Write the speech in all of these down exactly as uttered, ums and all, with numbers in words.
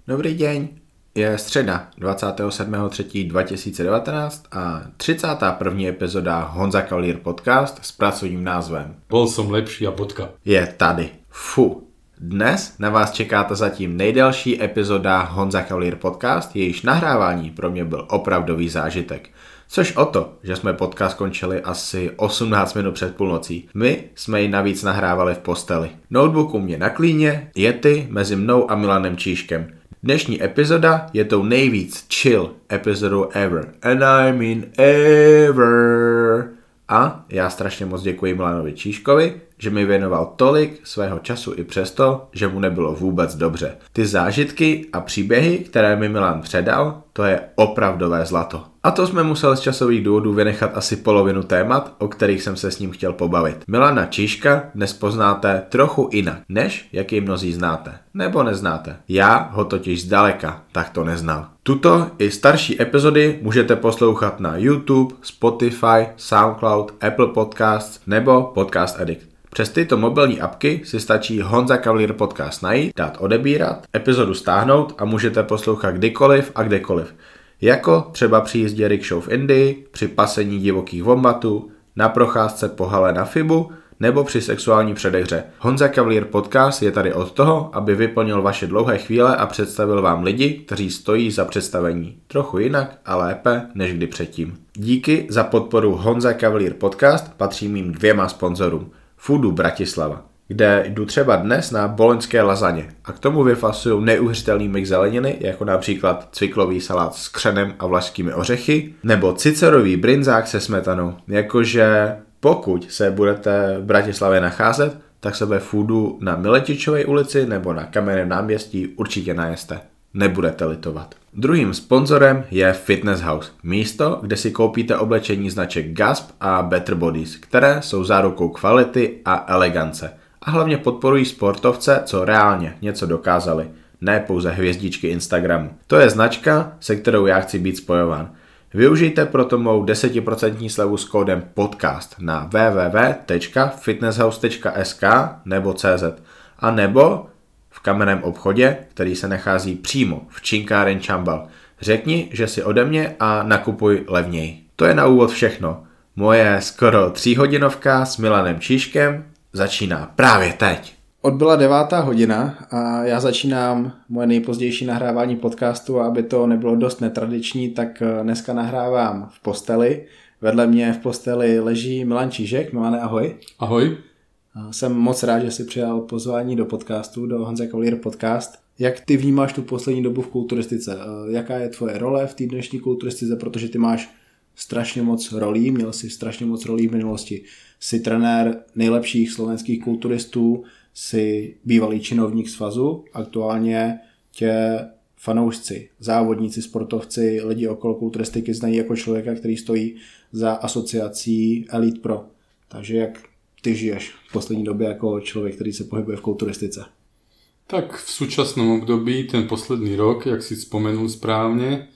Dobrý deň, je středa dvacátého sedmého třetího dva tisíce devatenáct a třicátá první epizoda Honza Cavalier podcast s pracovním názvem Bol som lepší a bodka. Je tady. Fu. Dnes na vás čekáte zatím nejdelší epizoda Honza Cavalier podcast, jejíž nahrávání pro mě byl opravdový zážitek. Což o to, že jsme podcast končili asi osmnáct minut před půlnocí. My jsme ji navíc nahrávali v posteli. Notebook u mě na klíně, Yeti mezi mnou a Milanem Číškem. Dnešní epizoda je tou nejvíc chill epizodou ever. And I mean ever. A já strašně moc děkuji Milanovi Číškovi, že mi věnoval tolik svého času i přesto, že mu nebylo vůbec dobře. Ty zážitky a příběhy, které mi Milan předal, to je opravdové zlato. A to jsme museli z časových důvodů vynechat asi polovinu témat, o kterých jsem se s ním chtěl pobavit. Milana Číška dnes poznáte trochu jinak, než jak ji mnozí znáte. Nebo neznáte. Já ho totiž zdaleka takto neznal. Tuto i starší epizody můžete poslouchat na YouTube, Spotify, SoundCloud, Apple Podcasts nebo Podcast Addict. Přes tyto mobilní apky si stačí Honza Cavalier podcast najít, dát odebírat, epizodu stáhnout a můžete poslouchat kdykoliv a kdekoliv. Jako třeba při jízdě rickshaw v Indii, při pasení divokých vombatů, na procházce po hale na Fibu nebo při sexuální předehře. Honza Cavalier podcast je tady od toho, aby vyplnil vaše dlouhé chvíle a představil vám lidi, kteří stojí za představení. Trochu jinak a lépe než kdy předtím. Díky za podporu Honza Cavalier podcast patří mým dvěma sponzorům. Foodu Bratislava, kde jdu třeba dnes na boloňské lazaně a k tomu vyfasuju neuvěřitelný mix zeleniny, jako například cviklový salát s křenem a vlašskými ořechy, nebo cicerový brinzák se smetanou. Jakože pokud se budete v Bratislavě nacházet, tak se ve Foodu na Miletičové ulici nebo na Kamenném náměstí určitě najeste. Nebudete litovat. Druhým sponzorem je Fitness House, místo, kde si koupíte oblečení značek Gasp a Better Bodies, které jsou zárukou kvality a elegance. A hlavně podporují sportovce, co reálně něco dokázali, ne pouze hvězdičky Instagramu. To je značka, se kterou já chci být spojován. Využijte proto mou deset procent slevu s kódem podcast na w w w tečka fitnesshouse tečka s k nebo cz a nebo v kamenném obchodě, který se nachází přímo v Činkáren Čambal. Řekni, že si ode mě a nakupuj levněji. To je na úvod všechno. Moje skoro tříhodinovka s Milanem Číškem začíná právě teď. Odbyla devátá hodina a já začínám moje nejpozdější nahrávání podcastu a aby to nebylo dost netradiční, tak dneska nahrávám v posteli. Vedle mě v posteli leží Milan Čížek. Milane, ahoj. Ahoj. Jsem moc rád, že jsi přijal pozvání do podcastu, do Honza Cavalier podcast. Jak ty vnímáš tu poslední dobu v kulturistice? Jaká je tvoje role v té dnešní kulturistice, protože ty máš strašně moc rolí, měl jsi strašně moc rolí v minulosti. Jsi trenér nejlepších slovenských kulturistů, jsi bývalý činovník svazu, aktuálně tě fanoušci, závodníci, sportovci, lidi okolo kulturistiky znají jako člověka, který stojí za asociací Elite Pro. Takže jak ty žiješ v poslední době jako člověk, který se pohybuje v kulturistice? Tak v súčasnom období, ten posledný rok, jak si spomenul správne,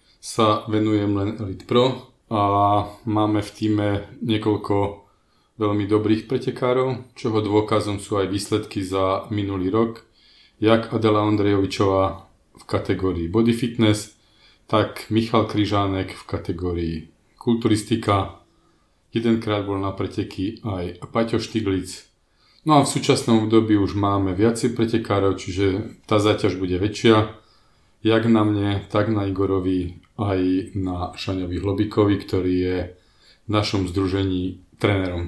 sa venujem len Elite Pro a máme v týme niekoľko veľmi dobrých pretekárov, čoho dôkazom sú aj výsledky za minulý rok, jak Adela Ondrejovičová v kategórii Body Fitness, tak Michal Kryžánek v kategórii Kulturistika. Jedenkrát bol na preteky aj Paťo Štiglic. No a v súčasnom období už máme viacej pretekárov, čiže tá záťaž bude väčšia. Jak na mne, tak na Igorovi, aj na Šaňovi Hlobíkovi, ktorý je v našom združení trénerom.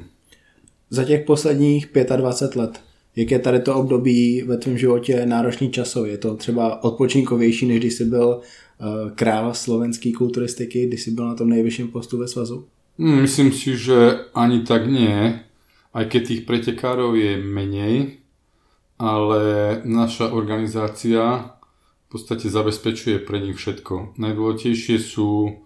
Za těch posledních dvacet pět let, jak je tady to období ve tvém životě náročný časově? Je to třeba odpočinkovější, než když jsi byl uh, král slovenský kulturistiky, když jsi byl na tom nejvyšším postu ve svazu? Myslím si, že ani tak nie, aj keď tých pretekárov je menej, ale naša organizácia v podstate zabezpečuje pre nich všetko. Najdôležitejšie sú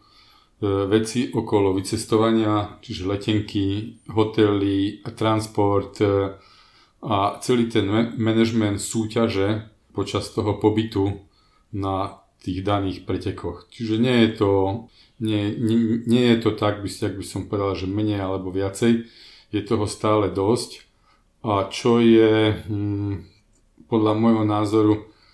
veci okolo vycestovania, čiže letenky, hotely, transport a celý ten management súťaže počas toho pobytu na tých daných pretekoch. Čiže nie je to Nie, nie, nie je to tak, by, jak by som povedal, že menej alebo viacej. Je toho stále dosť. A čo je hm, podľa môjho názoru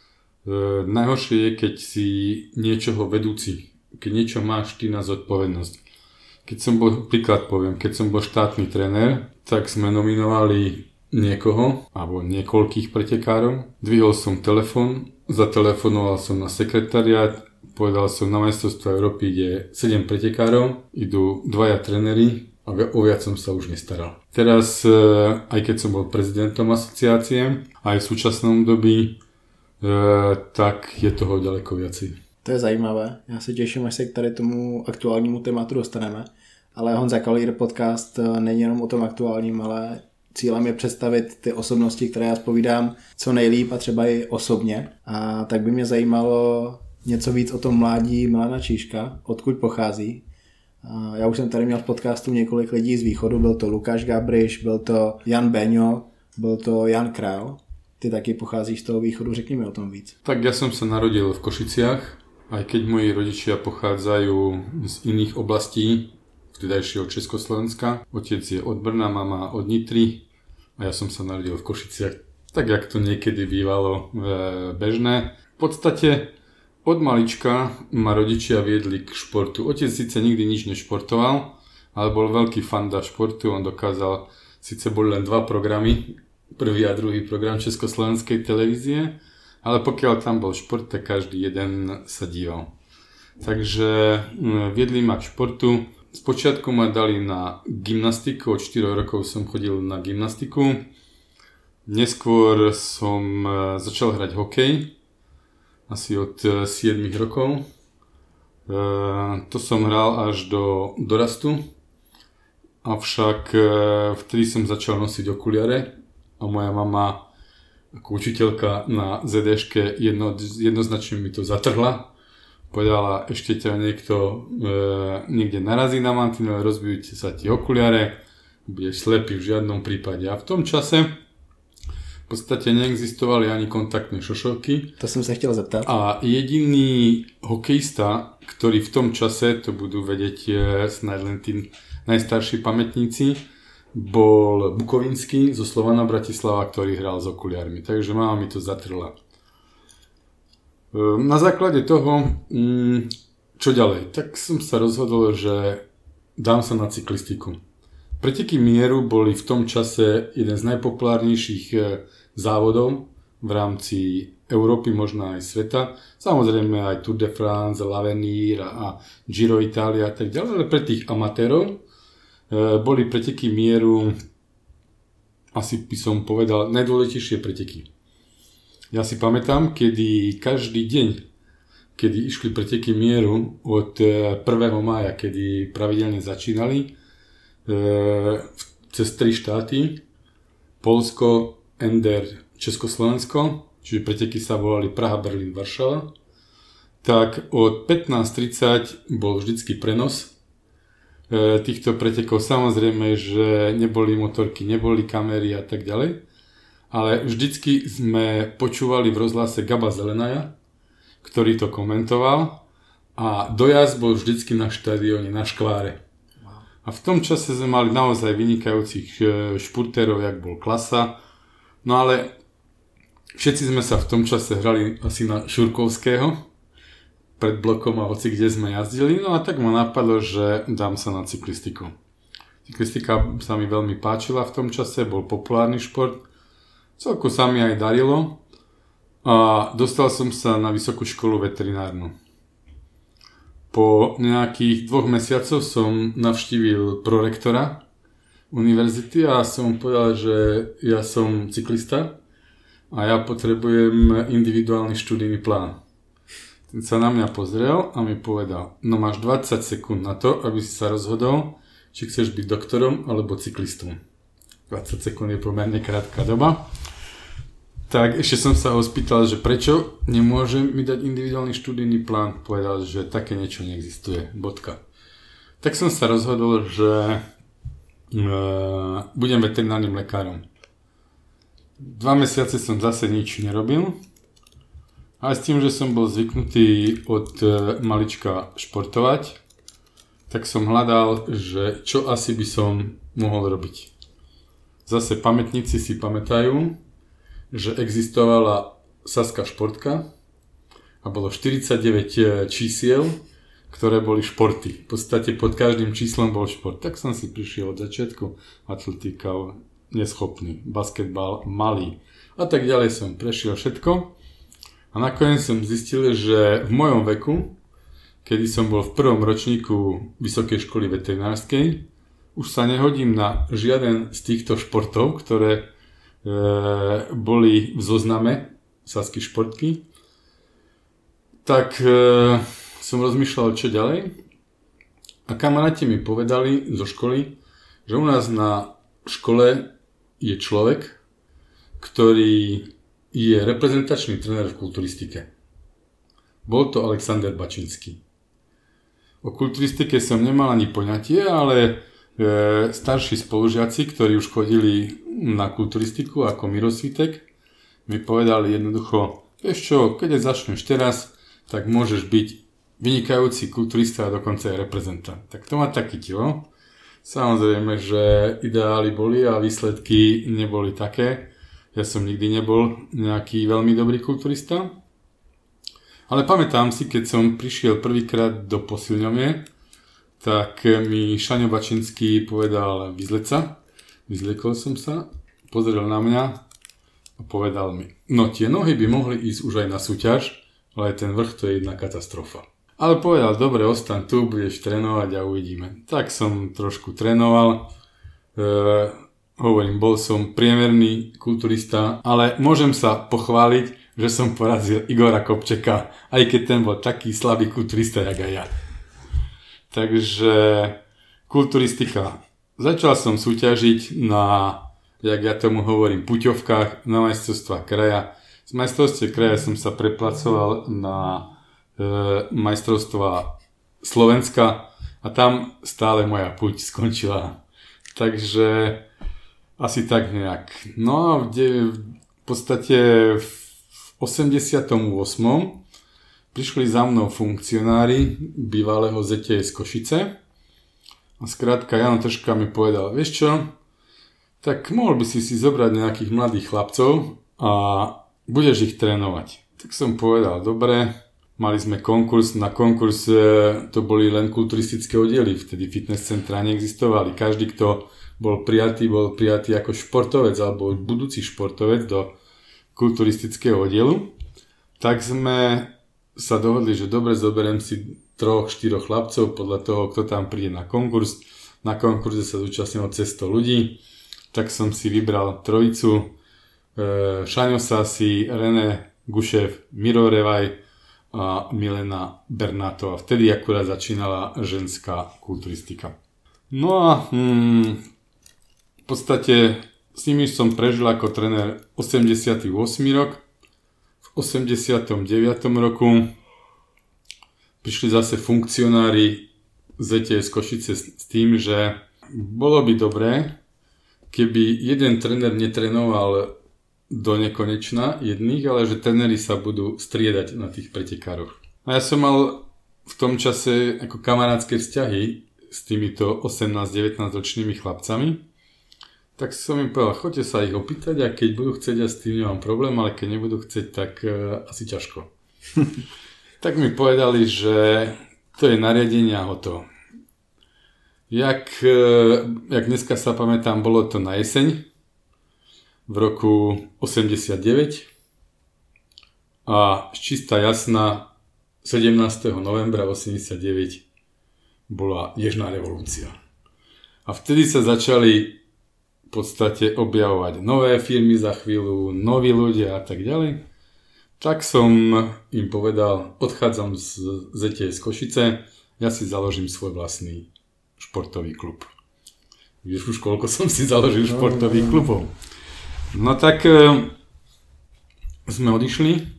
najhoršie je, keď si niečoho vedúci, keď niečo máš ty na zodpovednosť. Keď som bol, príklad poviem, keď som bol štátny tréner, tak sme nominovali niekoho, alebo niekoľkých pretekárov. Dvihol som telefón, zatelefonoval som na sekretariát, povedal som, na majstrovstvá Európy ide sedem pretekárov, idú dvaja tréneri a o viac som sa už nestaral. Teraz, aj keď som bol prezidentom asociácie, aj v súčasnom dobi, E, tak je toho ďaleko viacej. To je zajímavé. Já se těším, až se k tady tomu aktuálnímu tématu dostaneme. Ale Honza Kaulír podcast není jenom o tom aktuálním, ale cílem je představit ty osobnosti, které já zpovídám co nejlíp a třeba i osobně. A tak by mě zajímalo něco víc o tom mládí Milana Čížka, odkud pochází. A já už jsem tady měl v podcastu několik lidí z východu, byl to Lukáš Gabriš, byl to Jan Beňo, byl to Jan Král. Ty taky pocházíš z toho východu, řekni mi o tom víc. Tak ja som sa narodil v Košiciach, aj keď moji rodičia pochádzajú z iných oblastí, vtedajšieho Československa. Otec je od Brna, mama od Nitry a ja som sa narodil v Košiciach, tak jak to niekedy bývalo e, bežné. V podstate od malička ma rodičia viedli k športu. Otec síce nikdy nič nešportoval, ale bol veľký fanda športu, on dokázal, síce boli len dva programy, prvý a druhý program Československej televízie, ale pokiaľ tam bol šport, tak každý jeden sa díval. Takže viedli ma k športu. Spočiatku ma dali na gymnastiku, od štyroch rokov som chodil na gymnastiku. Neskôr som začal hrať hokej, asi od siedmich rokov. To som hral až do dorastu, avšak vtedy som začal nosiť okuliare. A moja mama ako učiteľka na zet déške jedno, jednoznačne mi to zatrhla. Povedala, ešte ťa niekto e, niekde narazí na mantinel, rozbijú sa ti okuliare, budeš slepý v žiadnom prípade. A v tom čase v podstate neexistovali ani kontaktné šošovky. To som sa chtěl zeptat. A jediný hokejista, ktorý v tom čase, to budú vedieť e, snáď len tí najstarší pamätníci, bol Bukovinský zo Slovana Bratislava, ktorý hral s okuliármi. Takže mama mi to zatrhla. Na základe toho, čo ďalej? Tak som sa rozhodol, že dám sa na cyklistiku. Preteky mieru boli v tom čase jeden z najpopulárnejších závodov v rámci Európy, možno aj sveta. Samozrejme aj Tour de France, l'Avenir a Giro Italia a tak ďalej, ale pre tých amatérov boli preteky mieru, asi by som povedal, najdôležitejšie preteky. Ja si pamätám, kedy každý deň, kedy išli preteky mieru od prvého mája, kedy pravidelne začínali, cez tri štáty, Poľsko, Ender, Československo, čiže preteky sa volali Praha, Berlín, Varšava, tak od pätnásť tridsať bol vždycky prenos týchto pretekov. Samozrejme, že neboli motorky, neboli kamery a tak ďalej, ale vždycky sme počúvali v rozhlase Gaba Zelenaja, ktorý to komentoval a dojazd bol vždycky na štadióne, na Škváre. A v tom čase sme mali naozaj vynikajúcich športérov, jak bol Klasa, no ale všetci sme sa v tom čase hrali asi na Šurkovského, pred blokom a hoci kde sme jazdili, no a tak ma napadlo, že dám sa na cyklistiku. Cyklistika sa mi veľmi páčila v tom čase, bol populárny šport, celku sa mi aj darilo a dostal som sa na vysokú školu veterinárnu. Po nejakých dvoch mesiacoch som navštívil prorektora univerzity a som povedal, že ja som cyklista a ja potrebujem individuálny študijný plán. Ten sa na mňa pozrel a mi povedal, no máš dvadsať sekúnd na to, aby si sa rozhodol, či chceš byť doktorom alebo cyklistom. dvadsať sekúnd je pomerne krátka doba. Tak ešte som sa ho spýtal, že prečo nemôže mi dať individuálny študijný plán. Povedal, že také niečo neexistuje. Bodka. Tak som sa rozhodol, že e, budem veterinárnym lekárom. Dva mesiace som zase nič nerobil. Ale s tým, že som bol zvyknutý od malička športovať, tak som hľadal, že čo asi by som mohol robiť. Zase pamätníci si pamätajú, že existovala Saská športka a bolo štyridsaťdeväť čísiel, ktoré boli športy. V podstate pod každým číslom bol šport. Tak som si prišiel od začiatku atletika, neschopný, basketbal, malý a tak ďalej som prešiel všetko. A nakoniec som zistil, že v mojom veku, kedy som bol v prvom ročníku Vysokej školy veterinárskej, už sa nehodím na žiaden z týchto športov, ktoré e, boli v zozname Sasky športky. Tak e, som rozmýšľal, čo ďalej. A kamaráti mi povedali zo školy, že u nás na škole je človek, ktorý je reprezentačný tréner v kulturistike. Bol to Alexander Bačinský. O kulturistike som nemal ani poňatie, ale e, starší spolužiaci, ktorí už chodili na kulturistiku ako Miro Svitek, mi povedali jednoducho, vieš čo, keď začneš teraz, tak môžeš byť vynikajúci kulturista a dokonca aj reprezentant. Tak to ma tak chytilo. Samozrejme, že ideály boli a výsledky neboli také. Ja som nikdy nebol nejaký veľmi dobrý kulturista. Ale pamätám si, keď som prišiel prvýkrát do posilňovne, tak mi Šaňo Bačinský povedal vyzleť sa. Vyzliekol som sa, pozrel na mňa a povedal mi, no tie nohy by mohli ísť už aj na súťaž, ale ten vrch to je jedna katastrofa. Ale povedal, dobre, ostaň tu, budeš trénovať a uvidíme. Tak som trošku trénoval, e, hovorím, bol som priemerný kulturista, ale môžem sa pochváliť, že som porazil Igora Kopčeka, aj keď ten bol taký slabý kulturista, jak aj ja. Takže kulturistika. Začal som súťažiť na, jak ja tomu hovorím, puťovkách na majstrovstvá kraja. Z majstrovstiev kraja som sa preplacoval na e, majstrovstvá Slovenska a tam stále moja puť skončila. Takže asi tak nejak. No a v, de, v podstate v osemdesiatom ôsmom prišli za mnou funkcionári bývalého zet té es Košice a skrátka Jano Tržka mi povedal, vieš čo, tak mohol by si si zobrať nejakých mladých chlapcov a budeš ich trénovať. Tak som povedal, dobre, mali sme konkurs, na konkurs to boli len kulturistické oddiely, vtedy fitness centra neexistovali, každý, kto bol prijatý, bol prijatý ako športovec alebo budúci športovec do kulturistického oddielu, tak sme sa dohodli, že dobre, zoberiem si troch, štyroch chlapcov podľa toho, kto tam príde na konkurs. Na konkurze sa zúčastnilo cez sto ľudí, tak som si vybral trojicu e, Šaňo Sasi, René Gušev, Miro Revaj a Milena Bernátová. Vtedy akurát začínala ženská kulturistika. No a hmm, v podstate s nimi som prežil ako tréner osemdesiaty ôsmy rok. V osemdesiatom deviatom roku prišli zase funkcionári zet té es Košice s tým, že bolo by dobré, keby jeden tréner netrénoval do nekonečna jedných, ale že tréneri sa budú striedať na tých pretekároch. A ja som mal v tom čase ako kamarátske vzťahy s týmito osemnásť devätnásť ročnými chlapcami. Tak som im povedal, choďte sa ich opýtať a keď budú chcieť, ja s tým nemám problém, ale keď nebudú chcieť, tak uh, asi ťažko. Tak mi povedali, že to je nariadenie a hotovo. Jak, uh, jak dneska sa pamätám, bolo to na jeseň v roku osemdesiatdeväť a čistá jasná sedemnásteho novembra osemdesiatdeväť bola nežná revolúcia. A vtedy sa začali v podstate objavovať nové firmy za chvíľu, noví ľudia a tak ďalej. Tak som im povedal, odchádzam z zet té es Košice, ja si založím svoj vlastný športový klub. Vieš už, koľko som si založil športových klubov. No tak e, sme odišli. E,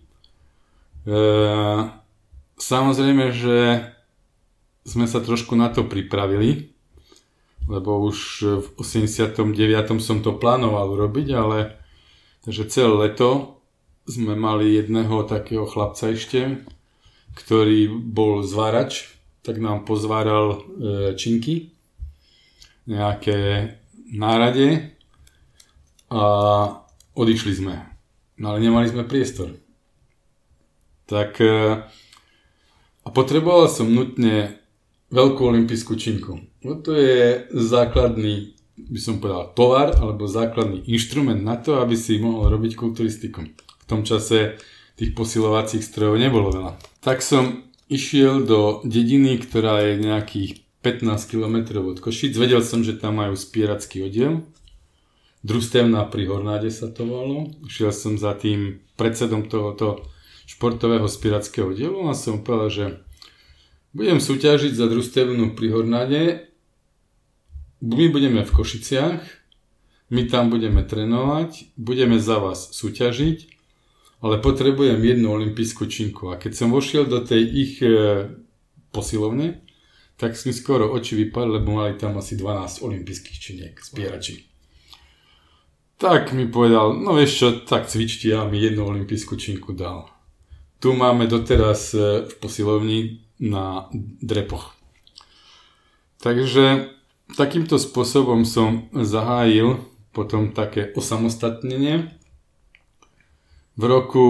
samozrejme, že sme sa trošku na to pripravili, lebo už v osemdesiatom deviatom som to plánoval urobiť, ale takže celé leto sme mali jedného takého chlapca ešte, ktorý bol zvárač, tak nám pozváral e, činky, nejaké nárade a odišli sme. No ale nemali sme priestor. Tak a potreboval som nutne veľkú olympijskú činku. No to je základný, by som povedal, tovar alebo základný inštrument na to, aby si mohol robiť kulturistiku. V tom čase tých posilovacích strojov nebolo veľa. Tak som išiel do dediny, ktorá je nejakých pätnásť kilometrov od Košíc. Vedel som, že tam majú spieracký oddiel. Družstevná pri Hornáde sa to volalo. Išiel som za tým predsedom tohoto športového spierackého oddielu a som povedal, že budem súťažiť za družstevnú pri Hornáde. My budeme v Košiciach, my tam budeme trénovať, budeme za vás súťažiť, ale potrebujem jednu olympijskú činku. A keď som vošiel do tej ich e, posilovne, tak mi skoro oči vypadli, lebo mali tam asi dvanásť olympijských činiek, spierači. Tak mi povedal, no vieš čo, tak cvičte, ja mi jednu olympijskú činku dal. Tu máme doteraz e, v posilovni na drepoch. Takže takýmto spôsobom som zahájil potom také osamostatnenie. V roku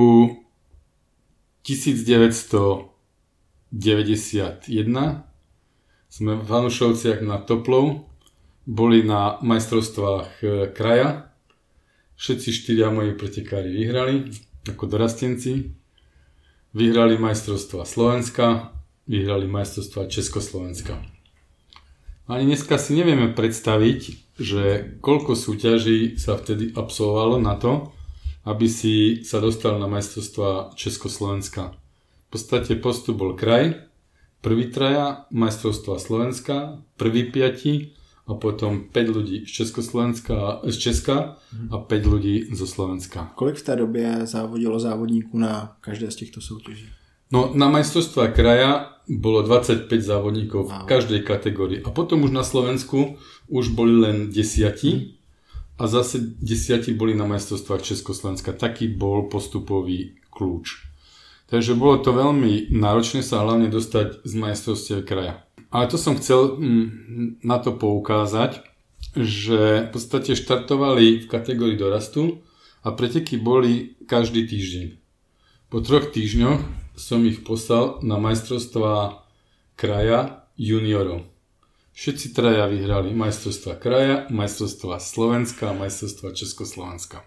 devätnásťstodeväťdesiatjeden sme v Hanušovciach nad Toplou boli na majstrovstvách kraja. Všetci štyria moji pretekári vyhrali ako dorastenci. Vyhrali majstrovstvá Slovenska, vyhrali majstrovstvá Československa. Ani dneska si nevieme predstaviť, že koľko súťaží sa vtedy absolvovalo na to, aby si sa dostal na majstrovstvá Československa. V podstate postup bol kraj, prvý traja, majstrovstvá Slovenska, prvý piati a potom päť ľudí z Československa, z Česka a päť ľudí zo Slovenska. Kolik v té době závodilo závodníků na každé z těchto soutěží? No na majstrovstvá kraja bolo dvadsaťpäť závodníkov v každej kategórii. A potom už na Slovensku už boli len desiati a zase desiati boli na majstrovstvách Československa. Taký bol postupový kľúč. Takže bolo to veľmi náročné sa hlavne dostať z majstrovstiev kraja. Ale to som chcel na to poukázať, že v podstate štartovali v kategórii dorastu a preteky boli každý týždeň. Po troch týždňoch som ich poslal na majstrovstvá kraja juniorov. Všetci traja vyhrali majstrovstvá kraja, majstrovstvá Slovenska a majstrovstvá Československa.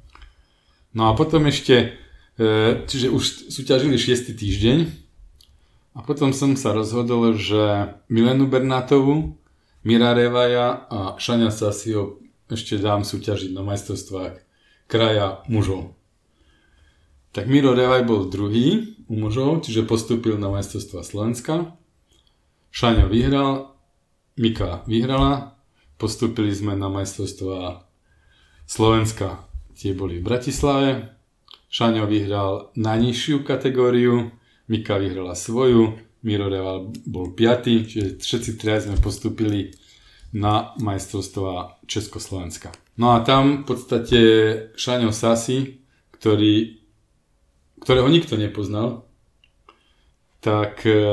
No a potom ešte, čiže už súťažili šiesty týždeň a potom som sa rozhodol, že Milenu Bernátovú, Mira Revaja a Šaňa Sasio ešte dám súťažiť na majstrovstvách kraja mužov. Tak Miro Revaj bol druhý u mužov, čiže postúpil na majstrovstvá Slovenska. Šaňo vyhral, Mika vyhrala, postúpili sme na majstrovstvá Slovenska, tie boli v Bratislave. Šaňo vyhral najnižšiu kategóriu, Mika vyhrala svoju, Miro Revaj bol piaty, čiže všetci traja sme postúpili na majstrovstvá Československa. No a tam v podstate Šaňo Sasi, ktorý ktorého nikto nepoznal, tak e,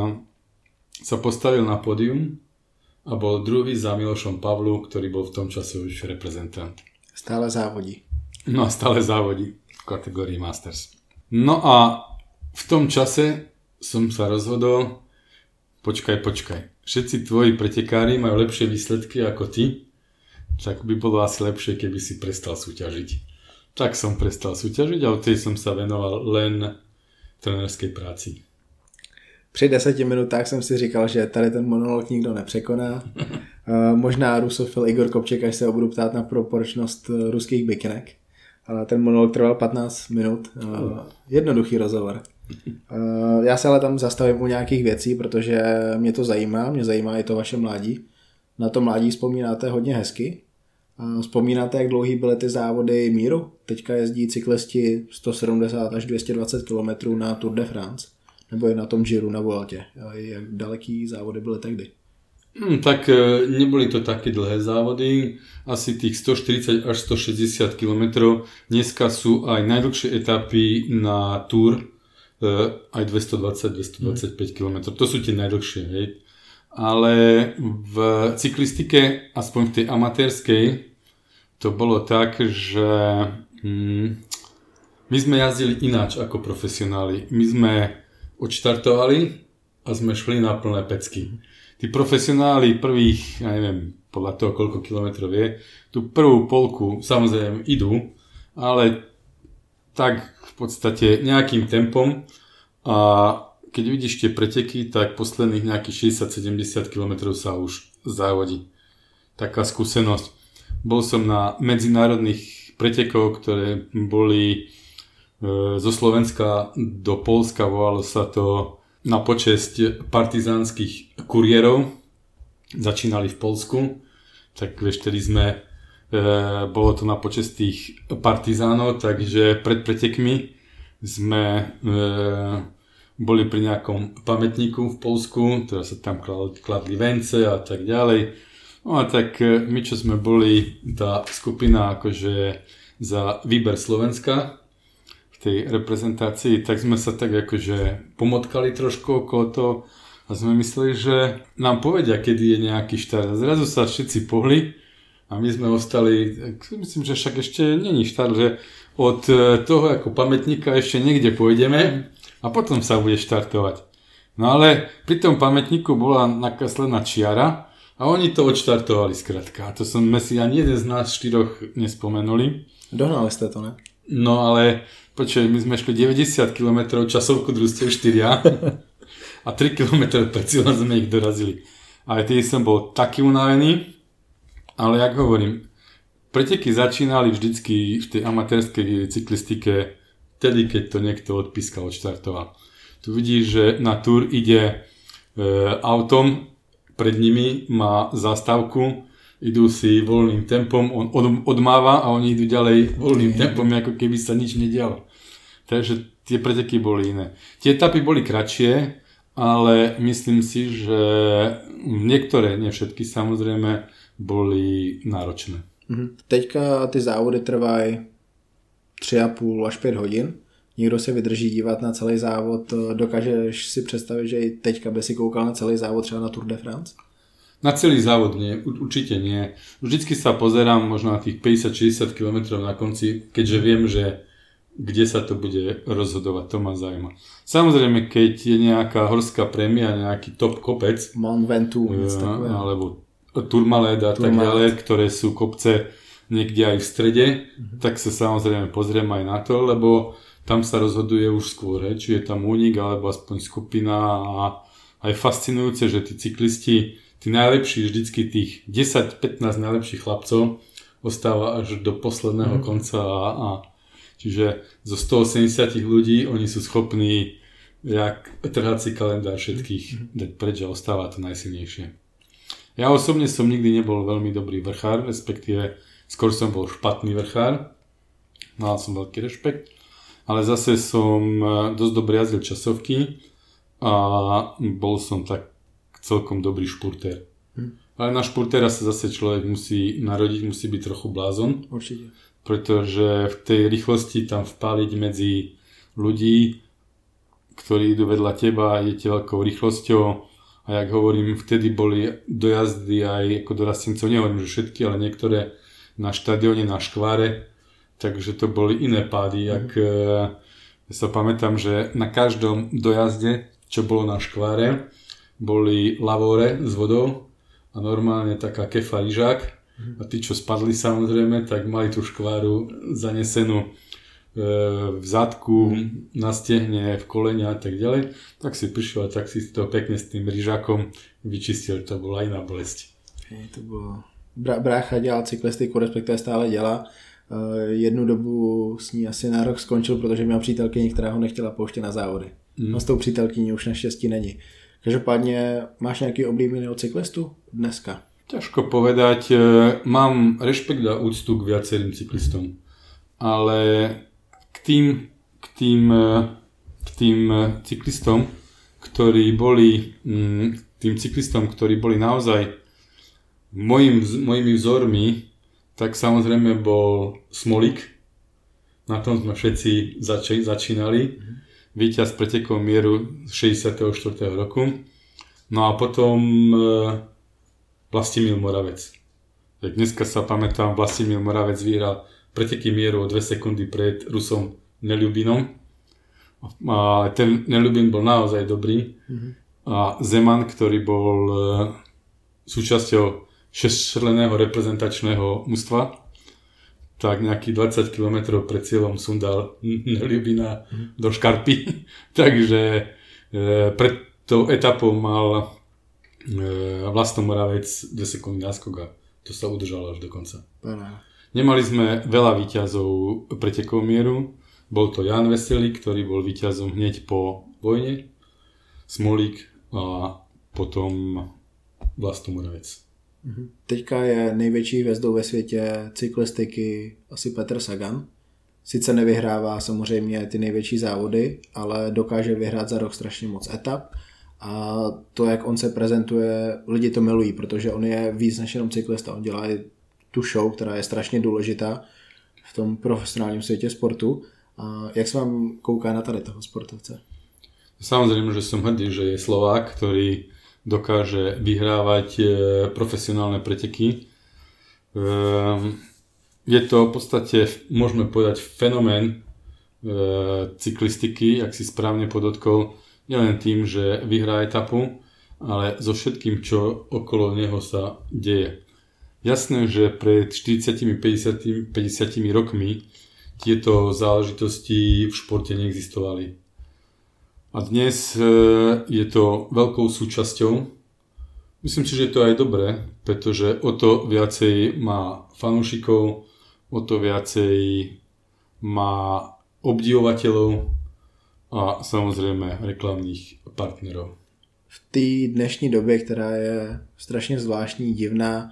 sa postavil na pódium a bol druhý za Milošom Pavlu, ktorý bol v tom čase už reprezentant. Stále závodí. No a stále závodí v kategórii Masters. No a v tom čase som sa rozhodol, počkaj, počkaj, všetci tvoji pretekári majú lepšie výsledky ako ty, tak by bolo asi lepšie, keby si prestal súťažiť. Tak som prestal súťažiť a od tej som sa venoval len trenérskej práci. Při deseti minutách jsem si říkal, že tady ten monolog nikdo nepřekoná. Možná rusofil Igor Kopček, až se ho budu ptát na proporčnost ruských bikinek. Ale ten monolog trval patnáct minut. Jednoduchý rozhovor. Já se ale tam zastavím u nějakých věcí, protože mě to zajímá. Mě zajímá i to vaše mládí. Na to mládí vzpomínáte hodně hezky. Vzpomínáte, jak dlouhý byly ty závody míru? Teďka jezdí cyklisti sto sedmdesát až dvě stě dvacet kilometrů na Tour de France. Nebo je na tom Giro na Vueltě. Jak daleký závody byly tehdy? Hmm, tak neboli to také dlhé závody. Asi tých sto štyridsať až sto šesťdesiat kilometrov. Dneska sú aj najdlhšie etapy na Tour. Aj dvestodvadsať až dvestodvadsaťpäť kilometrov. To sú tie najdlhšie. Hej. Ale v cyklistike, aspoň v tej amatérskej, to bolo tak, že hm, My sme jazdili ináč ako profesionáli. My sme odštartovali a sme šli na plné pecky. Tí profesionáli prvých, ja neviem, podľa toho, koľko kilometrov je, tú prvú polku samozrejme idú, ale tak v podstate nejakým tempom a keď vidíš tie preteky, tak posledných nejakých šesťdesiat sedemdesiat kilometrov sa už závodí. Taká skúsenosť. Bol som na medzinárodných pretekov, ktoré boli e, zo Slovenska do Poľska, volalo sa to na počesť partizánskych kuriérov. Začínali v Poľsku, tak vieš, tedy sme, e, bolo to na počesť tých partizánov, takže pred pretekmi sme e, boli pri nejakom pamätníku v Poľsku, teda sa tam kladli vence a tak ďalej. No a tak e, my, čo sme boli, tá skupina akože za výber Slovenska, tej reprezentácii, tak sme sa tak akože pomotkali trošku okolo toho a sme mysleli, že nám povedia, kedy je nejaký štart. Zrazu sa všetci pohli a my sme ostali, myslím, že však ešte není štart, že od toho ako pamätníka ešte niekde pôjdeme a potom sa bude štartovať. No ale pri tom pamätníku bola nakreslená čiara a oni to odštartovali skrátka. A to sme si ani jeden z nás štyroch nespomenuli. Dohnali ste to, ne? No ale počuj, my sme šli deväťdesiat kilometrov, časovku družstiev štyria a tri kilometre pred cieľom sme ich dorazili. Ale tedy som bol taký unavený, ale jak hovorím, preteky začínali vždycky v tej amatérskej cyklistike vtedy, keď to niekto odpískal, odštartoval. Tu vidíš, že na Tour ide e, autom, pred nimi má zastávku, idú si voľným tempom, on od, odmáva a oni idú ďalej voľným tempom, ako keby sa nič nedialo. Takže tie preteky boli iné. Tie etapy boli kratšie, ale myslím si, že niektoré, nie všetky samozrejme, boli náročné. Mhm. Teďka ty závody trvají tři a půl až pět hodin. Nikdo se vydrží dívat na celý závod. Dokážeš si představit, že i teďka by si koukal na celý závod třeba na Tour de France? Na celý závod nie, určite nie. Vždycky sa pozerám možno na tých päťdesiat šesťdesiat kilometrov na konci, keďže viem, že kde sa to bude rozhodovať, to ma zaujíma. Samozrejme, keď je nejaká horská prémia, nejaký top kopec, Mont Ventoux, ja, alebo Tourmalet a tak ďalej, ktoré sú kopce niekde aj v strede, mm-hmm. tak sa samozrejme pozriem aj na to, lebo tam sa rozhoduje už skôr, he, či je tam únik, alebo aspoň skupina a aj fascinujúce, že tí cyklisti, tí najlepší, vždycky tých desať pätnásť najlepších chlapcov ostáva až do posledného mm. konca a, a čiže zo stoosemdesiat ľudí oni sú schopní jak trhací kalendár všetkých mm. dať preč a ostáva to najsilnejšie. Ja osobne som nikdy nebol veľmi dobrý vrchár, respektíve skôr som bol špatný vrchár, mal som veľký rešpekt, ale zase som dosť dobre jazdil časovky a bol som tak celkom dobrý špurtér. Hm. Ale na špurtéra sa zase človek musí narodiť, musí byť trochu blázon. Určite. Pretože v tej rýchlosti tam vpáliť medzi ľudí, ktorí idú vedľa teba, idete veľkou rýchlosťou a jak hovorím, vtedy boli dojazdy aj ako dorastencov, nehovorím, že všetky, ale niektoré na štadióne, na škváre, takže to boli iné pády. Jak, hm. Ja sa pamätám, že na každom dojazde, čo bolo na škváre, boli lavóre s vodou a normálne taká kefa lyžák a tí, čo spadli samozrejme, tak mali tú škváru zanesenú e, v zadku, na stehne, v kolene a tak ďalej. Tak si prišiel a tak si to pekne s tým lyžákom vyčistil, to bola iná bolesť. Hej, to bylo... Brácha dělal cyklistiku, respektive stále dělá. E, jednu dobu s ní asi na rok skončil, protože měl přítelkyni, která ho nechtěla pouštět na závody. Mm. No s tou přítelkyní už naštěstí není. Každopádne, máš nejaký oblíbeného cyklistu dneska? Ťažko povedať. Mám rešpekt a úctu k viacerým cyklistom. Ale k tým, k tým, k tým cyklistom, ktorí boli, tým cyklistom, ktorí boli naozaj mojim, mojimi vzormi, tak samozrejme bol Smolík. Na tom sme všetci zač- začínali. Víťaz pretekov mieru z šesťdesiateho štvrtého roku. No a potom e, Vlastimil Moravec. Tak dneska sa pamätám, Vlastimil Moravec vyhral preteky mieru o dve sekundy pred Rusom Neľubinom. A ten Neľubin bol naozaj dobrý. Mm-hmm. A Zeman, ktorý bol e, súčasťou šesťčlenného reprezentačného mužstva, tak nejakých dvadsať kilometrov pred cieľom sundal Neľubina mm-hmm. do škarpy. Takže e, pred tou etapou mal e, Vlasto Moravec dve sekundy náskok a to sa udržalo až do konca. Pana. Nemali sme veľa víťazov pretekov mieru. Bol to Jan Veselý, ktorý bol víťazom hneď po vojne, Smolík a potom Vlasto Moravec. Teďka je největší hvězdou ve světě cyklistiky asi Petr Sagan. Sice nevyhrává samozřejmě ty největší závody, ale dokáže vyhrát za rok strašně moc etap. A to, jak on se prezentuje, lidi to milují, protože on je víc než jenom cyklista. On dělá i tu show, která je strašně důležitá v tom profesionálním světě sportu. A jak se vám kouká na tady toho sportovce? Samozrejme, že som hrdý, že je Slovák, ktorý dokáže vyhrávať profesionálne preteky. Je to v podstate, môžeme povedať, fenomén cyklistiky, jak si správne podotkol, nielen tým, že vyhrá etapu, ale so všetkým, čo okolo neho sa deje. Jasné, že pred štyridsiatimi päťdesiatimi rokmi tieto záležitosti v športe neexistovali. A dnes je to veľkou súčasťou. Myslím si, že je to aj dobré, pretože o to viacej má fanúšikov, o to viacej má obdivovateľov a samozrejme reklamních partnerov. V té dnešní době, která je strašně zvláštní, divná,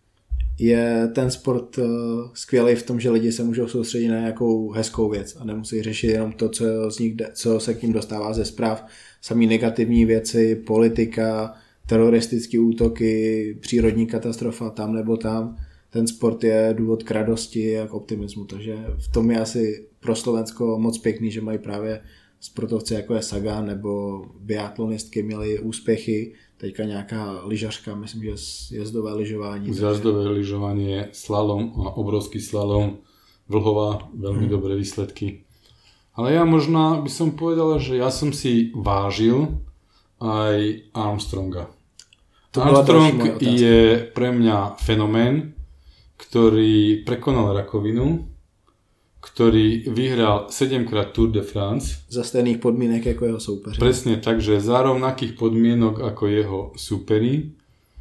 je ten sport skvělý v tom, že lidi se můžou soustředit na nějakou hezkou věc a nemusí řešit jenom to, co, z nich, co se k ním dostává ze zpráv. Samý negativní věci, politika, teroristické útoky, přírodní katastrofa tam nebo tam. Ten sport je důvod k radosti a k optimismu, takže v tom je asi pro Slovensko moc pěkný, že mají právě sportovci jako je Sagan nebo biatlonistky měli úspěchy. Teďka nějaká lyžařka, myslím, že jazdové lyžování. Jazdové lyžovanie, slalom a obrovský slalom, Vlhová, veľmi hmm. dobré výsledky. Ale ja možno by som povedal, že ja som si vážil aj Armstronga. To Armstrong je pre mňa fenomén, ktorý prekonal rakovinu, ktorý vyhral sedemkrát Tour de France. Za stejných podmienek ako jeho súperi. Presne, takže za rovnakých podmienok ako jeho súperi.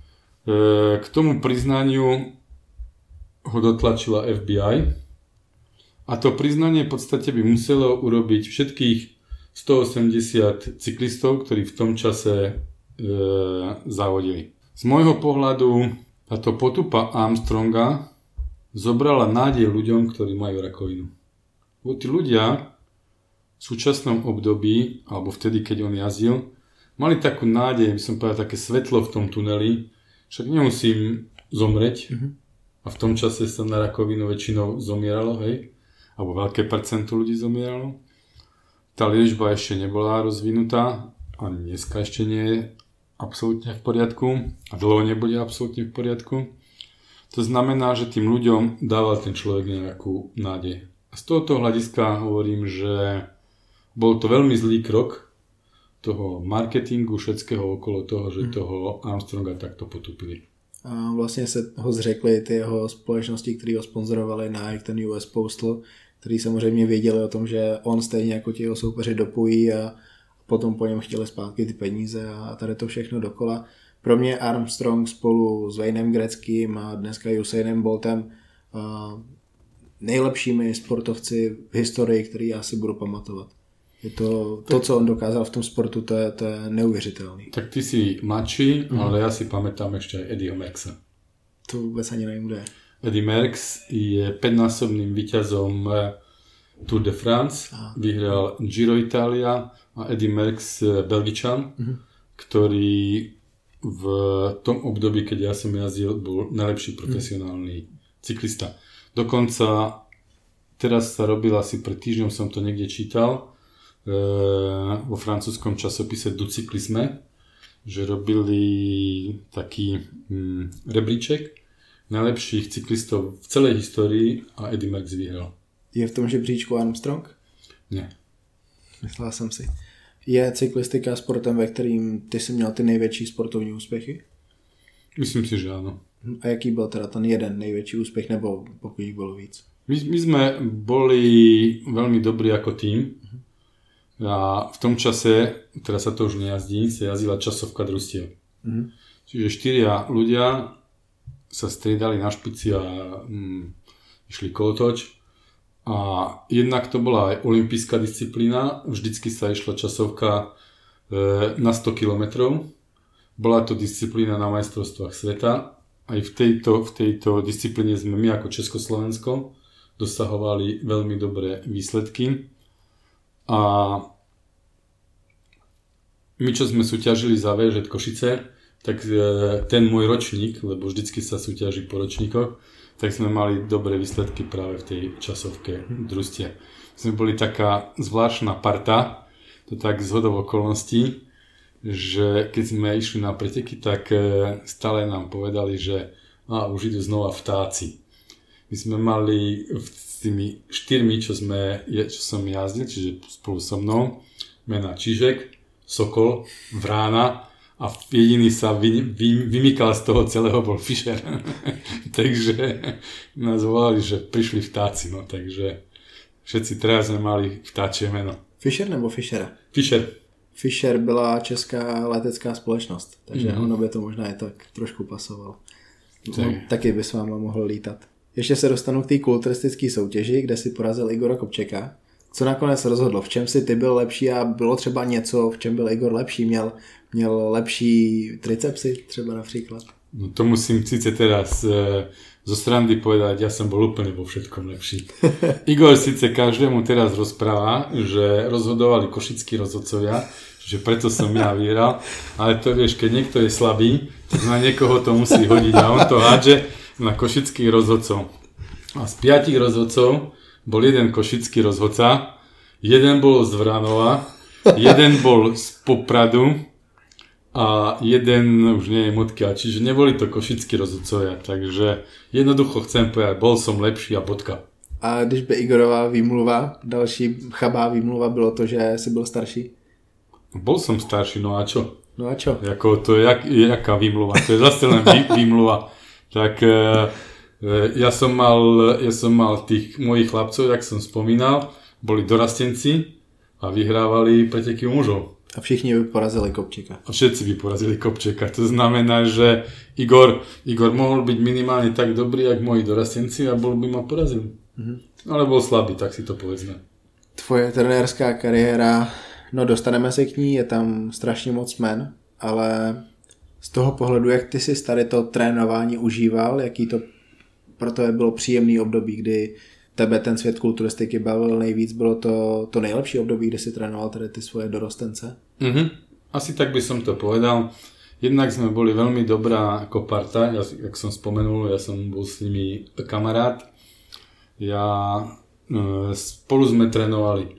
K tomu priznaniu ho dotlačila ef bí í. A to priznanie v podstate by muselo urobiť všetkých stoosemdesiat cyklistov, ktorí v tom čase e, závodili. Z môjho pohľadu táto potupa Armstronga zobrala nádej ľuďom, ktorí majú rakovinu. Bo tí ľudia v súčasnom období, alebo vtedy, keď on jazdil, mali takú nádej, by som povedal, také svetlo v tom tuneli, však nemusím zomreť. Mm-hmm. A v tom čase sa na rakovinu väčšinou zomieralo, hej? Alebo veľké percento ľudí zomieralo. Tá liečba ešte nebola rozvinutá, ani dneska ešte nie je absolútne v poriadku a dlho nebude absolútne v poriadku. To znamená, že tým ľuďom dával ten človek nejakú nádej. A z tohoto hľadiska hovorím, že bol to veľmi zlý krok toho marketingu všetkého okolo toho, že toho Armstronga takto potupili. A vlastně se ho zřekli ty jeho společnosti, které ho sponzorovali, Nike, ten U S Postal, který samozřejmě věděli o tom, že on stejně jako ti jeho soupeři dopojí a potom po něm chtěli zpátky ty peníze a tady to všechno dokola. Pro mě Armstrong spolu s Waynem Gretzkym a dneska Usainem Boltem nejlepšími sportovci v historii, který já si budu pamatovat. Je to, to, co on dokázal v tom sportu, to je, to je neuvěřitelný. Tak ty si mladší, mm. ale ja si pamätám ešte aj Eddieho Merckxa. To vůbec ani nevím, kde je. Eddie Merckx je päťnásobným víťazom Tour de France, ah. vyhral Giro Italia a Eddie Merckx Belgičan, mm. ktorý v tom období, keď ja som jazdil, bol najlepší profesionálny mm. cyklista. Dokonca teraz sa robil, asi pred týždňom som to niekde čítal, vo francúzskom časopise Du Cyclisme, že robili taký hm, rebríček najlepších cyklistov v celej histórii a Eddie Merckx vyhral. Je v tom žebříčku Armstrong? Nie. Myslel jsem si. Je cyklistika sportem, ve kterým ty jsi měl ty největší sportovní úspěchy? Myslím si, že áno. A jaký byl teda ten jeden největší úspěch, nebo pokud jich bylo víc? My, my sme boli veľmi dobrí ako tím a v tom čase, teraz sa to už nejazdí, sa jazdila časovka družstiev. Mm-hmm. Čiže štyria ľudia sa striedali na špici a mm, išli kolotoč. A jednak to bola aj olympijská disciplína, vždycky sa išla časovka e, na sto kilometrov. Bola to disciplína na majstrovstvách sveta. Aj v tejto, v tejto disciplíne sme my ako Československo dosahovali veľmi dobré výsledky. A my, čo sme súťažili za vé žé Košice, tak ten môj ročník, lebo vždycky sa súťaží po ročníkoch, tak sme mali dobré výsledky práve v tej časovke družstie. Sme boli taká zvláštna parta, to tak zhodou okolností, že keď sme išli na preteky, tak stále nám povedali, že a, už idú znova vtáci. My sme mali s tými štyrmi, čo, sme, čo som jazdil, čiže spolu so mnou, mená Čižek, Sokol, Vrána a jediný sa vy, vy, vymykal z toho celého bol Fischer. Takže nás volali, že prišli vtáci, no takže všetci teraz sme mali vtáčie meno. Fischer nebo Fischera? Fischer. Fischer byla česká letecká společnost, takže mm-hmm. ono by to možná i tak trošku pasovalo. Tak. No, taky by s váma mohl lítat. Ještě se dostanu k té kulturistické soutěži, kde si porazil Igora Kopčeka. Co nakonec rozhodlo? V čem si ty byl lepší a bylo třeba něco, v čem byl Igor lepší? Měl, měl lepší tricepsy třeba například? No to musím síce teraz e, zo srandy povedať, ja som bol úplne vo všetkom lepší. Igor síce každému teraz rozpráva, že rozhodovali košickí rozhodcovia, že preto som ja vyhral, ale to vieš, keď niekto je slabý, tak na niekoho to musí hodiť a on to hádže na košických rozhodcov. A z piatich rozhodcov bol jeden košický rozhodca, jeden bol z Vranova, jeden bol z Popradu a jeden už nie je Motky, čiže neboli to košickí rozhodcovia, takže jednoducho chcem povedať, bol som lepší a bodka. A když by Igorová výmluva, další chabá výmluva bylo to, že si byl starší? Bol som starší, no a čo? No a čo? Jako, to je jak, jaká výmluva, to je zase len vý, výmluva. Tak e, ja som mal, ja som mal tých mojich chlapcov, jak som spomínal, boli dorastenci a vyhrávali preteky mužov. A všichni by porazili Kopčeka. A všetci by porazili Kopčeka. To znamená, že Igor, Igor mohol byť minimálne tak dobrý, jak moji dorastenci a bol by ma porazil. Mm-hmm. Ale bol slabý, tak si to povedzme. Tvoje trenérská kariéra, no dostaneme se k ní, je tam strašně moc men, ale z toho pohledu, jak ty si tady to trénování užíval, jaký to pro tebe bylo příjemný období, kdy tebe ten svět kulturistiky bavil nejvíc, bylo to to nejlepší období, kde si trénoval tady ty svoje dorostence? Mm-hmm. Asi tak by som to povedal. Jednak sme boli veľmi dobrá ako parta, ja, jak som spomenul, ja som bol s nimi kamarát. Ja e, spolu sme trénovali.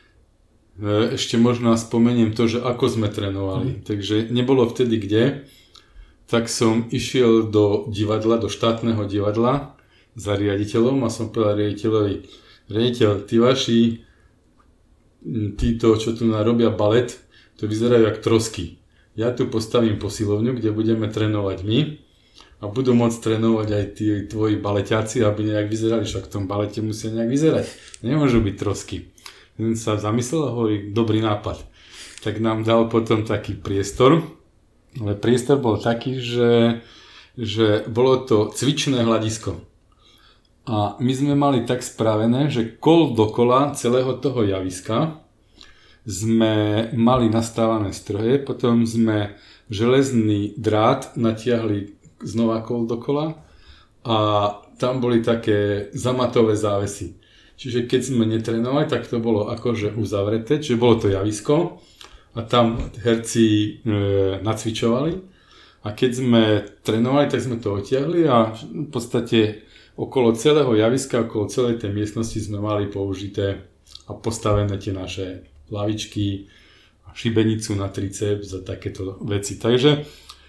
E, ešte možno spomeniem to, že ako sme trénovali. Mm. Takže nebolo vtedy kde, tak som išiel do divadla, do štátneho divadla za riaditeľom a som povedal riaditeľovi, riaditeľ, tí vaši, títo, čo tu narobia balet, to vyzerajú jak trosky. Ja tu postavím posilovňu, kde budeme trénovať my a budú môcť trénovať aj tí tvoji baleťáci, aby nejak vyzerali, však v tom balete musia nejak vyzerať. Nemôžu byť trosky. Ten sa zamyslel a hovorí, dobrý nápad. Tak nám dal potom taký priestor, ale priestor bol taký, že, že bolo to cvičné hľadisko. A my sme mali tak spravené, že kol dokola celého toho javiska sme mali nastávané stroje, potom sme železný drát natiahli znova kol dokola a tam boli také zamatové závesy. Čiže keď sme netrénovali, tak to bolo akože uzavreté, čiže bolo to javisko a tam herci e, nacvičovali a keď sme trénovali, tak sme to odtiahli a v podstate okolo celého javiska, okolo celej tej miestnosti sme mali použité a postavené tie naše lavičky, šibenicu na triceps a takéto veci. Takže,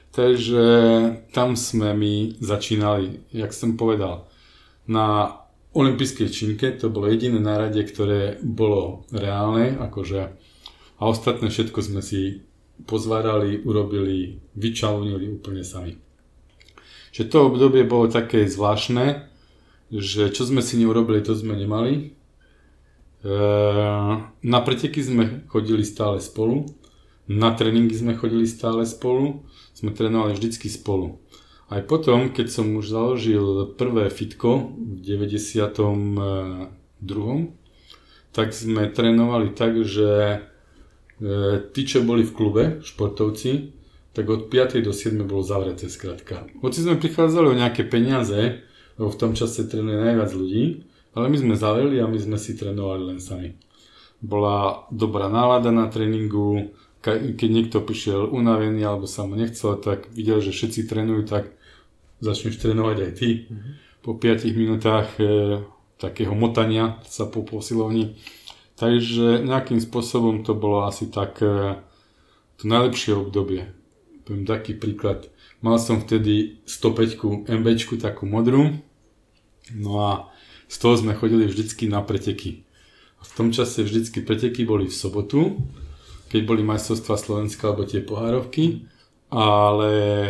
takže tam sme my začínali, jak som povedal, na olympijskej činke, to bolo jediné nárade, ktoré bolo reálne, akože, a ostatné všetko sme si pozvárali, urobili, vyčalunili úplne sami. Čiže to obdobie bolo také zvláštne, že čo sme si neurobili, to sme nemali. Na preteky sme chodili stále spolu, na tréningy sme chodili stále spolu, sme trénovali vždycky spolu. Aj potom, keď som už založil prvé fitko v deväťdesiatom druhom, tak sme trénovali tak, že tí, čo boli v klube, športovci, tak od piatej do siedmej bolo zavreté skrátka. Hoci sme prichádzali o nejaké peniaze, lebo v tom čase trénuje najviac ľudí, ale my sme zavreli a my sme si trénovali len sami. Bola dobrá nálada na tréningu, keď niekto prišiel unavený alebo sa mu nechcel, tak videl, že všetci trénujú, tak začneš trénovať aj ty. Mm-hmm. Po piatich minútach e, takého motania sa po posilovni. Takže nejakým spôsobom to bolo asi tak e, to najlepšie obdobie. Poviem taký príklad. Mal som vtedy stopäť MBčku, takú modrú. No a z toho sme chodili vždycky na preteky. A v tom čase vždycky preteky boli v sobotu, keď boli majstrovstvá Slovenska alebo tie pohárovky, ale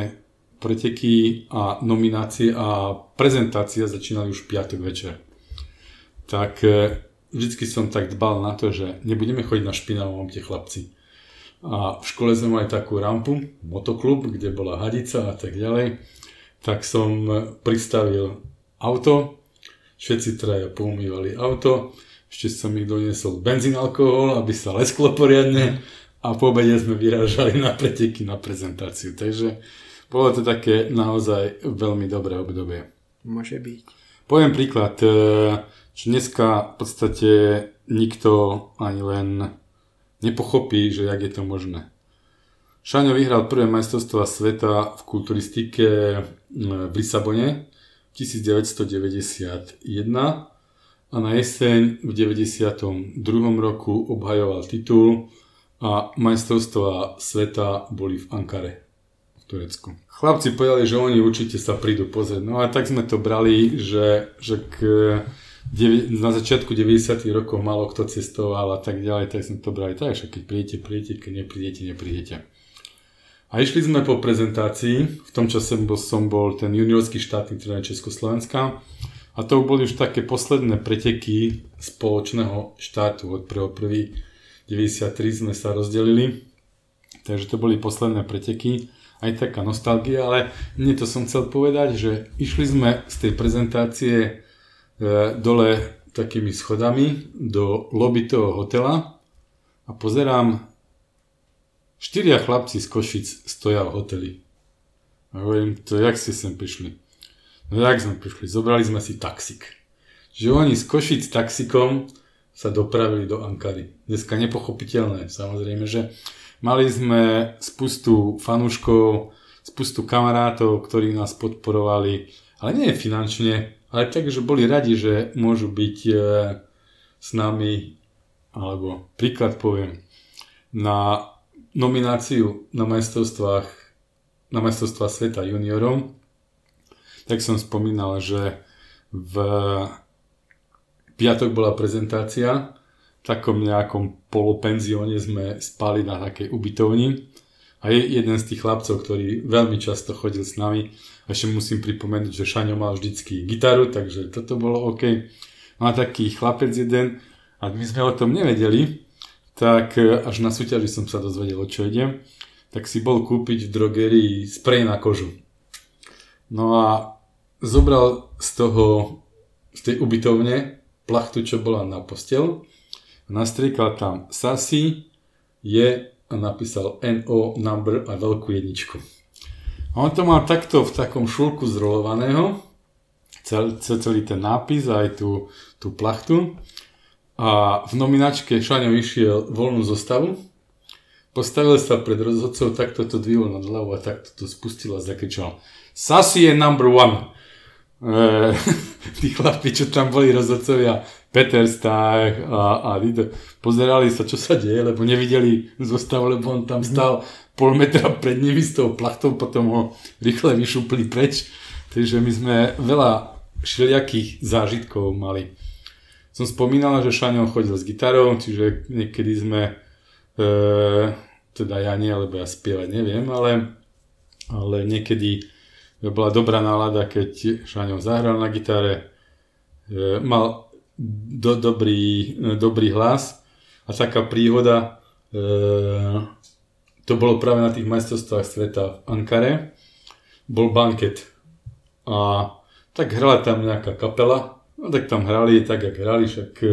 preteky a nominácie a prezentácia začínali už v piatok večer. Tak vždycky som tak dbal na to, že nebudeme chodiť na špinavom tie chlapci. A v škole sme mali takú rampu, motoklub, kde bola hadica a tak ďalej. Tak som pristavil auto, všetci traja poumývali auto, ešte som ich doniesol benzín, alkohol, aby sa lesklo poriadne a po obede sme vyrážali na preteky, na prezentáciu. Takže bolo to také naozaj veľmi dobré obdobie. Môže byť. Poviem príklad, že dneska v podstate nikto ani len nepochopí, že jak je to možné. Šaňo vyhral prvé majstrovstvá sveta v kulturistike v Lisabone v devätnásťstodeväťdesiatjeden a na jeseň v deväťdesiatom druhom roku obhajoval titul a majstrovstvá sveta boli v Ankare v Turecku. Chlapci povedali, že oni určite sa prídu pozrieť. No a tak sme to brali, že, že k na začiatku deväťdesiatych rokov málo kto cestoval a tak ďalej, tak sme to brali tak, že keď prídete, prídete, keď neprídete, neprídete. A išli sme po prezentácii, v tom čase bol, som bol ten juniorský štátny tréner Československa a to boli už také posledné preteky spoločného štátu. Od prvého prvého deväťdesiattri sme sa rozdelili, takže to boli posledné preteky, aj taká nostalgia, ale mne to som chcel povedať, že išli sme z tej prezentácie dole takými schodami do lobby toho hotela a pozerám, štyria chlapci z Košic stoja v hoteli. A hovorím, to jak ste sem prišli? No jak sme prišli? Zobrali sme si taxík. Že oni z Košic taxikom sa dopravili do Ankary. Dneska nepochopiteľné, samozrejme, že mali sme spustu fanúškov, spustu kamarátov, ktorí nás podporovali, ale nie finančne, ale tak, že boli radi, že môžu byť e, s nami, alebo príklad poviem, na nomináciu na majstrovstvách, na majstrovstvá sveta juniorom, tak som spomínal, že v piatok bola prezentácia, v takom nejakom polopenzióne sme spali na takej ubytovni a je jeden z tých chlapcov, ktorý veľmi často chodil s nami. A ešte musím pripomenúť, že Šaňo mal vždycky gitaru, takže toto bolo OK. Má taký chlapec jeden a my sme o tom nevedeli, tak až na súťaži som sa dozvedel, o čo ide, tak si bol kúpiť v drogerii sprej na kožu. No a zobral z toho, z tej ubytovne plachtu, čo bola na posteľ, nastriekal tam Sasi, je a napísal en ó number a veľkú jedničku. A on to mal takto v takom šulku zrolovaného, cel, celý ten nápis a aj tú, tú plachtu. A v nominačke Šaňo išiel voľnú zostavu, postavil sa pred rozhodcov, takto to dvihol nad hlavu a takto to spustil a zakričal Sasi je number one. E, tí chlapi, čo tam boli rozhodcovia, Peter Stach a, a Dido, pozerali sa, čo sa deje, lebo nevideli zostavu, lebo on tam stal pol metra pred nimi s tou plachtou, potom ho rýchle vyšupli preč. Takže my sme veľa všelijakých zážitkov mali. Som spomínal, že Šaňo chodil s gitarou, čiže niekedy sme, e, teda ja nie, lebo ja spievať neviem, ale, ale niekedy bola dobrá nálada, keď Šaňo zahral na gitare, e, mal do, dobrý, dobrý hlas a taká príhoda, e, to bolo práve na tých majstrovstvách sveta v Ankare, bol banket a tak hrala tam nejaká kapela, no tak tam hrali tak, jak hrali, však e,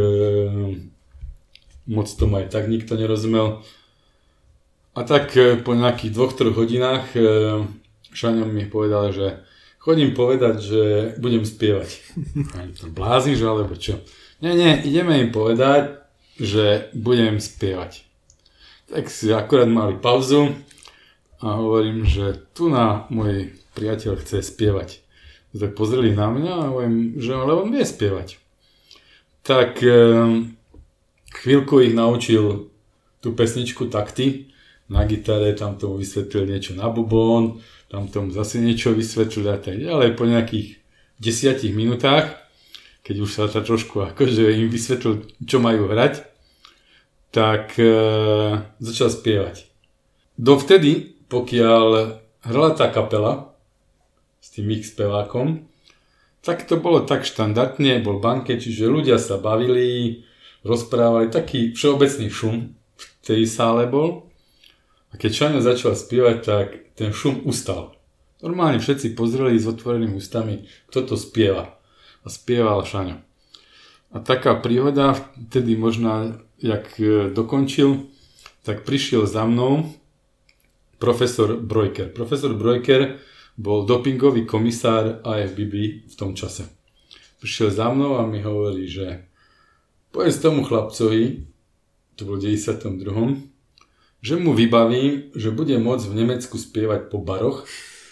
moc tomu aj tak nikto nerozumel. A tak e, po nejakých dvoch, troch hodinách e, Šaňo mi povedal, že chodím povedať, že budem spievať. Ani to blázniš, alebo čo? Nie, nie, ideme im povedať, že budem spievať. Tak si akurát mali pauzu a hovorím, že tu na môj priateľ chce spievať. Tak pozreli na mňa a hovorím, že ale on vie spievať. Tak e, chvíľku ich naučil tú pesničku takty na gitare, tam tomu vysvetlil niečo na bubón, tam tomu zase niečo vysvetlil a tak ďalej. Po nejakých desiatich minútach, keď už sa ta trošku akože im vysvetlil, čo majú hrať, tak e, začal spievať. Dovtedy, pokiaľ hrala tá kapela s tým ich spevákom, tak to bolo tak štandardne, bol banket, čiže ľudia sa bavili, rozprávali, taký všeobecný šum v tej sále bol. A keď Šaňo začal spievať, tak ten šum ustal. Normálne všetci pozreli s otvorenými ústami, kto to spieva. A spieval Šaňo. A taká príhoda, vtedy možno, jak dokončil, tak prišiel za mnou profesor Brojker. Profesor Brojker bol dopingový komisár á ef bé bé v tom čase. Prišiel za mnou a mi hovorí, že povedz tomu chlapcovi, to bol v deväťdesiatom druhom, že mu vybavím, že bude môcť v Nemecku spievať po baroch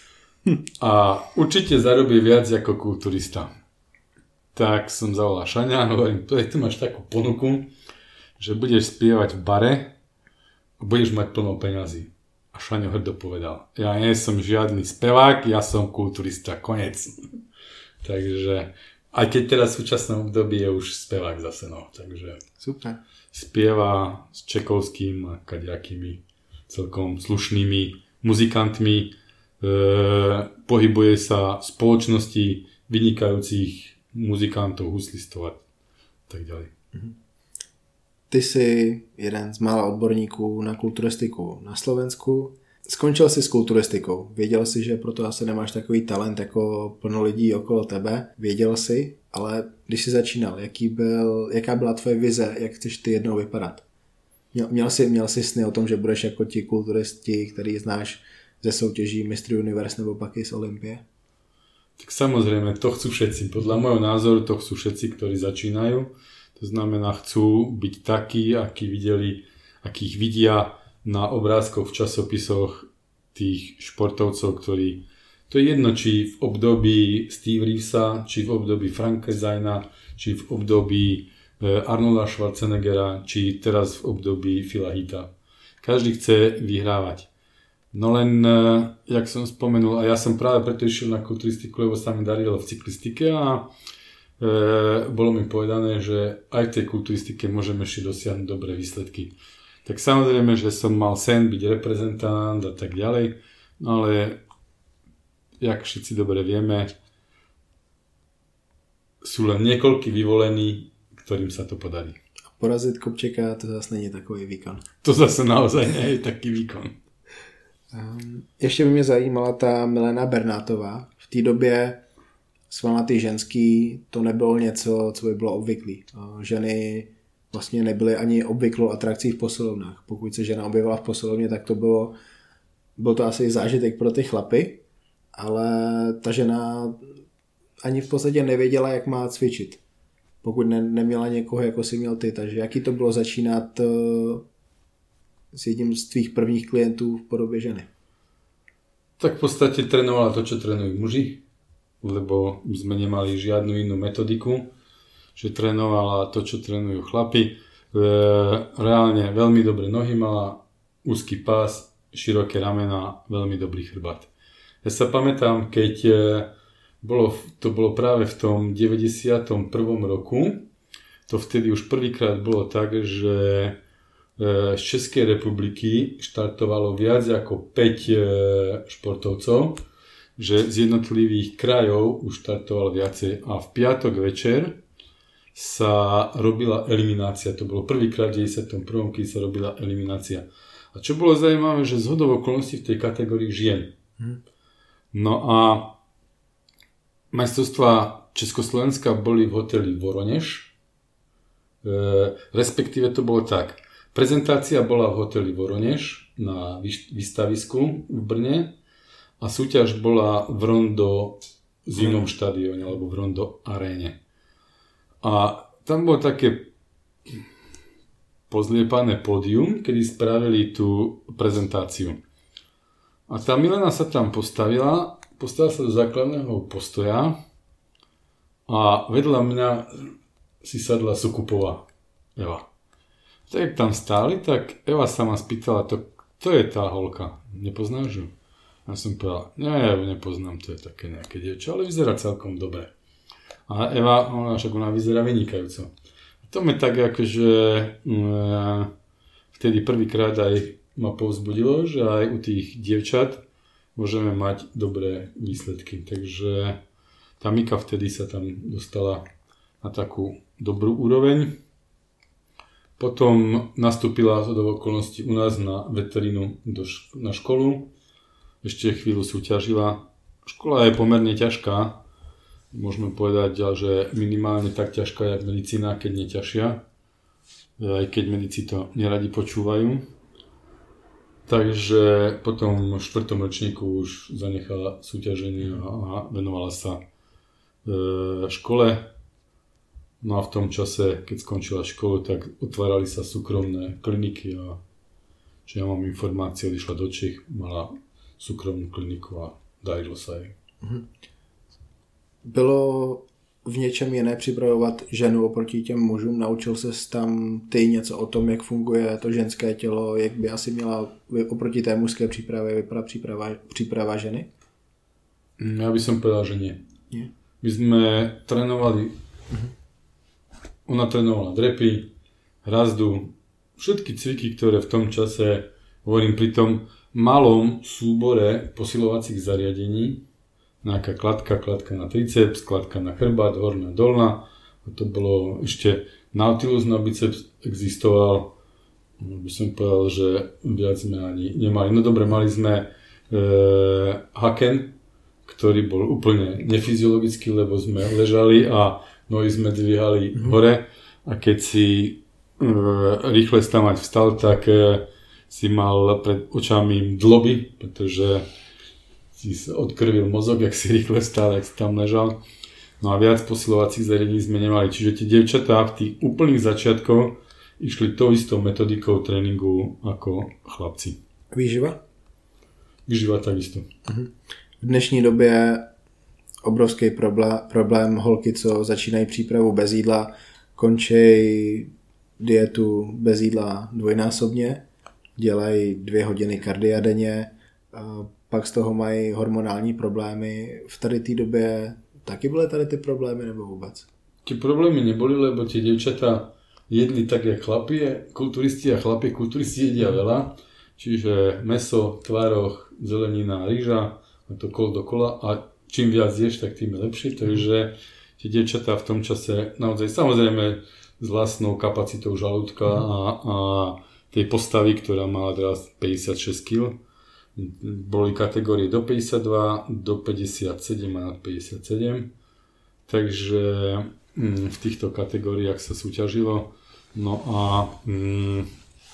a určite zarobí viac ako kulturista. Tak som zavolal Šaňa a hovorím, tu máš takú ponuku, že budeš spievať v bare a budeš mať plno peňazí. A Šaňo hrdo povedal, ja nie som žiadny spevák, ja som kulturista, konec. Takže, aj keď teraz v súčasnom období je už spevák zase, no, takže super. Spieva s Čekovským a kadejakými celkom slušnými muzikantmi, e, pohybuje sa v spoločnosti vynikajúcich muzikantov, huslistov a tak ďalej. Ty jsi jeden z mála odborníků na kulturistiku na Slovensku. Skončil jsi s kulturistikou. Věděl jsi, že proto asi nemáš takový talent jako plno lidí okolo tebe. Věděl jsi, ale když jsi začínal, jaký byl, jaká byla tvoje vize, jak chceš ty jednou vypadat? Měl, měl, jsi, měl jsi sny o tom, že budeš jako ti kulturisti, který znáš ze soutěží Mistry Universe nebo pak i z Olympie? Tak samozrejme, to chcú všetci. Podľa môjho názoru to chcú všetci, ktorí začínajú. To znamená, chcú byť takí, akí videli, akých vidia na obrázkoch v časopisoch tých športovcov, ktorí, to je jedno, či v období Steve Reevesa, či v období Franka Zajna, či v období Arnolda Schwarzeneggera, či teraz v období Phila Heatha. Každý chce vyhrávať. No len, jak som spomenul, a ja som práve preto išiel na kulturistiku, lebo sa mi darilo v cyklistike a e, bolo mi povedané, že aj v tej kulturistike môžeme ešte dosiahnuť dobré výsledky. Tak samozrejme, že som mal sen byť reprezentant a tak ďalej, no ale jak všetci dobre vieme, sú len niekoľkí vyvolení, ktorým sa to podarí. Porazit Kopčeka, to zase není takový výkon. To zase naozaj nie je taký výkon. Um, ještě by mě zajímala ta Milena Bernátová. V té době svalnatý ženský to nebylo něco, co by bylo obvyklý. Ženy vlastně nebyly ani obvyklou atrakcí v posilovnách. Pokud se žena objevila v posilovně, tak to bylo, byl to asi zážitek pro ty chlapy, ale ta žena ani v podstatě nevěděla, jak má cvičit. Pokud ne, neměla někoho, jako si měl ty. Takže jaký to bylo začínat uh, s jedním z tvých prvních klientů v podobě ženy? Tak v podstate trénovala to, čo trénujú muži, lebo sme nemali žiadnu inú metodiku, že trénovala to, čo trénujú chlapi. E, reálne veľmi dobré nohy mala, úzky pás, široké ramena, veľmi dobrý chrbát. Ja sa pamätám, keď bolo, to bolo práve v tom deväťdesiatom prvom roku. To vtedy už prvýkrát bolo tak, že z Českej republiky štartovalo viac ako päť športovcov, že z jednotlivých krajov už štartovalo viacej a v piatok večer sa robila eliminácia. To bolo prvýkrát v deväťdesiatom prvom keď sa robila eliminácia. A čo bolo zaujímavé, že zhodou okolností v tej kategórii žien. Hmm. No a majstrovstvá Československa boli v hoteli Voronež. E, respektíve to bolo tak. Prezentácia bola v hoteli Voronež na výstavisku v Brne a súťaž bola v Rondo zimnom štadióne alebo v Rondo aréne. A tam bolo také pozliepané pódium, kedy spravili tú prezentáciu. A tá Milena sa tam postavila, postavila sa do základného postoja a vedľa mňa si sadla Sukupová Eva. Tak jak tam stáli, tak Eva sa ma spýtala, to, to je tá holka, nepoznáš ju? Ja som povedal, nie, ja ju nepoznám, to je také nejaké dievča, ale vyzerá celkom dobre. A Eva, ona však ona vyzerá vynikajúco. To mi tak akože um, vtedy prvýkrát aj ma povzbudilo, že aj u tých dievčat môžeme mať dobré výsledky. Takže tá Mika vtedy sa tam dostala na takú dobrú úroveň. Potom nastúpila do okolností u nás na veterínu do šk- na školu. Ešte chvíľu súťažila. Škola je pomerne ťažká. Môžeme povedať, že minimálne tak ťažká, jak medicína, keď nie ťažšia. Aj keď medici to neradi počúvajú. Takže potom v štvrtom ročníku už zanechala súťaženie a venovala sa škole. No a v tom čase, keď skončila školu, tak otvárali sa súkromné kliniky a či ja mám informácie, odišla do Čech, mala súkromnú kliniku a darilo sa jej. Mhm. Bylo v něčem jiné připravovat ženu oproti těm mužům? Naučil ses tam ty něco o tom, jak funguje to ženské tělo, jak by asi měla oproti té mužské přípravě vypadat příprava, příprava ženy? Ja by som povedal, že nie. nie. My sme trénovali, uh-huh. ona trénovala drepy, hrazdu, všetky cviky, ktoré v tom čase, hovorím pri tom malom súbore posilovacích zariadení, nejaká kladka, kladka na triceps, kladka na chrbát, horná, dolná. A to bolo ešte Nautilus na biceps existoval. By som povedal, že viac sme ani nemali. No dobre, mali sme e, haken, ktorý bol úplne nefyziologický, lebo sme ležali a nohy sme dvíhali mm-hmm. hore. A keď si e, rýchle stavať vstal, tak e, si mal pred očami dloby, pretože si sa odkrvil mozog, jak si rýchle stál, jak si tam ležal. No a viac posilovacích zariadení sme nemali. Čiže tie dievčatá v tých úplných začiatkoch išli tou istou metodikou tréningu ako chlapci. Výživa? Výživa takisto. V dnešní době obrovský problém, problém holky, co začínají přípravu bez jídla, končí dietu bez jídla dvojnásobně, dělají dvě hodiny kardia denně, pak z toho mají hormonální problémy. V tady té době taky byly tady ty problémy nebo vůbec? Tie problémy neboli, lebo tie dievčatá jedli tak, jak chlapi, kulturisti a chlapi, kulturisti jedia veľa. Čiže mäso, tvaroh, zelenina, rýža, a to kol dokola a čím viac ješ, tak tým je lepšie. Takže tie dievčatá v tom čase naozaj, samozrejme s vlastnou kapacitou žalúdka a, a tej postavy, ktorá mala teraz päťdesiatšesť kilogramov, boli kategórie do päťdesiatdva, do päťdesiatsedem a nad päťdesiatsedem. Takže mm, v týchto kategóriách sa súťažilo. No a mm,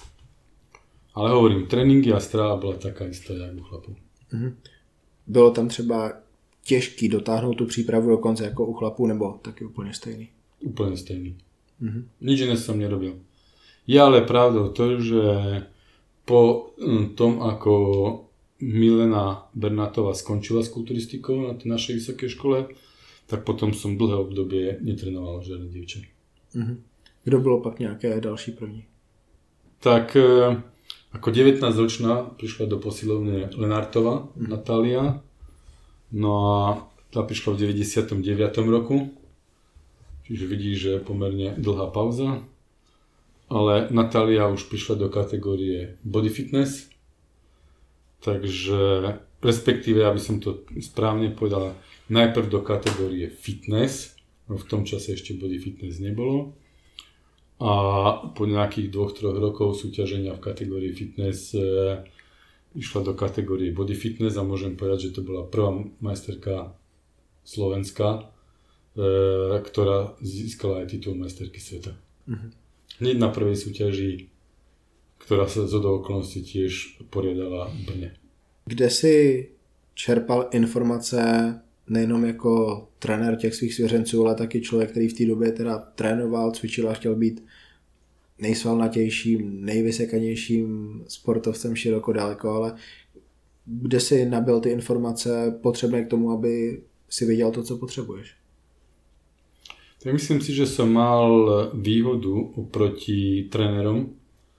ale hovorím, tréninky a strava bola taká istá, jak u chlapov. Mm-hmm. Bylo tam třeba těžký dotáhnout tu přípravu do konce jako u chlapů, nebo taky úplně stejný? Úplne stejný. Mm-hmm. Nič iné som nerobil. Je ale pravdou to, že po tom, ako Milena Bernátová skončila s kulturistikou na tej našej vysokej škole, tak potom som dlhé obdobie netrenoval žiadne dievča. Mm-hmm. Kdo bylo pak nějaké další první? Tak ako devätnásťročná prišla do posilovne Lenartova, mm-hmm. Natália. No a tá prišla v deväťdesiatom deviatom roku, čiže vidíš, že je pomerne dlhá pauza. Ale Natália už prišla do kategórie body fitness, takže respektíve, aby som to správne povedal, najprv do kategórie fitness, no v tom čase ešte body fitness nebolo. A po nejakých dvoch, troch rokov súťaženia v kategórii fitness e, išla do kategórie body fitness a môžem povedať, že to bola prvá majsterka Slovenska, e, ktorá získala aj titul majsterky sveta. Mhm. Hneď na prvej súťaži, ktorá sa z okolností tiež poriadala v Brne. Kde si čerpal informace nejenom jako trenér těch svých svěřenců, ale taky člověk, který v té době teda trénoval, cvičil a chtěl být nejsvalnatějším, nejvysekanějším sportovcem široko daleko, ale kde si nabil ty informace potřebné k tomu, aby si věděl to, co potřebuješ? Tak myslím si, že som mal výhodu oproti trénerom,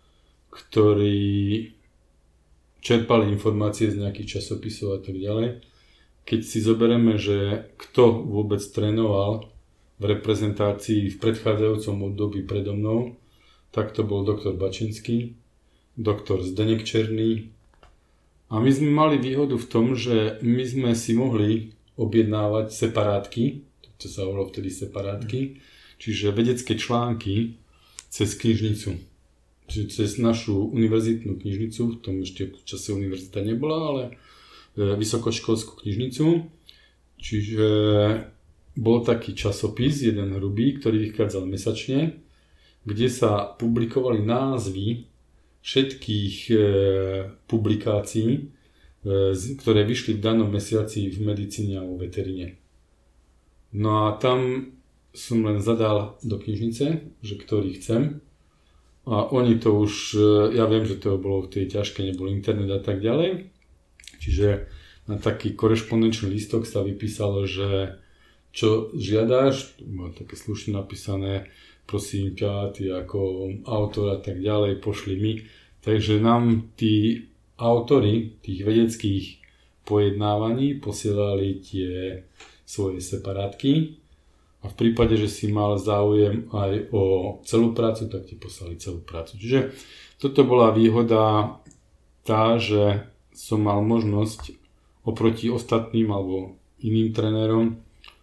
ktorí čerpali informácie z nejakých časopisov a tak ďalej. Keď si zoberieme, že kto vôbec trénoval v reprezentácii v predchádzajúcom období predo mnou, tak to bol doktor Bačinský, doktor Zdeněk Černý. A my sme mali výhodu v tom, že my sme si mohli objednávať separátky, to sa volalo vtedy separátky, čiže vedecké články cez knižnicu. Čiže cez našu univerzitnú knižnicu, v tom ešte v čase univerzita nebola, ale vysokoškolskú knižnicu. Čiže bol taký časopis, jeden hrubý, ktorý vychádzal mesačne, kde sa publikovali názvy všetkých e, publikácií, e, ktoré vyšli v danom mesiaci v medicíne a vo veteríne. No a tam som len zadal do knižnice, že ktorý chcem. A oni to už, ja viem, že to bolo v tej ťažkej, nebol internet a tak ďalej. Čiže na taký korešpondenčný listok sa vypísalo, že čo žiadaš, bolo také slušne napísané, prosím ťa, ty ako autor a tak ďalej, pošli mi. Takže nám tí autori tých vedeckých pojednávaní posielali tie svoje separátky a v prípade, že si mal záujem aj o celú prácu, tak ti poslali celú prácu. Čiže toto bola výhoda tá, že som mal možnosť oproti ostatným alebo iným trénerom e,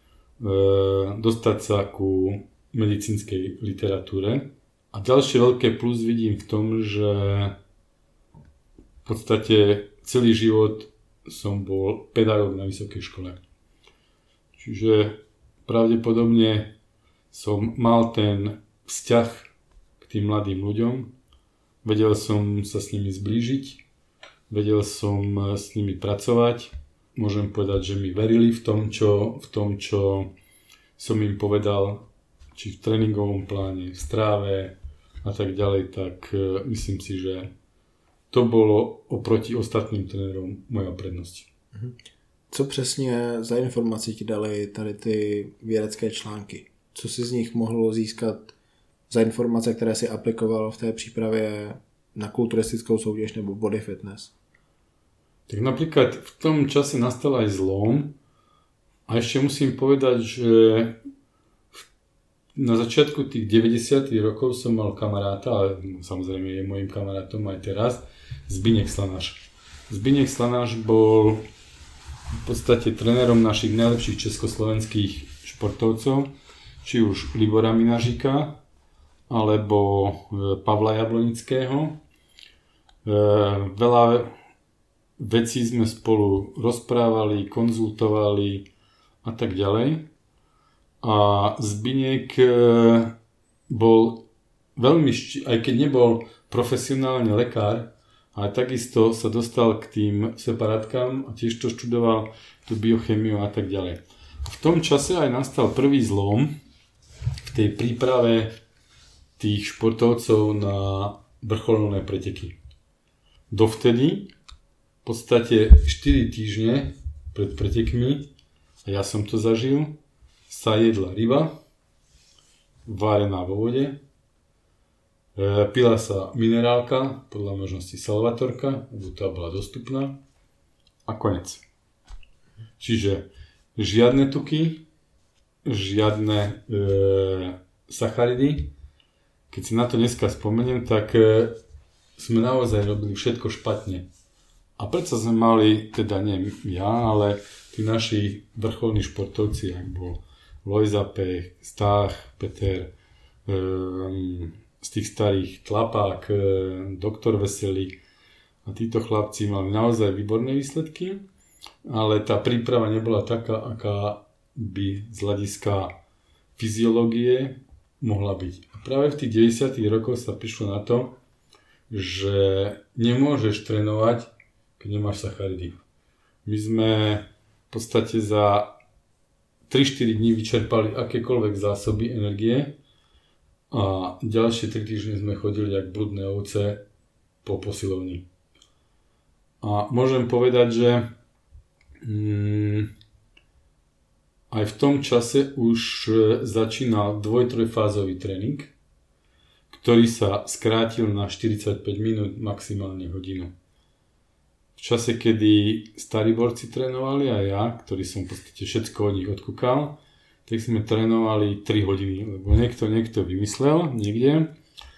dostať sa ku medicínskej literatúre. A ďalšie veľké plus vidím v tom, že v podstate celý život som bol pedagóg na vysokej škole. Čiže pravdepodobne som mal ten vzťah k tým mladým ľuďom, vedel som sa s nimi zblížiť, vedel som s nimi pracovať, môžem povedať, že mi verili v tom, čo, v tom, čo som im povedal, či v tréningovom pláne, v stráve a tak ďalej, tak myslím si, že to bolo oproti ostatným trénerom moja prednosť. Mhm. Co přesně za informaci ti dali tady ty vědecké články? Co si z nich mohlo získat za informace, které si aplikoval v té přípravě na kulturistickou soutěž nebo body fitness? Tak napríklad v tom čase nastal aj zlom a ešte musím povedať, že na začiatku tých deväťdesiatych rokov som mal kamaráta, ale samozrejme je mojím kamarátom aj teraz, Zbyněk Slanáš. Zbyněk Slanáš bol v podstate trénerom našich najlepších československých športovcov, či už Libora Minažíka, alebo Pavla Jablonického. Veľa vecí sme spolu rozprávali, konzultovali a tak ďalej. A Zbyněk bol veľmi, aj keď nebol profesionálne lekár, ale takisto sa dostal k tým separátkam a tiež to študoval, tú biochemiu a tak ďalej. V tom čase aj nastal prvý zlom v tej príprave tých športovcov na vrcholné preteky. Dovtedy v podstate štyri týždne pred pretekmi, a ja som to zažil, sa jedla ryba, várená vo vode, pila sa minerálka, podľa možnosti salvatorka, lebo tá bola dostupná a konec. Čiže žiadne tuky, žiadne e, sacharidy. Keď si na to dneska spomeniem, tak e, sme naozaj robili všetko špatne. A predsa sme mali, teda nie ja, ale tí naši vrcholní športovci, ak bol Lojza Pech, Stach, Peter, e, z tých starých Tlapák, e, doktor Veselík a títo chlapci mali naozaj výborné výsledky, ale tá príprava nebola taká, aká by z hľadiska fyziológie mohla byť. A práve v tých deväťdesiatych rokoch sa prišlo na to, že nemôžeš trénovať, keď nemáš sacharidy. My sme v podstate za tri štyri dní vyčerpali akékoľvek zásoby energie a ďalšie tri týždne sme chodili jak bludné ovce po posilovni. A môžem povedať, že mm, aj v tom čase už začínal dvoj-trojfázový tréning, ktorý sa skrátil na štyridsaťpäť minút, maximálne hodinu. V čase, kedy starí borci trénovali a ja, ktorý som v podstate všetko od nich odkúkal, tak sme trénovali tri hodiny, lebo niekto, niekto vymyslel niekde,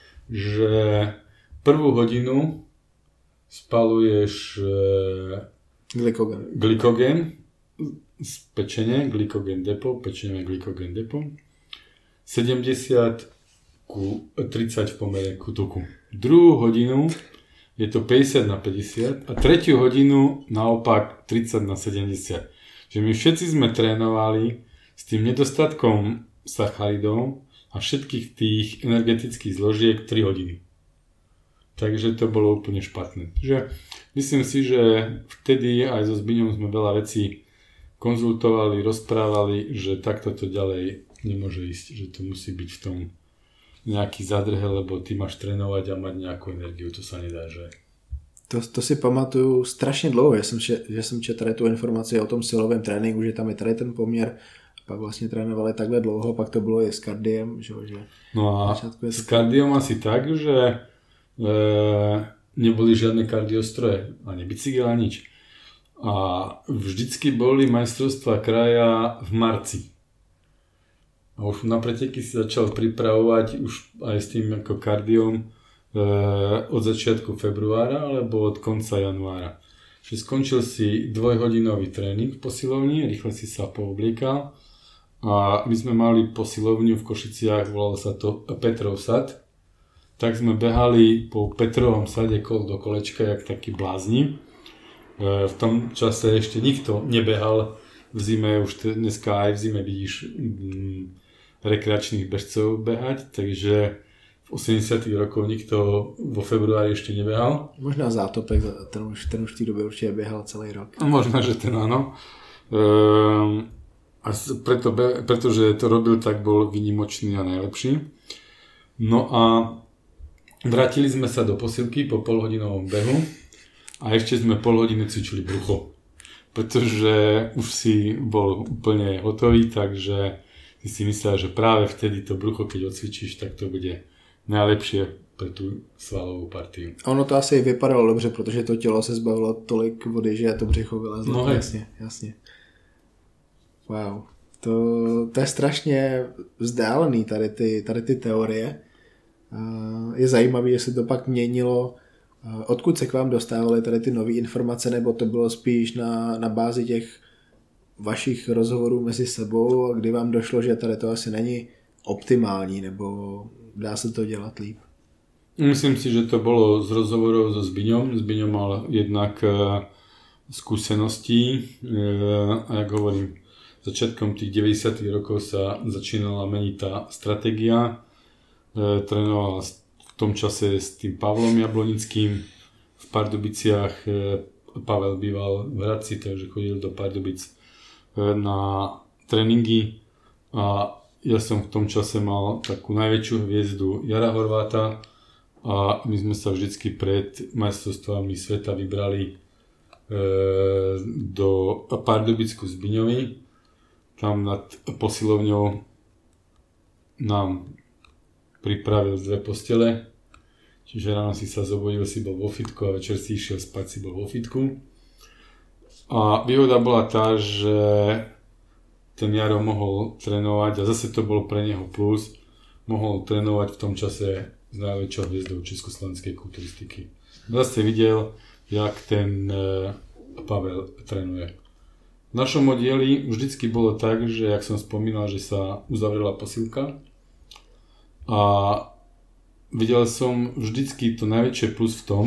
že prvú hodinu spaluješ e, Glykogen. Glykogen z pečene, glykogen depo, pečenie glykogen depo. sedemdesiat ku tridsať v pomere ku tuku. Druhú hodinu je to päťdesiat na päťdesiat a tretiu hodinu naopak tridsať na sedemdesiat. Že my všetci sme trénovali s tým nedostatkom sacharidov a všetkých tých energetických zložiek tri hodiny. Takže to bolo úplne špatné. Že myslím si, že vtedy aj so Zbiňom sme veľa vecí konzultovali, rozprávali, že takto to ďalej nemôže ísť, že to musí byť v tom nejaký zadrhel, lebo ty máš trénovať a mať nejakú energiu, to sa nedá, že? To, to si pamatuju strašně dlouho, že jsem, že, že jsem četl tady tu informaci o tom silovém tréninku, že tam je tady ten poměr, pak vlastně trénovali takhle dlouho, pak to bylo i s kardiem, že? že no a s kardiom asi tak, že e, neboli žiadne kardiostroje, ani bicykel, ani nič. A vždycky boli majstrovstvá kraja v marci. A už na preteky si začal pripravovať už aj s tým ako kardiom e, od začiatku februára alebo od konca januára. Čiže skončil si dvojhodinový tréning v posilovni, rýchle si sa poobliekal a my sme mali posilovňu v Košiciach, volalo sa to Petrov sad. Tak sme behali po Petrovom sade kol do kolečka jak takí blázni. E, v tom čase ešte nikto nebehal v zime, už dneska aj v zime vidíš mm, rekreačných bežcov behať, takže v osemdesiatych rokoch nikto vo februári ešte nebehal. Možná Zátopek, ten už, ten už v té době určitě běhal celý rok. Možná, že ten áno. Ehm, a preto, pretože to robil, tak bol výnimočný a najlepší. No a vrátili sme sa do posilky po polhodinovom behu a ešte sme pol hodiny cvičili brucho. Pretože už si bol úplne hotový, takže si si myslel, že práve vtedy to brucho, keď odcvičíš, tak to bude najlepšie pre tú svalovú partiu. Ono to asi vypadalo dobře, protože to tělo se zbavilo tolik vody, že to břicho vylezlo. No jasně, jasně. Wow. To, to je strašně vzdálený tady ty, tady ty teorie. Je zajímavé, že se to pak měnilo. Odkud se k vám dostávaly tady ty nové informace, nebo to bylo spíš na, na bázi těch vašich rozhovorů mezi sebou, kdy vám došlo, že tady to asi není optimální, nebo dá se to dělat líp? Myslím si, že to bolo z rozhovorov so Zbiňom. Zbiňo mal jednak uh, skúseností uh, a jak hovorím, začiatkom tých deväťdesiatych rokov sa začínala meniť tá stratégia. Uh, trénoval v tom čase s tým Pavlom Jablonickým v Pardubiciach. Uh, Pavel býval v Hradci, takže chodil do Pardubic uh, na tréningy a ja som v tom čase mal takú najväčšiu hviezdu Jara Horváta a my sme sa vždycky pred majstrovstvami sveta vybrali e, do Pardubicku Zbiňovi. Tam nad posilovňou nám pripravil dve postele. Čiže ráno si sa zobudil, si bol vo fitku a večer si išiel spať, si bol vo fitku. A výhoda bola tá, že ten Jaro mohol trénovať a zase to bolo pre neho plus, mohol trénovať v tom čase s najväčšou hviezdou československej kulturistiky. Zase videl, jak ten Pavel trénuje. V našom oddieli vždycky bolo tak, že jak som spomínal, že sa uzavrela posilka a videl som vždycky to najväčšie plus v tom,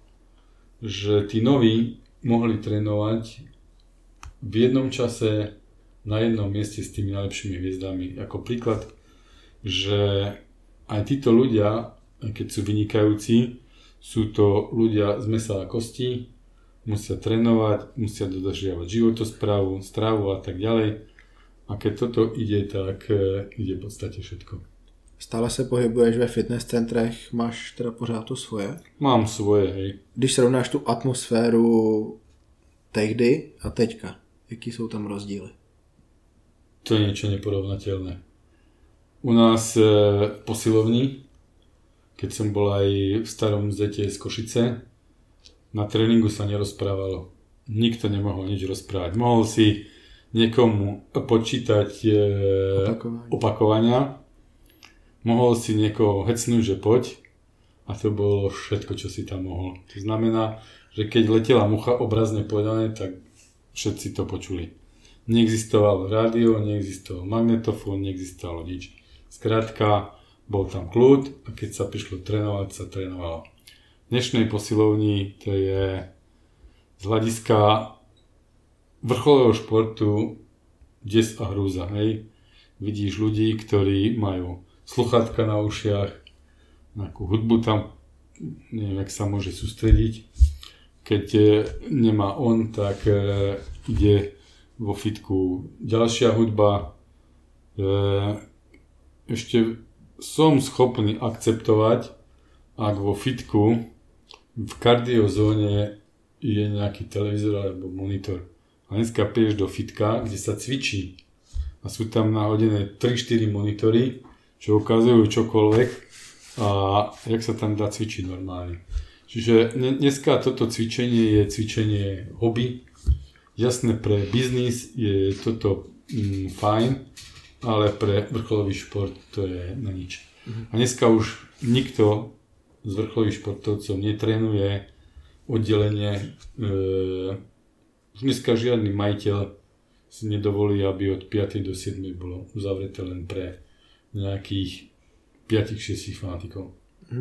že tí noví mohli trénovať v jednom čase na jednom mieste s tými najlepšími hviezdami. Ako príklad, že aj títo ľudia, keď sú vynikajúci, sú to ľudia z mesa a kostí, musia trénovať, musia dodržiavať životosprávu, stravu a tak ďalej. A keď toto ide, tak ide v podstate všetko. Stále se pohybuješ ve fitness centrech, máš teda pořád to svoje? Mám svoje, hej. Když srovnáš tu atmosféru tehdy a teďka, jaký jsou tam rozdíly? To je niečo neporovnateľné. U nás e, v posilovni, keď som bol aj v starom zete z Košice, na tréningu sa nerozprávalo. Nikto nemohol nič rozprávať. Mohol si niekomu počítať e, Opakovanie. opakovania, mohol si niekoho hecnúť, že poď, a to bolo všetko, čo si tam mohol. To znamená, že keď letela mucha, obrazne povedané, tak všetci to počuli. Neexistovalo rádio, neexistoval magnetofón, neexistovalo nič. Skrátka, bol tam kľud a keď sa prišlo trénovať, sa trénovalo. V dnešnej posilovni to je z hľadiska vrcholového športu des a hrúza. Hej. Vidíš ľudí, ktorí majú sluchátka na ušiach, nejakú hudbu tam, neviem, jak sa môže sústrediť. Keď nemá on, tak ide vo fitku ďalšia hudba. Ešte som schopný akceptovať, ak vo fitku v kardiozóne je nejaký televízor alebo monitor. A dneska prídeš do fitka, kde sa cvičí a sú tam nahodené tri štyri monitory, čo ukazujú čokoľvek a jak sa tam dá cvičiť normálne. Čiže dneska toto cvičenie je cvičenie hobby. Jasné, pre biznis je toto mm, fajn, ale pre vrcholový šport to je na nič. A dneska už nikto z vrcholových športovcov netrénuje oddelenie. E, dneska žiadny majiteľ si nedovolí, aby od piatej do siedmej bolo uzavreté len pre nejakých päť šesť fanatikov.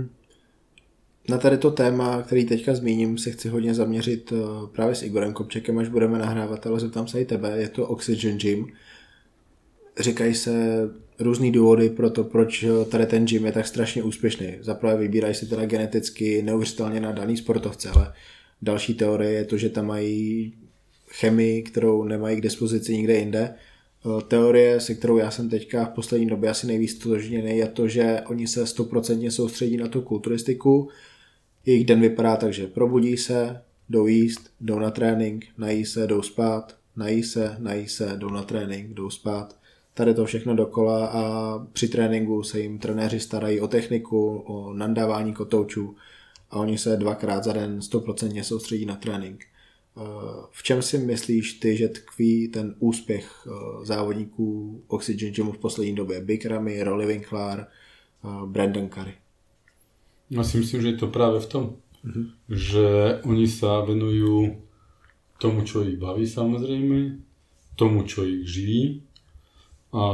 Na tady to téma, který teďka zmíním, se chci hodně zaměřit právě s Igorem Kopčekem, až budeme nahrávat, ale zeptám se i tebe, je to Oxygen Gym. Říkají se různý důvody pro to, proč tady ten gym je tak strašně úspěšný. Zaprvé vybírají se teda geneticky neuvěřitelně na daný sportovce, ale další teorie je to, že tam mají chemii, kterou nemají k dispozici nikde jinde. Teorie, se kterou já jsem teďka v poslední době asi nejvíc stotožněný, je to, že oni se stoprocentně soustředí na tu kulturistiku. Jejich den vypadá tak, že probudí se, jdou jíst, jdou na trénink, nají se, jdou spát, nají se, nají se, jdou na trénink, jdou spát. Tady to všechno dokola a při tréninku se jim trenéři starají o techniku, o nandávání kotoučů a oni se dvakrát za den stoprocentně soustředí na trénink. V čem si myslíš ty, že tkví ten úspěch závodníků Oxygen Gymu v poslední době? Big Ramy, Rolly Winkler, Brandon Curry. Ja si myslím, že je to práve v tom, mm-hmm. že oni sa venujú tomu, čo ich baví samozrejme, tomu, čo ich živí a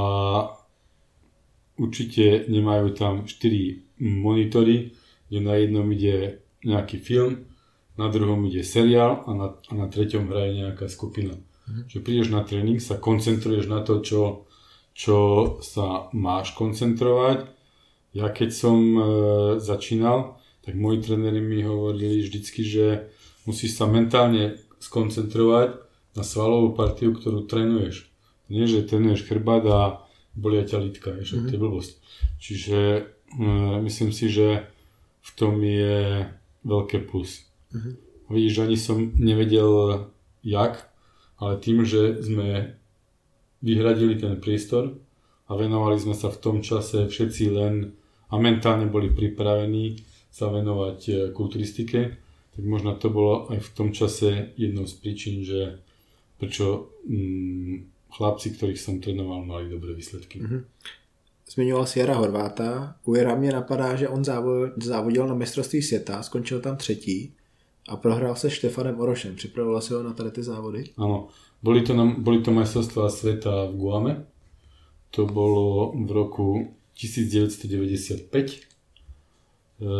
určite nemajú tam štyri monitory, kde na jednom ide nejaký film, na druhom ide seriál a na, a na treťom hraje nejaká skupina. Mm-hmm. Že prídeš na tréning, sa koncentruješ na to, čo, čo sa máš koncentrovať. Ja keď som e, začínal, tak moji tréneri mi hovorili vždycky, že musíš sa mentálne skoncentrovať na svalovú partiu, ktorú trénuješ. Nie, že trénuješ chrbát a bolia ťa lítka, že mm-hmm. to je blbosť. Čiže e, myslím si, že v tom je veľké plus. Mm-hmm. Vidíš, ani som nevedel jak, ale tým, že sme vyhradili ten priestor a venovali sme sa v tom čase všetci len a mentálne boli pripravení sa venovať kulturistike, tak možno to bolo aj v tom čase jednou z príčin, že prečo mm, chlapci, ktorých som trénoval, mali dobré výsledky. Mm-hmm. Zmiňoval si Jara Horváta. U Jara mě napadá, že on závodil na mistrovství světa, skončil tam třetí a prohrál se Štefanem Orošem. Připravoval si ho na tady ty závody? Áno, boli to, na, boli to majstrovstvá sveta v Guame. To bolo v roku devätnásťstodeväťdesiatpäť. E,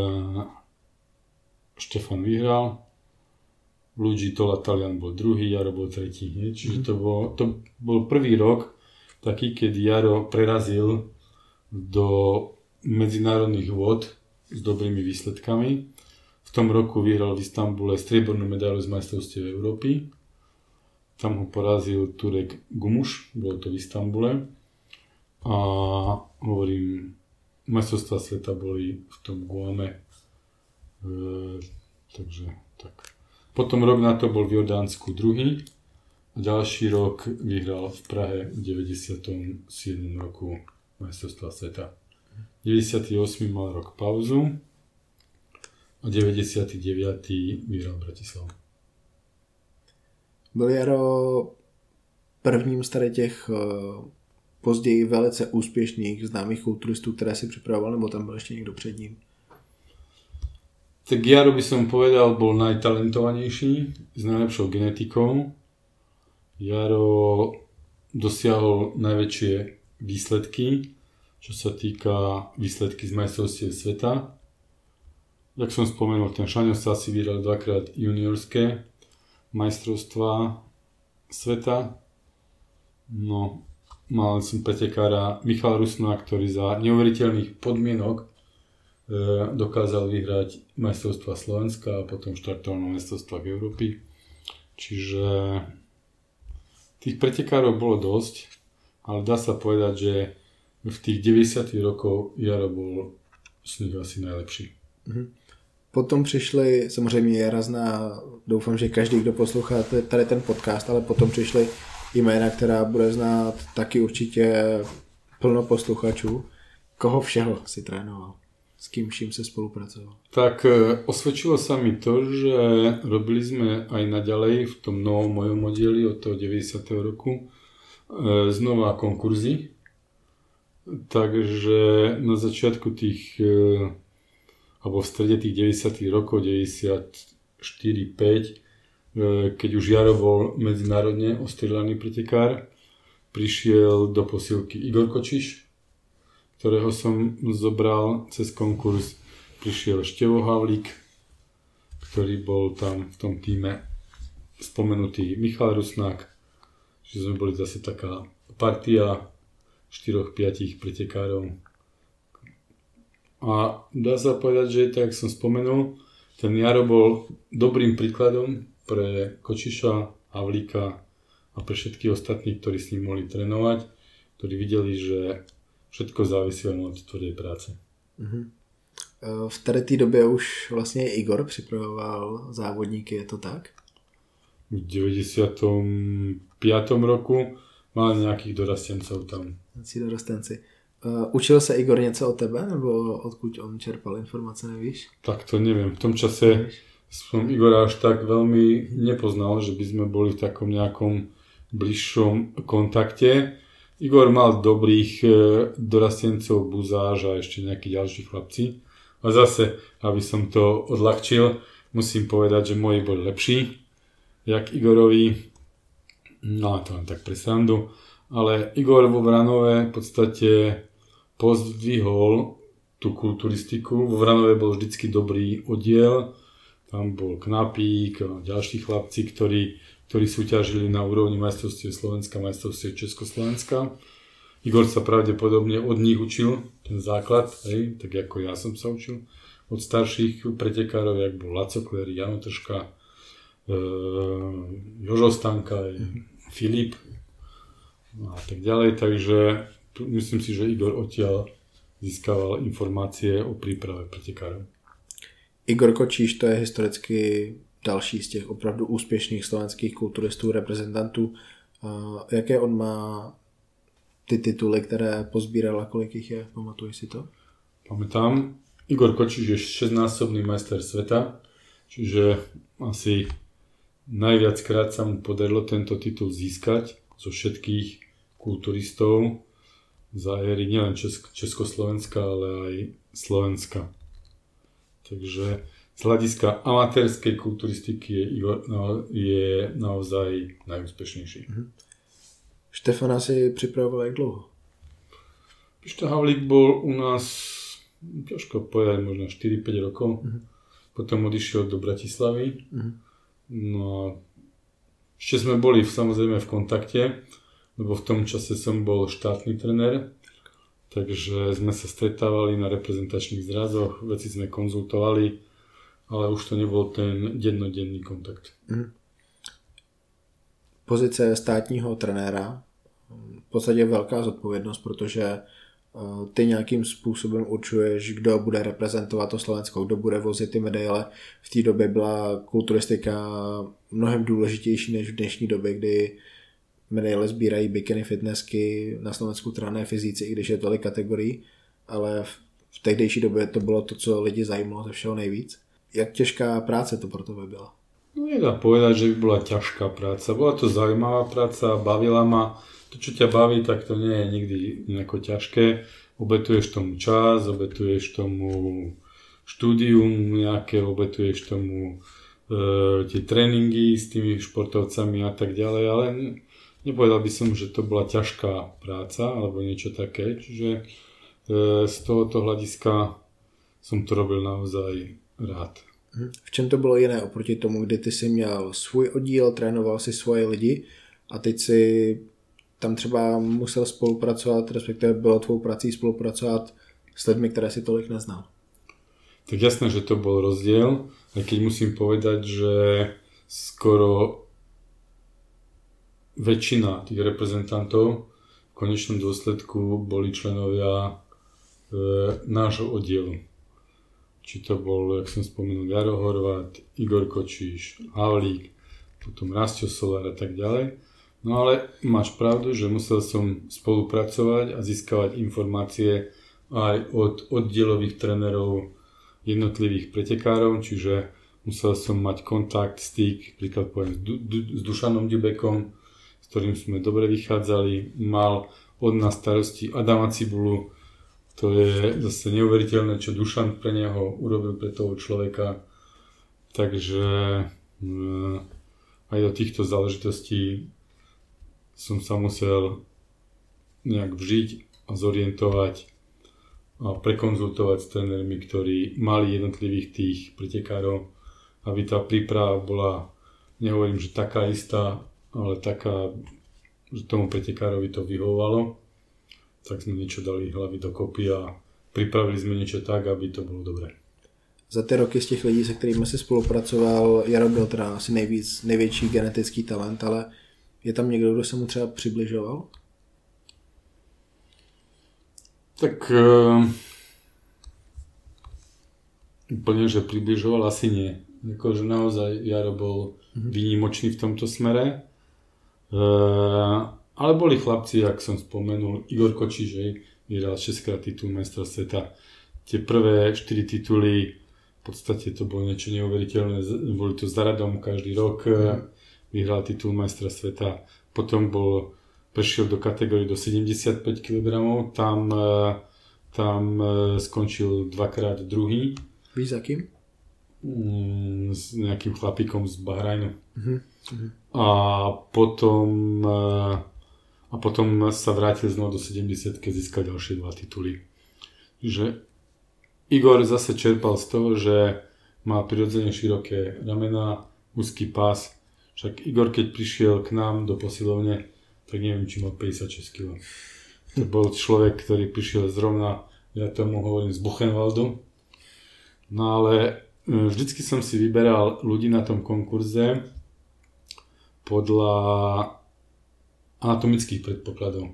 Štefan vyhral, Luigi Tola Talian bol druhý, Jaro bol tretí. Nie? Čiže to bol, to bol prvý rok taký, keď Jaro prerazil do medzinárodných vôd s dobrými výsledkami. V tom roku vyhral v Istanbule striebornú medailu z majstrovstiev Európy. Tam ho porazil Turek Gumuš, bolo to v Istanbule. A hovorím, majstrovstvá sveta boli v tom Guame. E, takže tak. Potom rok na to bol v Jordánsku druhý. A ďalší rok vyhral v Prahe v deväťdesiatom siedmom roku majstrovstvá sveta. deväťdesiaty ôsmy mal rok pauzu a deväťdesiaty deviaty vyhral Bratislavu. Byl Jaro prvním z tady těch později velice úspěšných známých kulturistů, které si připravoval, nebo tam byl ještě někdo před ním? Tak Jaro by som povedal, bol najtalentovanejší, s najlepšou genetikou. Jaro dosiahol najväčšie výsledky, čo sa týka výsledky z majstrovstiev sveta. Jak som spomenul, ten Šaňo sa asi vyhral dvakrát juniorské majstrovstvá sveta. No, mal som pretekára Michala Rusna, ktorý za neuveriteľných podmienok dokázal vyhrať majstrovstvá Slovenska a potom štartoval na majstrovstvách Európy. Čiže tých pretekárov bolo dosť, ale dá sa povedať, že v tých deväťdesiatych rokoch Jaro bol z nich asi najlepší. Potom přišli, samozřejmě Jara zná, doufám, že každý, kdo poslouchá tady ten podcast, ale potom přišly jména, která bude znát taky určitě plno posluchačů. Koho všeho si trénoval? S kým vším se spolupracoval? Tak osvedčilo sa mi to, že robili sme aj naďalej v tom novom mojom oddieli od toho deväťdesiateho roku znova konkurzy. Takže na začiatku tých, alebo v strede tých deväťdesiatych rokov, deväťdesiatštyri päť, keď už Jaro bol medzinárodne ostrieľaný pretekár, prišiel do posilky Igor Kočiš, ktorého som zobral cez konkurs. Prišiel Števo Havlík, ktorý bol tam v tom týme spomenutý Michal Rusnák. Čiže sme boli zase taká partia štyroch piatich pretekárov. A dá sa povedať, že tak som spomenul, ten Jaro bol dobrým príkladom pre Kočiša, Havlíka a pre všetkých ostatných, ktorí s ním mohli trénovať, ktorí videli, že všetko závisí od tvrdej práce. Mm-hmm. V tady té době už vlastně Igor připravoval závodníky, je to tak? V deväťdesiatom piatom roku mal nějakých dorastencov tam. Nějakí dorastenci. Uh, učil se Igor něco o tebe, nebo odkud on čerpal informace, nevíš? Tak to neviem. V tom čase som Igora až tak veľmi nepoznal, že by sme boli v takom nejakom bližšom kontakte. Igor mal dobrých dorastencov, Buzáž a ešte nejakí ďalší chlapci. A zase, aby som to odľahčil, musím povedať, že moji boli lepší, jak Igorovi. No to len tak pre srandu. Ale Igor vo Vranove v podstate pozdvihol tú kulturistiku. Vo Vranove bol vždycky dobrý oddiel. Tam bol Knapík a ďalší chlapci, ktorí ktorí súťažili na úrovni majstrovstiev Slovenska, majstrovstiev Československa. Igor sa pravdepodobne od nich učil ten základ, hej, tak ako ja som sa učil. Od starších pretekárov, jak bol Laco Kléry, Jano Tržka, e, Jožo Stanka, Filip a tak ďalej. Takže tu, myslím si, že Igor odtiaľ získaval informácie o príprave pretekárov. Igor Kočíš, to je historicky další z těch opravdu úspěšných slovenských kulturistů, reprezentantů. Jaké on má ty tituly, které pozbíral a kolik jich je? Pamatuješ si to? Pamätám. Igor Kočiš je šestnásobný majster sveta, čiže asi najviackrát sa mu podarilo tento titul získať. zo všetkých kulturistov za éry nielen Česk- Československa, ale aj Slovenska. Takže z hľadiska amatérskej kulturistiky je Igor no, je naozaj najúspešnejší. Mhm. Štefana si připravoval jak dlouho? Pišta Havlík bol u nás, ťažko povedať, možno štyri päť rokov. Mhm. Potom odišiel do Bratislavy. Mhm. No a ešte sme boli samozrejme v kontakte, lebo v tom čase som bol štátny trenér. Takže sme sa stretávali na reprezentačných zrazoch, veci sme konzultovali, ale už to nebol ten dennodenný kontakt. Mhm. Pozice státního trenéra v podstatě je velká zodpovědnost, protože ty nějakým způsobem určuješ, kdo bude reprezentovat to Slovensko, kdo bude vozit ty medaile. V té době byla kulturistika mnohem důležitější než v dnešní době, kdy medaile sbírají bikini fitnessky, na Slovensku trénuje fyzici, i když je tolik kategorií, ale v tehdejší době to bylo to, co lidi zajímalo ze všeho nejvíc. Jak těžká práce to pro tebe byla? No nedá povedať, že by bola ťažká práca. Bola to zaujímavá práca, bavila ma. To, čo ťa baví, tak to nie je nikdy nejako ťažké. Obetuješ tomu čas, obetuješ tomu štúdium nejaké, obetuješ tomu e, tie tréningy s tými športovcami a tak ďalej, ale nepovedal by som, že to bola ťažká práca alebo niečo také. Čiže e, z tohoto hľadiska som to robil naozaj rád. V čem to bylo jiné oproti tomu, kdy ty jsi měl svůj oddíl, trénoval si svoje lidi a teď si tam třeba musel spolupracovat, respektive bylo tvou prací spolupracovat s lidmi, které si tolik neznal? Tak jasné, že to bol rozdiel, aj keď musím povedať, že skoro väčšina tých reprezentantov v konečnom dôsledku boli členovia e, nášho oddielu. Či to bol, jak som spomenul, Jaro Horvát, Igor Kočíš, Havlík, potom Rastio Solár a tak ďalej. No ale máš pravdu, že musel som spolupracovať a získavať informácie aj od oddielových trénerov jednotlivých pretekárov, čiže musel som mať kontakt, styk, príklad poviem s, du- du- s Dušanom Ďubekom, s ktorým sme dobre vychádzali, mal od nás starosti Adama Cibulu. To je zase neuveriteľné, čo Dušan pre neho urobil pre toho človeka. Takže aj do týchto záležitostí som sa musel nejak vžiť a zorientovať a prekonzultovať s trénermi, ktorí mali jednotlivých tých pretekárov, aby tá príprava bola, nehovorím, že taká istá, ale taká, že tomu pretekárovi to vyhovovalo. Tak sme niečo dali hlavy dokopy a pripravili sme niečo tak, aby to bolo dobré. Za ty roky z těch lidí, se kterými jsi spolupracoval, Jaro byl teda asi nejvíc, největší genetický talent, ale je tam někdo, kdo se mu třeba přibližoval? Tak uh, úplne, že približoval, asi nie. Akože naozaj Jaro bol mm-hmm. výnimočný v tomto smere. Uh, Ale boli chlapci, jak som spomenul, Igor Kočíš, vyhral šesťkrát titul majstra sveta. Tie prvé štyri tituly, v podstate to bolo niečo neuveriteľné, boli to za radom každý rok, vyhral titul majstra sveta. Potom bol, prešiel do kategórie do sedemdesiatpäť kilogramov, tam, tam skončil dvakrát druhý. Víš za kým? S nejakým chlapíkom z Bahrajnu. Uh-huh. A potom... A potom sa vrátil znovu do sedemdesiatky a získal ďalšie dva tituly. Že Igor zase čerpal z toho, že má prirodzene široké ramená, úzky pás. Však Igor, keď prišiel k nám do posilovne, tak neviem, či mal päťdesiatšesť kilogramov. To bol človek, ktorý prišiel zrovna, ja tomu hovorím, z Buchenwaldu. No ale vždycky som si vyberal ľudí na tom konkurze podľa anatomických predpokladov.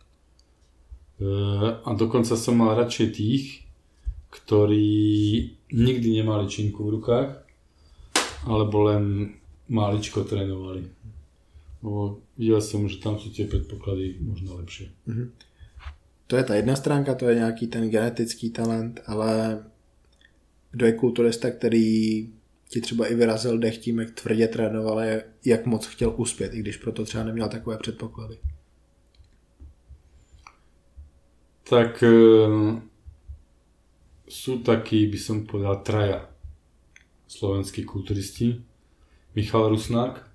A dokonca som mal radšej tých, ktorí nikdy nemali činku v rukách, alebo len máličko trénovali. Bo videl som, že tam sú tie predpoklady možno lepšie. Mm-hmm. To je ta jedna stránka, to je nějaký ten genetický talent, ale kdo je kulturista, který ti třeba i vyrazil dech tím, jak tvrdě trénoval, jak moc chtěl uspět, i když proto třeba neměl takové předpoklady? Tak e, sú takí, by som povedal, traja slovenskí kulturisti. Michal Rusnák e,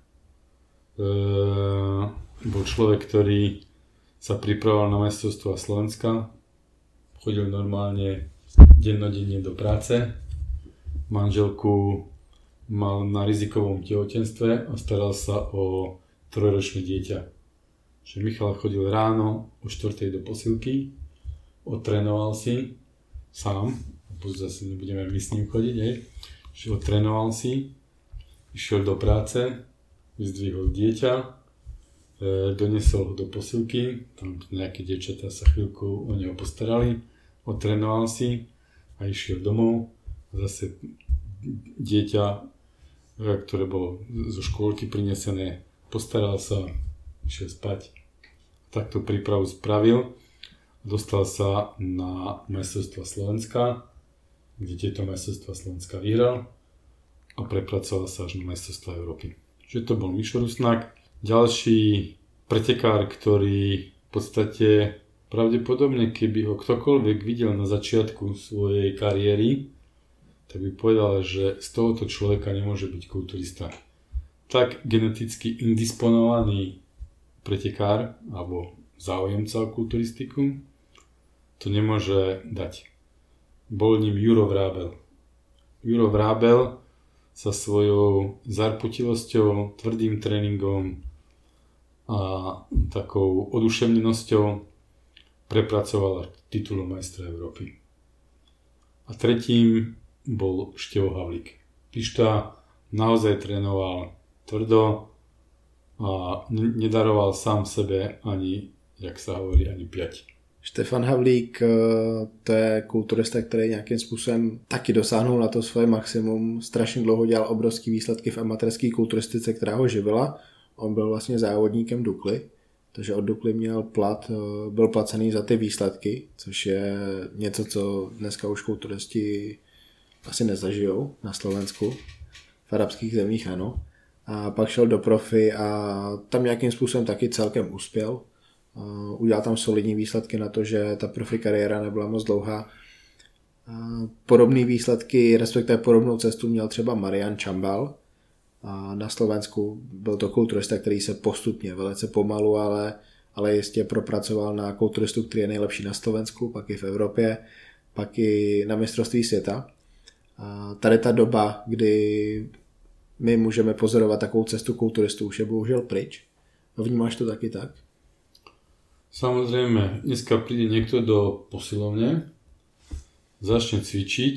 bol človek, ktorý sa pripravoval na majstrovstvá Slovenska. Chodil normálne dennodenne do práce. Manželku mal na rizikovom tehotenstve a staral sa o trojročné dieťa. Že Michal chodil ráno o štvrtej do posilky, odtrénoval si sám, zase nebudeme my s ním chodiť, hej. Že odtrénoval si, išiel do práce, vyzdvihol dieťa, e, donesol ho do posilky, tam nejaké dievčatá sa chvíľku o neho postarali, odtrénoval si a išiel domov. Zase dieťa, ktoré bolo zo škôlky prinesené, postaral sa, išiel spať. Takto prípravu spravil. Dostal sa na majstrovstvá Slovenska, kde tieto majstrovstvá Slovenska vyhral a prepracoval sa až na majstrovstvá Európy. Čiže to bol Mišo Rusnák. Ďalší pretekár, ktorý v podstate pravdepodobne, keby ho ktokoľvek videl na začiatku svojej kariéry, tak by povedal, že z tohoto človeka nemôže byť kulturista. Tak geneticky indisponovaný pretekár alebo záujemca o kulturistiku to nemôže dať. Bol ním Juro Vrábel. Juro Vrábel sa svojou zarputilosťou, tvrdým tréningom a takou oduševnenosťou prepracoval titul majstra Európy. A tretím bol Števo Havlík. Pišta naozaj trénoval tvrdo a nedaroval sám sebe ani, jak sa hovorí, ani piať. Štefan Havlík, to je kulturista, který nějakým způsobem taky dosáhnul na to svoje maximum. Strašně dlouho dělal obrovský výsledky v amatérské kulturistice, která ho živila. On byl vlastně závodníkem Dukly, takže od Dukly měl plat, byl placený za ty výsledky, což je něco, co dneska už kulturisti asi nezažijou na Slovensku. V arabských zemích ano. A pak šel do profi a tam nějakým způsobem taky celkem uspěl. Udělal tam solidní výsledky na to, že ta profi kariéra nebyla moc dlouhá. Podobné výsledky, respektive podobnou cestu měl třeba Marian Čambal. A na Slovensku byl to kulturista, který se postupně, velice pomalu, ale, ale jistě propracoval na kulturistu, který je nejlepší na Slovensku, pak i v Evropě, pak i na mistrovství světa. A tady ta doba, kdy my můžeme pozorovat takovou cestu kulturistů, už je bohužel pryč. Vnímáš to taky tak? Samozrejme, dneska príde niekto do posilovne, začne cvičiť,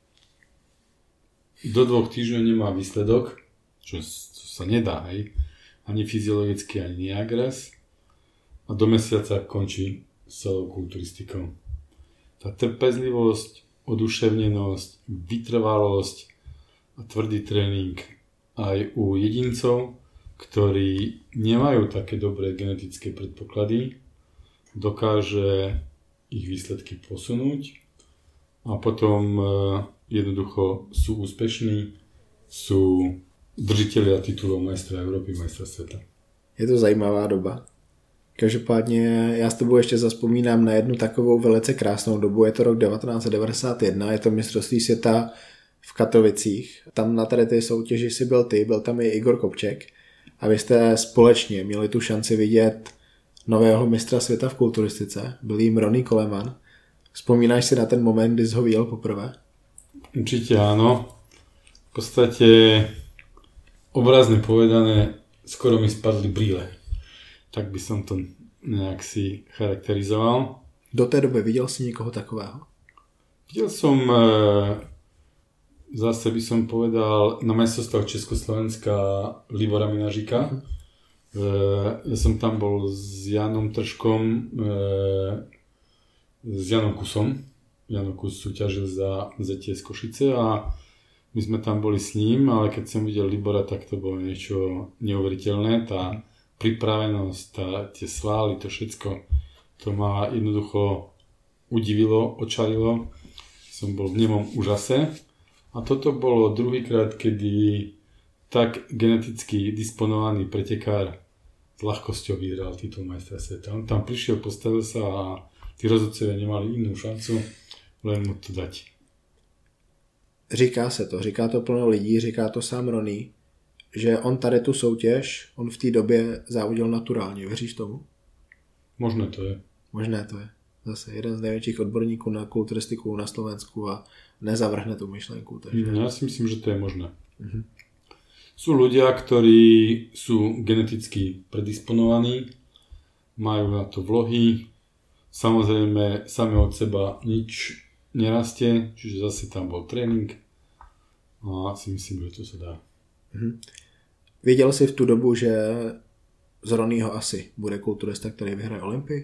do dvoch týždňov nemá výsledok, čo, čo sa nedá, hej, ani fyziologicky, ani nejak a do mesiaca končí s celou kulturistikou. Tá trpezlivosť, oduševnenosť, vytrvalosť a tvrdý tréning aj u jedincov, ktorí nemajú také dobré genetické predpoklady, dokáže ich výsledky posunúť a potom e, jednoducho sú úspešní, sú držitelia titulov majstra Európy, majstra sveta. Je to zajímavá doba. Každopádně já s tebou ještě zazpomínám na jednu takovou velice krásnou dobu. Je to rok devatenáct set devadesát jedna, je to mistrovství světa v Katovicích. Tam na tady ty soutěži si byl ty, byl tam i Igor Kopček a vy jste společně měli tu šanci vidět nového mistra světa v kulturistice. Byl jim Ronny Coleman. Vzpomínáš si na ten moment, kdy jsi ho viděl poprvé? Určite áno. V podstate obrazne povedané, skoro mi spadli brýle. Tak by som to nejak si charakterizoval. Do té doby viděl si někoho takového? Videl som, zase by som povedal, na majstrovstvách Československa Libora Minažika. Uh-huh. Ja som tam bol s Janom Tržkom, s Janom Kusom. Jano Kus súťažil za zet té es Košice a my sme tam boli s ním, ale keď som videl Libora, tak to bolo niečo neuveriteľné. Tá pripravenosť, tá, tie svaly, to všetko, to ma jednoducho udivilo, očarilo. Som bol v nemom úžase A toto bolo druhýkrát, kedy tak geneticky disponovaný pretekár s ľahkosťou vyhral titul majstra sveta. On tam prišiel, postavil sa a tí rozhodcovia nemali inú šancu, len mu to dať. Říká se to, říká to plno lidí, říká to sám Ronnie, že on tady tu soutěž, on v té době závodil naturálně. Věříš tomu? Možné to je. Možné to je. Zase jeden z největších odborníků na kulturistiku na Slovensku a nezavrhne tú myšlenku. Takže... Ja si myslím, že to je možné. Uh-huh. Sú ľudia, ktorí sú geneticky predisponovaní, majú na to vlohy, samozrejme sami od seba nič nerastie, čiže zase tam bol tréning a si myslím, že to sa dá. Uh-huh. Věděl jsi v tu dobu, že z Ronnieho asi bude kulturista, ktorý vyhraje Olympii?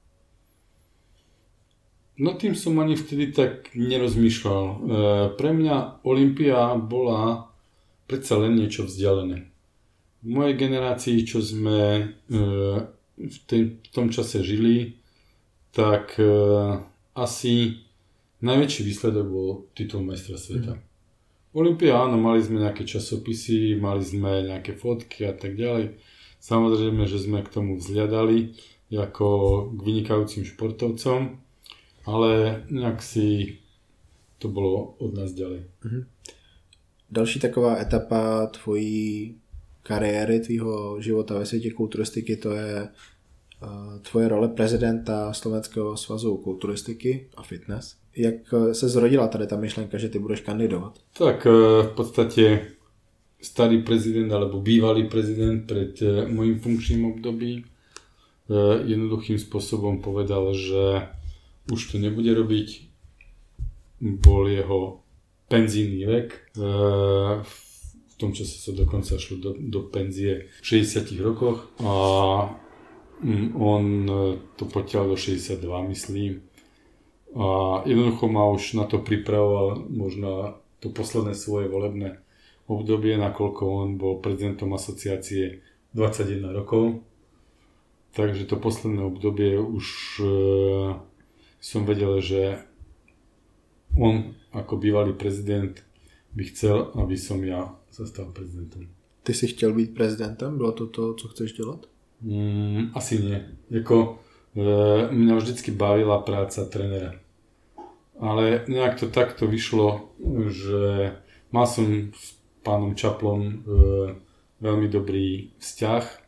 No tým som ani vtedy tak nerozmýšľal. E, pre mňa Olympia bola predsa len niečo vzdialené. V mojej generácii, čo sme e, v, tým, v tom čase žili, tak e, asi najväčší výsledok bol titul majstra sveta. Mm. Olympia, áno, mali sme nejaké časopisy, mali sme nejaké fotky a tak ďalej. Samozrejme, že sme k tomu vzhľadali ako k vynikajúcim športovcom, ale nejak si to bolo od nás ďalej. Mm. Další taková etapa tvojí kariéry, tvýho života ve světě kulturistiky, to je uh, tvoje role prezidenta Slovenského svazu kulturistiky a fitness. Jak se zrodila tady ta myšlenka, že ty budeš kandidovat? Tak v podstate starý prezident alebo bývalý prezident pred mojím funkčným období jednoduchým spôsobom povedal, že už to nebude robiť. Bol jeho penzijný vek. V tom čase sa dokonca šlo do, do penzie v šesťdesiatich rokoch a on to potiaľ do šesťdesiatdva, myslím. A jednoducho ma už na to pripravoval možno to posledné svoje volebné obdobie, nakoľko on bol prezidentom asociácie dvadsaťjeden rokov. Takže to posledné obdobie už e, som vedel, že on ako bývalý prezident by chcel, aby som ja sa stal prezidentom. Ty si chtěl být prezidentem? Bylo to to, co chceš dělat? Mm, asi nie. Jako, e, mňa vždycky bavila práca trénera. Ale nejak to takto vyšlo, že mal som s pánom Čaplom e, veľmi dobrý vzťah. E,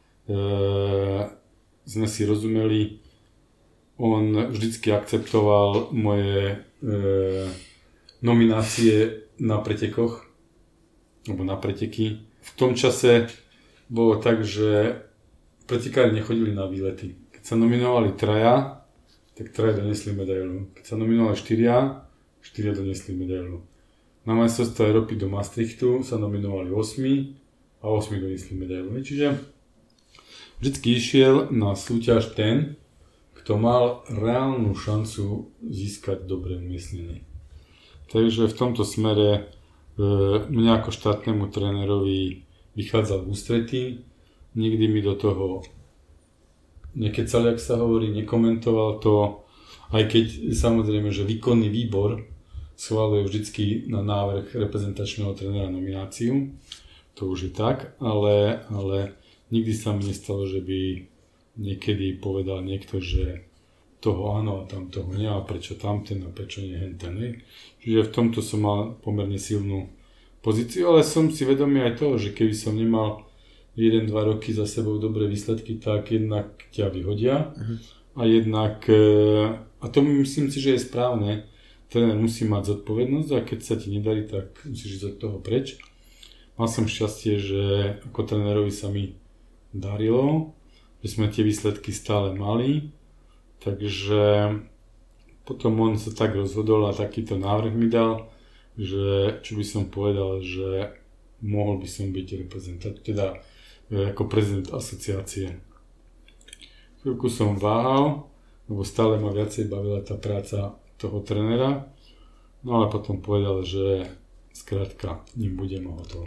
sme si rozumeli. On vždycky akceptoval moje e, nominácie na pretekoch, alebo na preteky. V tom čase bolo tak, že pretekári nechodili na výlety. Keď sa nominovali traja, tak traja donesli medailu. Keď sa nominovali štyria, štyria donesli medailu. Na majstrovstvá Európy do Maastrichtu sa nominovali osmi a osmi donesli medailu. Čiže vždycky išiel na súťaž ten, kto mal reálnu šancu získať dobré umiestnenie. Takže v tomto smere e, mňa ako štátnemu trénerovi vychádzal v ústretí. Nikdy mi do toho nekecal, jak sa hovorí, nekomentoval to, aj keď samozrejme, že výkonný výbor schváluje vždycky na návrh reprezentačného trénera nomináciu, to už je tak, ale, ale nikdy sa mi nestalo, že by niekedy povedal niekto, že toho áno a tam toho nie a prečo tamten a prečo nie henten. Ne? Čiže v tomto som mal pomerne silnú pozíciu, ale som si vedomý aj toho, že keby som nemal jeden dva roky za sebou dobré výsledky, tak jednak ťa vyhodia uh-huh. a jednak, a to myslím si, že je správne, tréner musí mať zodpovednosť a keď sa ti nedarí, tak musíš ísť od toho preč. Mal som šťastie, že ako trénerovi sa mi darilo, že sme tie výsledky stále mali, takže potom on sa tak rozhodol a takýto návrh mi dal, že čo by som povedal, že mohol by som byť reprezentant, teda ako prezident asociácie. Chvíľku som váhal, lebo stále ma viacej bavila tá práca toho trénera, no ale potom povedal, že zkrátka ním budem hotovo.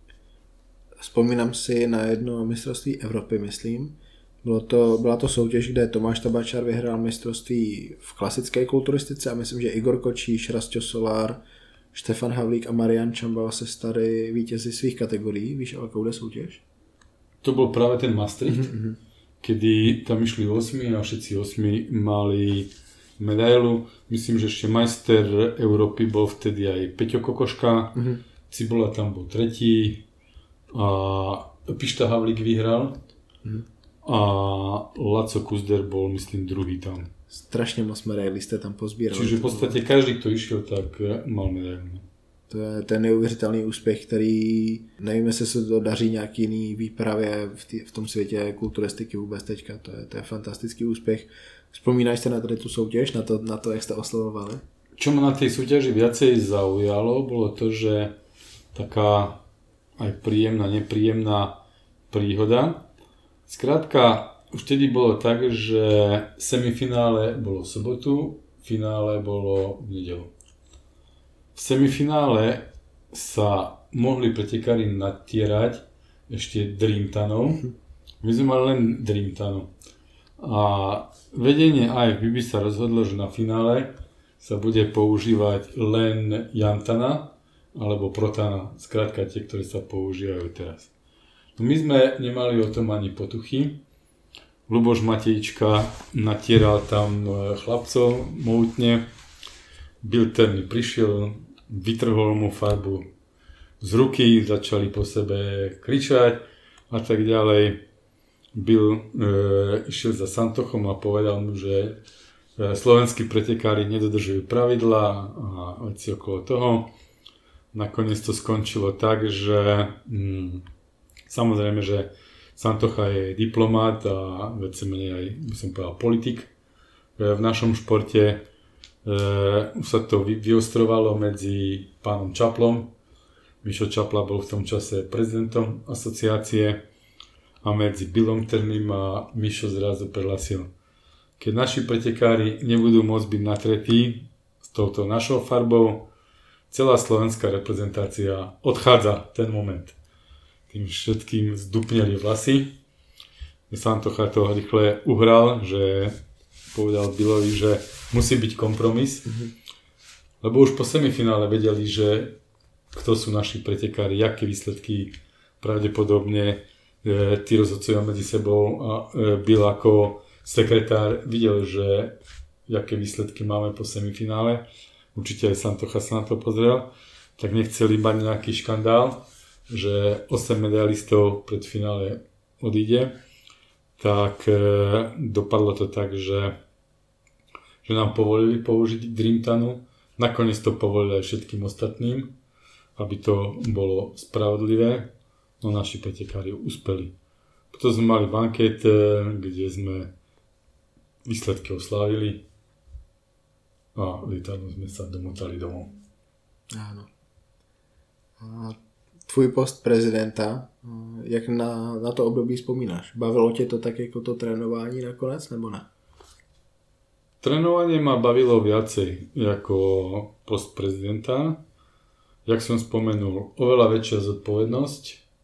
Vzpomínám si na jedno mistrovství Evropy, myslím. Bylo to, byla to soutěž, kde Tomáš Tabačar vyhrál mistrovství v klasické kulturistice a myslím, že Igor Kočíš, Rastio Solár, Štefan Havlík a Marian Čambal se stali vítězi svých kategorií. Víš, ale koude soutěž? To bol práve ten Maastricht, mm-hmm. kedy tam išli osmi a všetci osmi mali medailu. Myslím, že ešte majster Európy bol vtedy aj Peťo Kokoška, mm-hmm. Cibola tam bol tretí a Pišta Havlík vyhral mm-hmm. a Laco Kuzder bol, myslím, druhý tam. Strašně moc medailí jste tam pozbírali. Čiže v podstatě každý, kdo išel, tak mal medailu. To je ten neuvěřitelný úspěch, který nevím, jestli se to daří nějaký jiný výpravě v, tý, v tom světě kulturistiky vůbec teďka. To je, to je fantastický úspěch. Vzpomínáš se na tady tu soutěž, na to, na to, jak jste oslavovali? Čo ma na tej súťaži viacej zaujalo, bolo to, že taká aj príjemná, nepríjemná príhoda. Skrátka, už vtedy bolo tak, že semifinále bolo v sobotu, finále bolo v nedeľu. V semifinále sa mohli pretekári natierať ešte Dreamtanov. My sme mali len Dreamtanov. A vedenie á ef bé by sa rozhodlo, že na finále sa bude používať len Jantana alebo Protana, skrátka tie, ktoré sa používajú teraz. No my sme nemali o tom ani potuchy. Luboš Matejčka natieral tam chlapcov mohutne. Bilter mi prišiel, vytrhol mu farbu z ruky, začali po sebe kričať a tak ďalej. Bill e, išiel za Santochom a povedal mu, že e, slovenskí pretekári nedodržujú pravidlá a veci okolo toho. Nakoniec to skončilo tak, že mm, samozrejme, že Santocha je diplomát a veci menej aj, by som povedal, politik. E, v našom športe Uh, už sa to vy, vyostrovalo medzi pánom Čaplom. Mišo Čapla bol v tom čase prezidentom asociácie a medzi Billom Terným a Mišo zrazu prehlásil: keď naši pretekári nebudú môcť byť natretí s touto našou farbou, celá slovenská reprezentácia odchádza ten moment. Tým všetkým zdupneli vlasy. Santocha to rýchle uhral, že povedal Billovi, že musí byť kompromis, mm-hmm. lebo už po semifinále vedeli, že kto sú naši pretekári, aké výsledky pravdepodobne e, tí rozhodcovia medzi sebou a e, Bill ako sekretár videl, že aké výsledky máme po semifinále. Určite aj Santocha sa na to pozrel, tak nechceli mať nejaký škandál, že osem medailistov pred finále odíde. Tak e, dopadlo to tak, že že nám povolili použiť Dreamtanu. Nakoniec to povolili aj všetkým ostatným, aby to bolo spravodlivé, no naši pretekári uspeli. Potom sme mali banket, kde sme výsledky oslávili a lietadlom sme sa domotali domov. Áno. A tvůj post prezidenta, jak na, na to období vzpomínáš? Bavilo tě to tak jako to trénování nakonec, nebo ne? Trénovanie ma bavilo viacej ako post prezidenta. Jak som spomenul, oveľa väčšia zodpovednosť.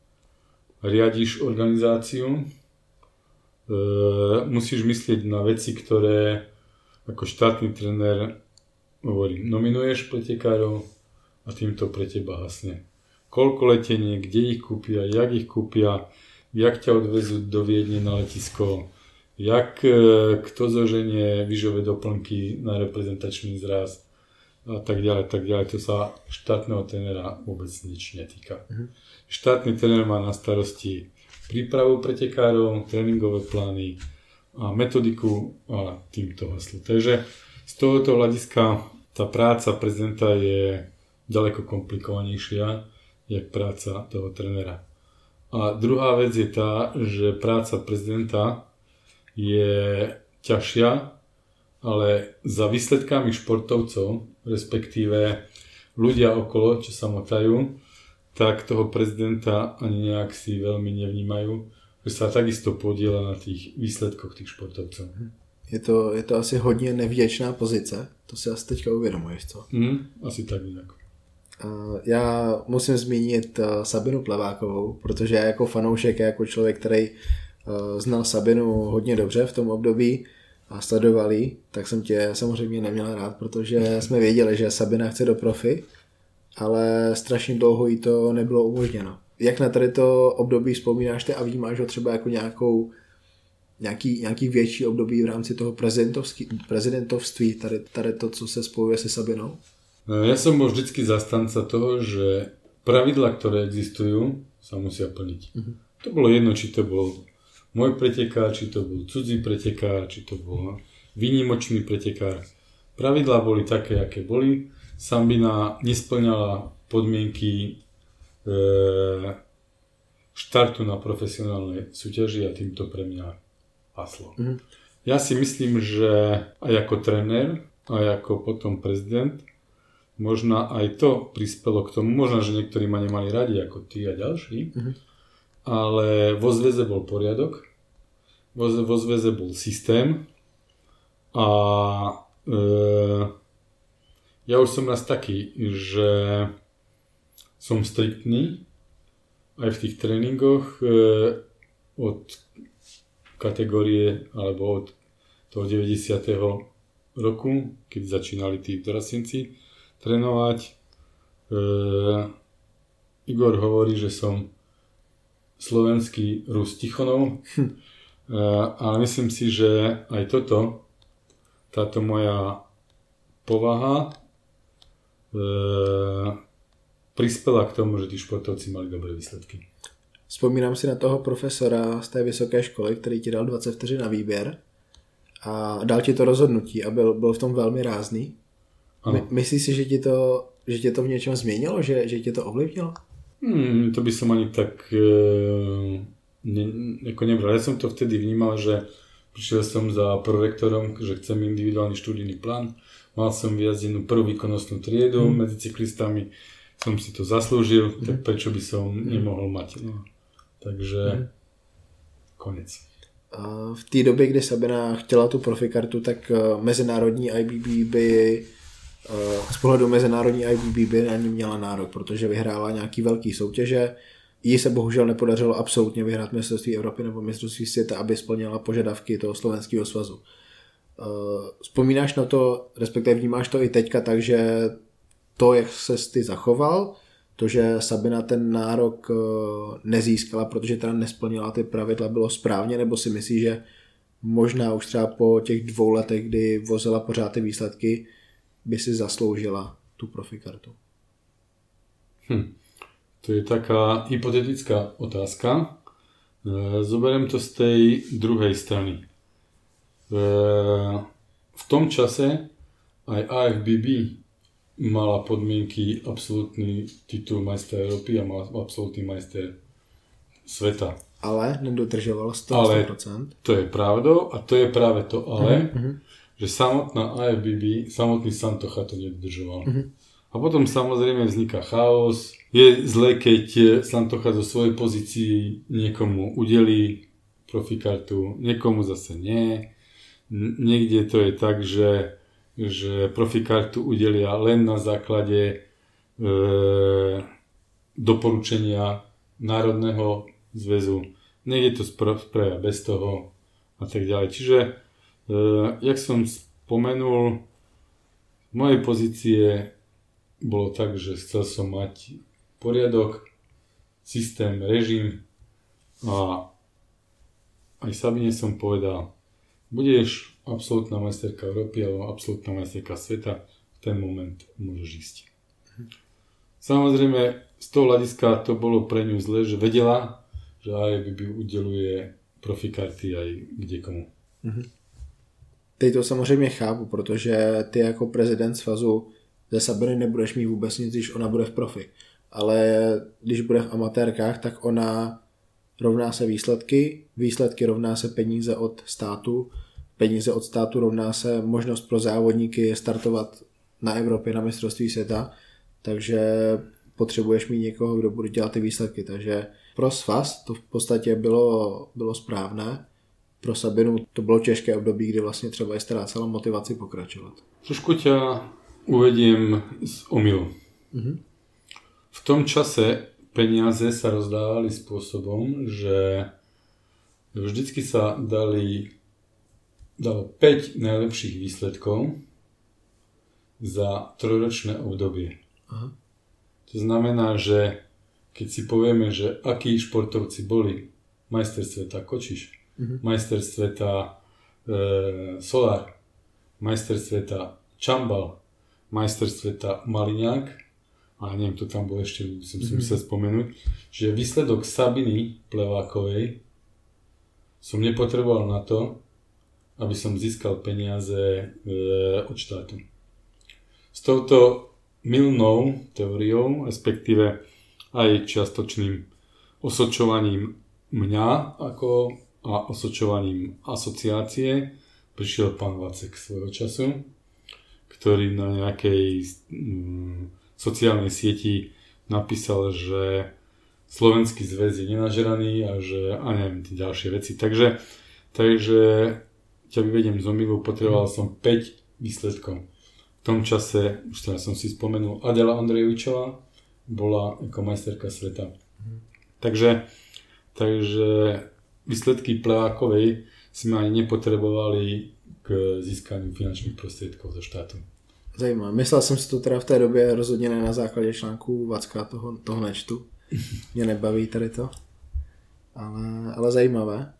Riadiš organizáciu. E, musíš myslieť na veci, ktoré ako štátny tréner hovorím, nominuješ pretekárov a týmto pre teba hasne. Koľko letenie, kde ich kúpia, jak ich kúpia, jak ťa odvezú do Viedne na letisko, jak kto zoženie výžové doplnky na reprezentačný zraz a tak ďalej, tak ďalej. To sa štátneho trénera vôbec nič netýka. Mm-hmm. Štátny tréner má na starosti prípravu pretekárov, tréningové plány a metodiku a týmto haslo. Takže z tohoto hľadiska tá práca prezidenta je ďaleko komplikovanejšia jak práca toho trénera. A druhá vec je tá, že práca prezidenta je ťažšia, ale za výsledkami športovcov, respektíve ľudia okolo, čo sa motajú, tak toho prezidenta ani nejak si veľmi nevnímajú, že sa takisto podieľa na tých výsledkoch tých športovcov. Je to, je to asi hodně nevděčná pozice, to si asi teďka uvědomuješ, co? Mm, asi tak nějak. Já musím zmínit Sabinu Plevákovou, protože já jako fanoušek, jako člověk, který znal Sabinu hodně dobře v tom období a sledoval jí, tak jsem tě samozřejmě neměl rád, protože jsme věděli, že Sabina chce do profi ale strašně dlouho jí to nebylo umožněno. Jak na tady to období vzpomínáš ty a vnímáš ho třeba jako nějakou, nějaký, nějaký větší období v rámci toho prezidentovství, tady, tady to, co se spojuje se Sabinou? Ja som bol vždycky zastanca toho, že pravidlá, ktoré existujú, sa musia plniť. Uh-huh. To bolo jedno, či to bol môj pretekár, či to bol cudzí pretekár, či to bol výnimočný pretekár. Pravidlá boli také, aké boli. Sabina nesplňala podmienky e, štartu na profesionálnej súťaži a týmto pre mňa haslo. Uh-huh. Ja si myslím, že aj ako tréner, aj ako potom prezident, možno aj to prispelo k tomu, možno, že niektorí ma nemali radi ako ty a ďalší, uh-huh. ale vo zväze bol poriadok, vo, vo zväze bol systém a e, ja už som raz taký, že som striktný aj v tých tréningoch e, od kategórie alebo od toho deväťdesiateho roku, keď začínali tí dorastenci trénovať. E, Igor hovorí, že som slovenský Rus Tichonov, hm. e, ale myslím si, že aj toto, táto moja povaha e, prispela k tomu, že tí športovci mali dobré výsledky. Vzpomínám si na toho profesora z té vysoké školy, který ti dal dvacet vteřin na výběr a dal ti to rozhodnutí a byl, byl v tom velmi rázný. My, myslíš si, že ti to, že tě to v něčem změnilo? Že, že tě to ovlivnilo? Hmm, to by som ani tak e, ne, ako nebral. Ja som to vtedy vnímal, že prišiel som za prorektorom, že chcem individuálny študijný plán. Mal som vyjazdenú prvú výkonnostnú triedu hmm. medzi cyklistami. Som si to zaslúžil, hmm. tak prečo by som hmm. nemohol mať. No. Takže hmm. konec. V té době, kdy Sabina chtěla tu profikartu, tak mezinárodní I B B by z pohledu mezinárodní I B B by na ní měla nárok, protože vyhrála nějaký velký soutěže. Jí se bohužel nepodařilo absolutně vyhrát mistrovství Evropy nebo mistrovství světa, aby splnila požadavky toho slovenského svazu. Vzpomínáš na to, respektive vnímáš to i teďka, takže to, jak ses ty zachoval, to, že Sabina ten nárok nezískala, protože teda nesplnila ty pravidla, bylo správně, nebo si myslíš, že možná už třeba po těch dvou letech, kdy vozila pořád ty výsledky, by si zasloužila tú profikartu? Hm. To je taká hypotetická otázka. Zoberiem to z tej druhej strany. V tom čase aj A F B B mala podmienky absolútny titul majstra Európy a mala absolútny majster sveta. Ale nedodržovalo sto procent. Ale to je pravdou a to je práve to ale, uh-huh. že samotná A F B B, samotný Santocha to nedodržoval. Uh-huh. A potom samozrejme vzniká chaos. Je zle, keď Santocha zo svojej pozícii niekomu udelí profikartu, niekomu zase nie. Niekde to je tak, že, že profikartu udelia len na základe e, doporučenia Národného zväzu. Niekde to spravia bez toho a tak ďalej. Čiže Uh, jak som spomenul, z mojej pozície bolo tak, že chcel som mať poriadok, systém, režim a aj Sabine som povedal, budeš absolútna majsterka Európy alebo absolútna majsterka sveta, v ten moment môžeš ísť. Samozrejme, z toho hľadiska to bolo pre ňu zle, že vedela, že á ef bé bé udeluje profikarty aj kdekomu. Mhm. Teď to samozřejmě chápu, protože ty jako prezident svazu ze Sabiny nebudeš mít vůbec nic, když ona bude v profi. Ale když bude v amatérkách, tak ona rovná se výsledky, výsledky rovná se peníze od státu, peníze od státu rovná se možnost pro závodníky startovat na Evropě, na mistrovství světa, takže potřebuješ mít někoho, kdo bude dělat ty výsledky. Takže pro svaz to v podstatě bylo, bylo správné. Pro Sabinu to bylo těžké období, kdy vlastně třeba je ztrácela motivaci pokračovat. Trošku ťa uvediem z omylu. Mm-hmm. V tom čase peniaze sa rozdávali spôsobom, že vždycky sa dali dalo päť najlepších výsledkov za trojročné obdobie. Aha. To znamená, že keď si povieme, že akí športovci boli majster sveta Kočiš, mm-hmm. majster sveta e, Solár, majster sveta Čambal, majster sveta Maliňák, a neviem, to tam bol ešte, som si mm-hmm. musel spomenúť, že výsledok Sabiny Plevákovej som nepotreboval na to, aby som získal peniaze e, od štátu. S touto mylnou teóriou, respektíve aj čiastočným osočovaním mňa ako a osočovaním asociácie prišiel pán Vacek svojho času, ktorý na nejakej mm, sociálnej sieti napísal, že Slovenský zväz je nenažraný a že a neviem, tie ďalšie veci. Takže, takže ťa vyvediem z omylu, potreboval som päť výsledkov. V tom čase, už teraz som si spomenul, Adela Ondrejovičová bola ako majsterka sveta. Mm. Takže, takže výsledky Plevákovej sme ani nepotrebovali k získaniu finančných prostriedkov zo štátu. Zajímavé. Myslel jsem si to teda v té době rozhodně ne na základě článků Vacka, toho, toho nečtu. Mě nebaví tady to. Ale, ale zajímavé.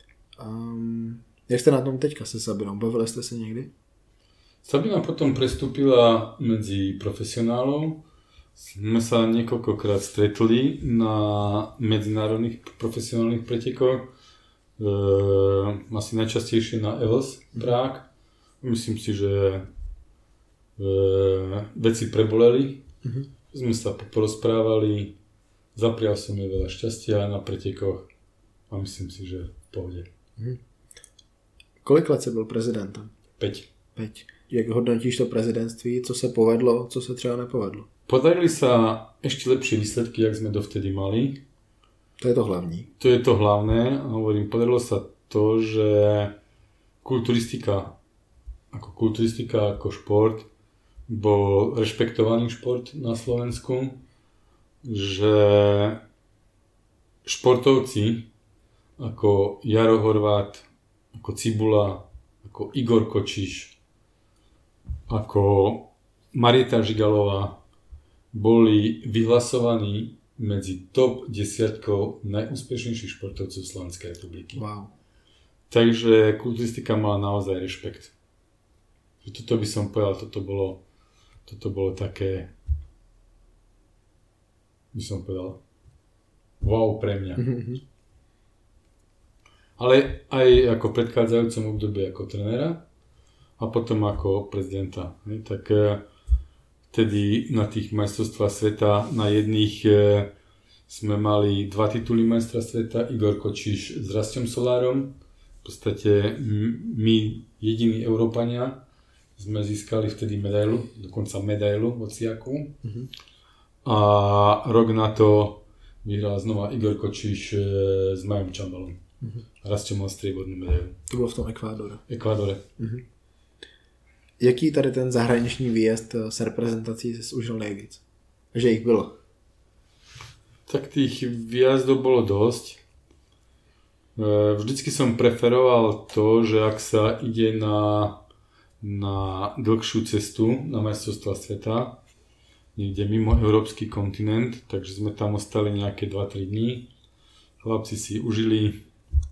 Um, jak jste na tom teďka se Sabinou? Bavili jste se někdy? Sabina potom prestúpila medzi profesionálov. Sme sa niekoľkokrát stretli na medzinárodných profesionálnych pretekoch. E, asi najčastejšie na E L S Prague. Myslím si, že e, veci preboleli. Mm-hmm. Sme sa porozprávali. Zaprial som jej veľa šťastia na pretekoch a myslím si, že v pohode. Mm-hmm. Kolik let jsi byl prezidentem? Päť. Päť. Jak hodnotíš to prezidentství? Co se povedlo, co se třeba nepovedlo? Podarili sa ešte lepšie výsledky, jak sme dovtedy mali. To je to hlavní. To je to hlavné. A hovorím, podarilo sa to, že kulturistika, ako kulturistika, ako šport, bol rešpektovaný šport na Slovensku. Že športovci ako Jaro Horvát, ako Cibula, ako Igor Kočiš, ako Marieta Žigalová boli vyhlasovaní medzi top desiatkou najúspešnejších športovcov Slovenskej republiky. Wow. Takže kulturistika mala naozaj rešpekt. Toto by som povedal, toto bolo, toto bolo také, by som povedal, wow pre mňa. Mm-hmm. Ale aj ako v predchádzajúcom období ako trenéra a potom ako prezidenta. Tak vtedy na tých majstrovstvách sveta na jedných sme mali dva tituly majstra sveta, Igor Kočiš s Rastom Solárom. V podstate my jediní Európania sme získali vtedy medailu, dokonca medailu hociakú. Mm-hmm. A rok na to vyhral znova Igor Kočiš s Majom Čambalom. Mm-hmm. Rastom mal striebornú medailu. To bylo v tom Ekvádore. Ekvádore. Mm-hmm. Jaký tady ten zahraniční výjezd s reprezentací jsi užil nejvíc? Že jich bylo? Tak tých výjazdov bolo dosť. Vždycky som preferoval to, že ak sa ide na, na dlhšiu cestu na majstrovstvá sveta, niekde mimo európsky kontinent, takže sme tam ostali nejaké dva tri dní. Chlapci si užili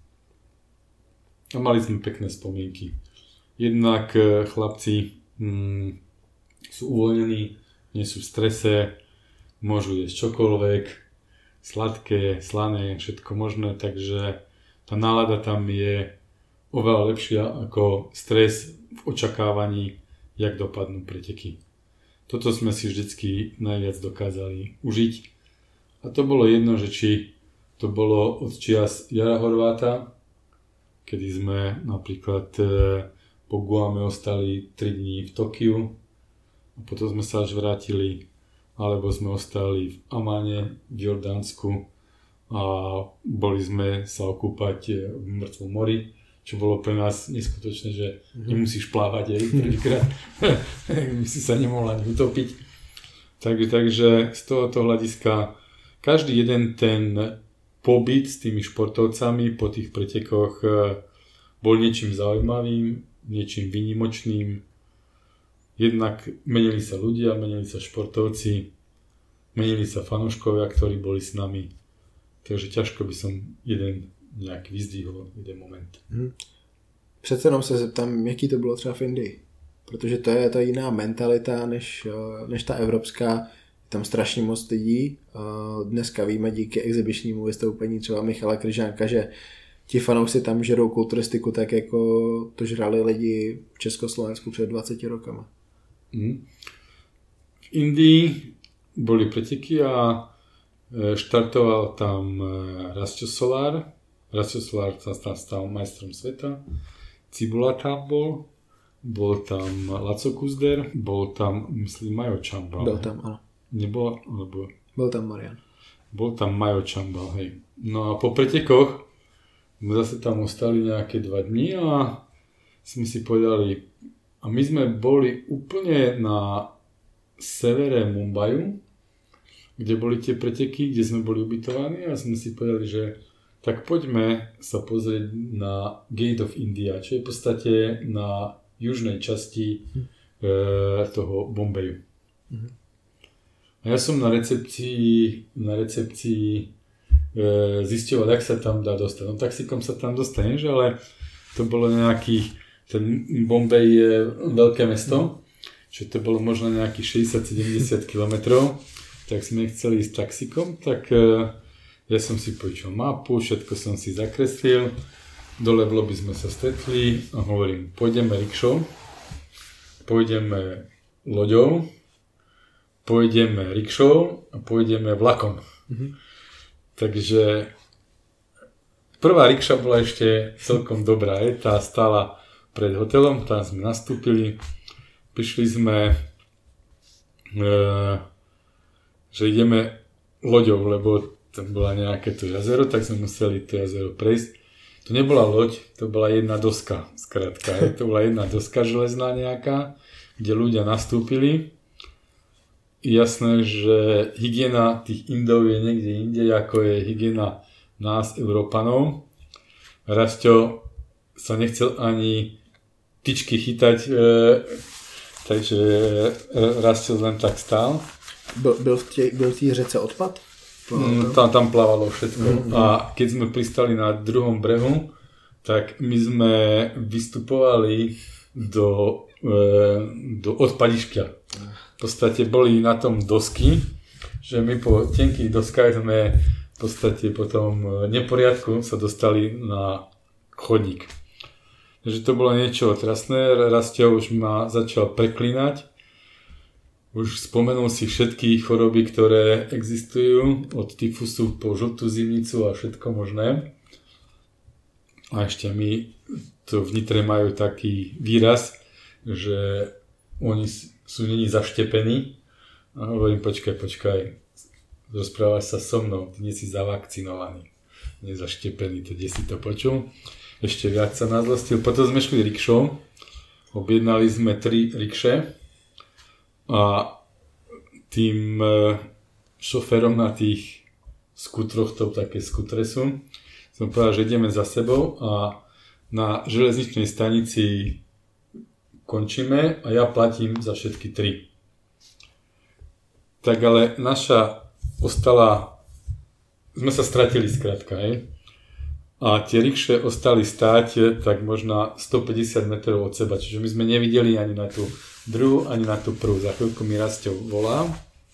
a mali sme pekné spomienky. Jednak chlapci mm, sú uvoľnení, nie sú v strese, môžu jesť čokoľvek, sladké, slané, všetko možné, takže tá nálada tam je oveľa lepšia ako stres v očakávaní, jak dopadnú preteky. Toto sme si vždycky najviac dokázali užiť. A to bolo jedno, že či to bolo od čias Jara Horváta, kedy sme napríklad po Guame ostali tri dní v Tokiu a potom sme sa až vrátili, alebo sme ostali v Amane v Jordánsku a boli sme sa okúpať v mŕtvom mori, čo bolo pre nás neskutočné, že mm-hmm. nemusíš plávať aj prvýkrát, by si sa nemohla ani utopiť. Takže, takže z tohoto hľadiska každý jeden ten pobyt s tými športovcami po tých pretekoch bol niečím zaujímavým, niečím výnimočným. Jednak menili sa ľudia, menili sa športovci menili sa fanúškovia, ktorí boli s nami. Takže ťažko by som jeden nějak vyzdvihol, jeden moment. Hmm. Přece jenom se zeptám, jaký to bylo třeba v Indii. Protože to je ta jiná mentalita než, než ta evropská. Tam strašně moc lidí. Dneska víme díky exibičnímu vystoupení třeba Michala Kryžánka, že ti fanoušci tam žerou kulturistiku tak, jako to žrali lidi v Československu před dvaceti rokama. Hmm. V Indii boli preteky a štartoval tam Rastio Solar. Rastio Solar sa stal majstrom sveta. Cibula tam bol. Bol tam Laco Kuzder. Bol tam, myslím, Majo Čambal. Byl tam, ano. Nebol, alebo... Byl tam Marian. Bol tam Majo Čambal, hej. No a po pretekoch sme zase tam ostali nejaké dva dni a sme si povedali, a my sme boli úplne na severe Mumbaju, kde boli tie preteky, kde sme boli ubytovaní a sme si povedali, že tak poďme sa pozrieť na Gate of India, čo je v podstate na južnej časti hm. e, toho Bombayu. Hm. A ja som na recepcii, na recepcii e, zisťoval, jak sa tam dá dostať. No taxikom sa tam dostaneš, ale to bolo nejakých, ten Bombay je veľké mesto, čo to bolo možno nejakých šesťdesiat sedemdesiat kilometrov, tak sme chceli ísť taxikom, tak e, ja som si počul mapu, všetko som si zakreslil, dole v lobby sme sa stretli a hovorím, pôjdeme rikšou, pôjdeme loďou, pôjdeme rikšou a pôjdeme vlakom. Mm-hmm. Takže prvá rikša bola ešte celkom dobrá, je, tá stála pred hotelom, tam sme nastúpili, prišli sme, e, že ideme loďou, lebo tam bola nejaké to jazero, tak sme museli to jazero prejsť. To nebola loď, to bola jedna doska, skrátka, je, to bola jedna doska železná nejaká, kde ľudia nastúpili. Jasné, že hygiena tých Indov je niekde inde, ako je hygiena nás, Európanov. Rastio sa nechcel ani tyčky chytať, e, takže Rastio len tak stál. Byl, byl, v tě, byl v té řece odpad? Mm, tam, tam plávalo všetko. Mm-hmm. A keď sme pristali na druhom brehu, tak my sme vystupovali do, e, do odpadišťa. V podstate boli na tom dosky, že my po tenkých doskách sme v podstate po tom neporiadku sa dostali na chodník. Takže to bolo niečo otrasné. Rastio už ma začal preklínať. Už spomenul si všetky choroby, ktoré existujú, od tyfusu po žltú zimnicu a všetko možné. A ešte my to v Nitre majú taký výraz, že oni sú není zaštepení. A hovorím, počkaj, počkaj, rozprávaš sa so mnou, ty nie si zavakcinovaný, nezaštepený, to kde si to počul. Ešte viac sa nazlostil. Potom sme šli rikšou, objednali sme tri rikše a tým šoférom na tých skutroch, to také skutre sú, som povedal, že ideme za sebou a na železničnej stanici končíme a ja platím za všetky tri. Tak ale naša ostala, sme sa stratili skrátka, hej? A tie rikše ostali stáť tak možno stopäťdesiat metrov od seba, čiže my sme nevideli ani na tú druhú, ani na tú prvú. Za chvíľku mi Rastio volá,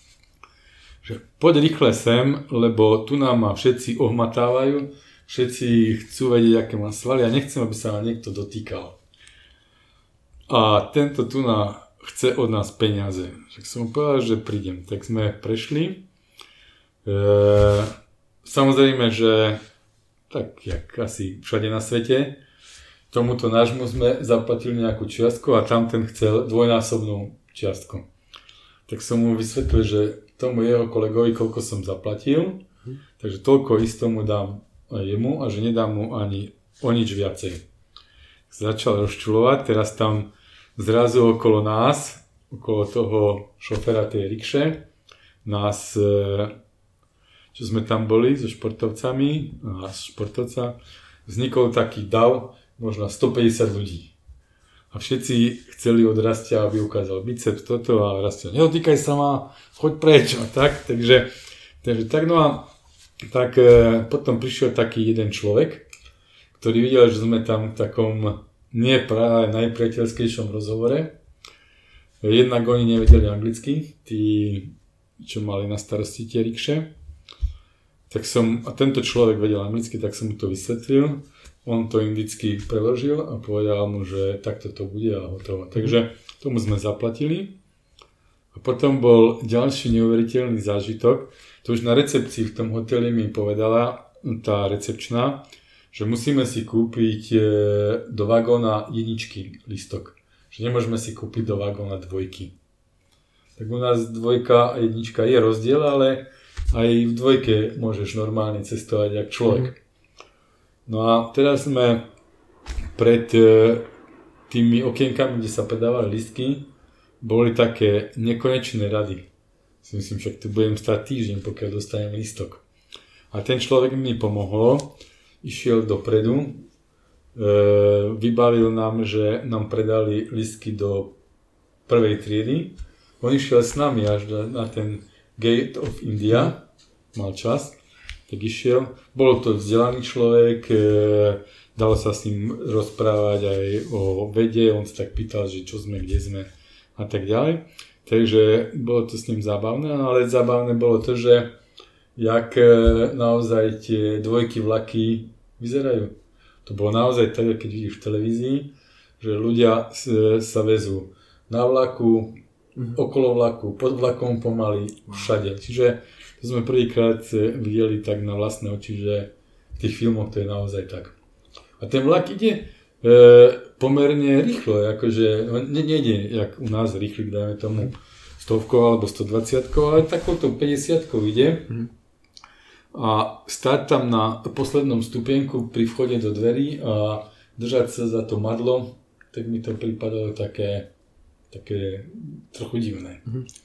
že poď rýchle sem, lebo tu nám ma všetci ohmatávajú, všetci chcú vedieť, aké mám svaly a nechcem, aby sa ma niekto dotýkal. A tento tu na chce od nás peniaze. Tak som povedal, že prídem. Tak sme prešli. E, samozrejme, že tak jak asi všade na svete, tomuto nášmu sme zaplatili nejakú čiastku a tam ten chcel dvojnásobnú čiastku. Tak som mu vysvetlil, že tomu jeho kolegovi, koľko som zaplatil, takže toľko isto mu dám jemu a že nedám mu ani o nič viacej. Začal rozčulovať, teraz tam zrazu okolo nás, okolo toho šoféra tej rikše, nás, čo sme tam boli so športovcami a športovca, vznikol taký dav, možno stopäťdesiat ľudí. A všetci chceli od Rastia, aby ukázal biceps, toto a Rastia, nedotýkaj sa ma, choď preč a tak. Takže, takže tak, no a tak e, potom prišiel taký jeden človek, ktorý videl, že sme tam v takom nie práve najpriateľskejšom rozhovore. Jednak oni nevedeli anglicky, tí, čo mali na starosti tie rikše. Tak som, a tento človek vedel anglicky, tak som mu to vysvetlil. On to indicky preložil a povedal mu, že takto to bude a hotovo. Takže tomu sme zaplatili. A potom bol ďalší neuveriteľný zážitok. To už na recepcii v tom hoteli mi povedala tá recepčná, že musíme si kúpiť do vagóna jedničky listok. Že nemôžeme si kúpiť do vagóna dvojky. Tak u nás dvojka a jednička je rozdiel, ale aj v dvojke môžeš normálne cestovať jak človek. Mm. No a teraz sme pred tými okienkami, kde sa predávali listky, boli také nekonečné rady. Si myslím, však tu budem stáť týždeň, pokiaľ dostanem listok. A ten človek mi pomohol, išiel dopredu, vybavil nám, že nám predali listky do prvej triedy. On išiel s nami až na ten Gate of India, mal čas. Tak išiel, bol to vzdelaný človek, e, dalo sa s ním rozprávať aj o vede, on sa tak pýtal, že čo sme, kde sme a tak ďalej. Takže bolo to s ním zábavné, ale zábavné bolo to, že jak e, naozaj tie dvojky vlaky vyzerajú. To bolo naozaj tak, keď vidíš v televízii, že ľudia s, sa vezú na vlaku, mm-hmm. okolo vlaku, pod vlakom pomaly, všade. Čiže to sme prvýkrát videli tak na vlastné oči, že v tých filmoch to je naozaj tak. A ten vlak ide e, pomerne rýchlo, akože ne, nejde jak u nás rýchlik, dajme tomu stovkou alebo stodvadsiatkou, ale takouto päťdesiatkou ide. A stáť tam na poslednom stupienku pri vchode do dverí a držať sa za to madlo, tak mi to pripadalo také, také trochu divné.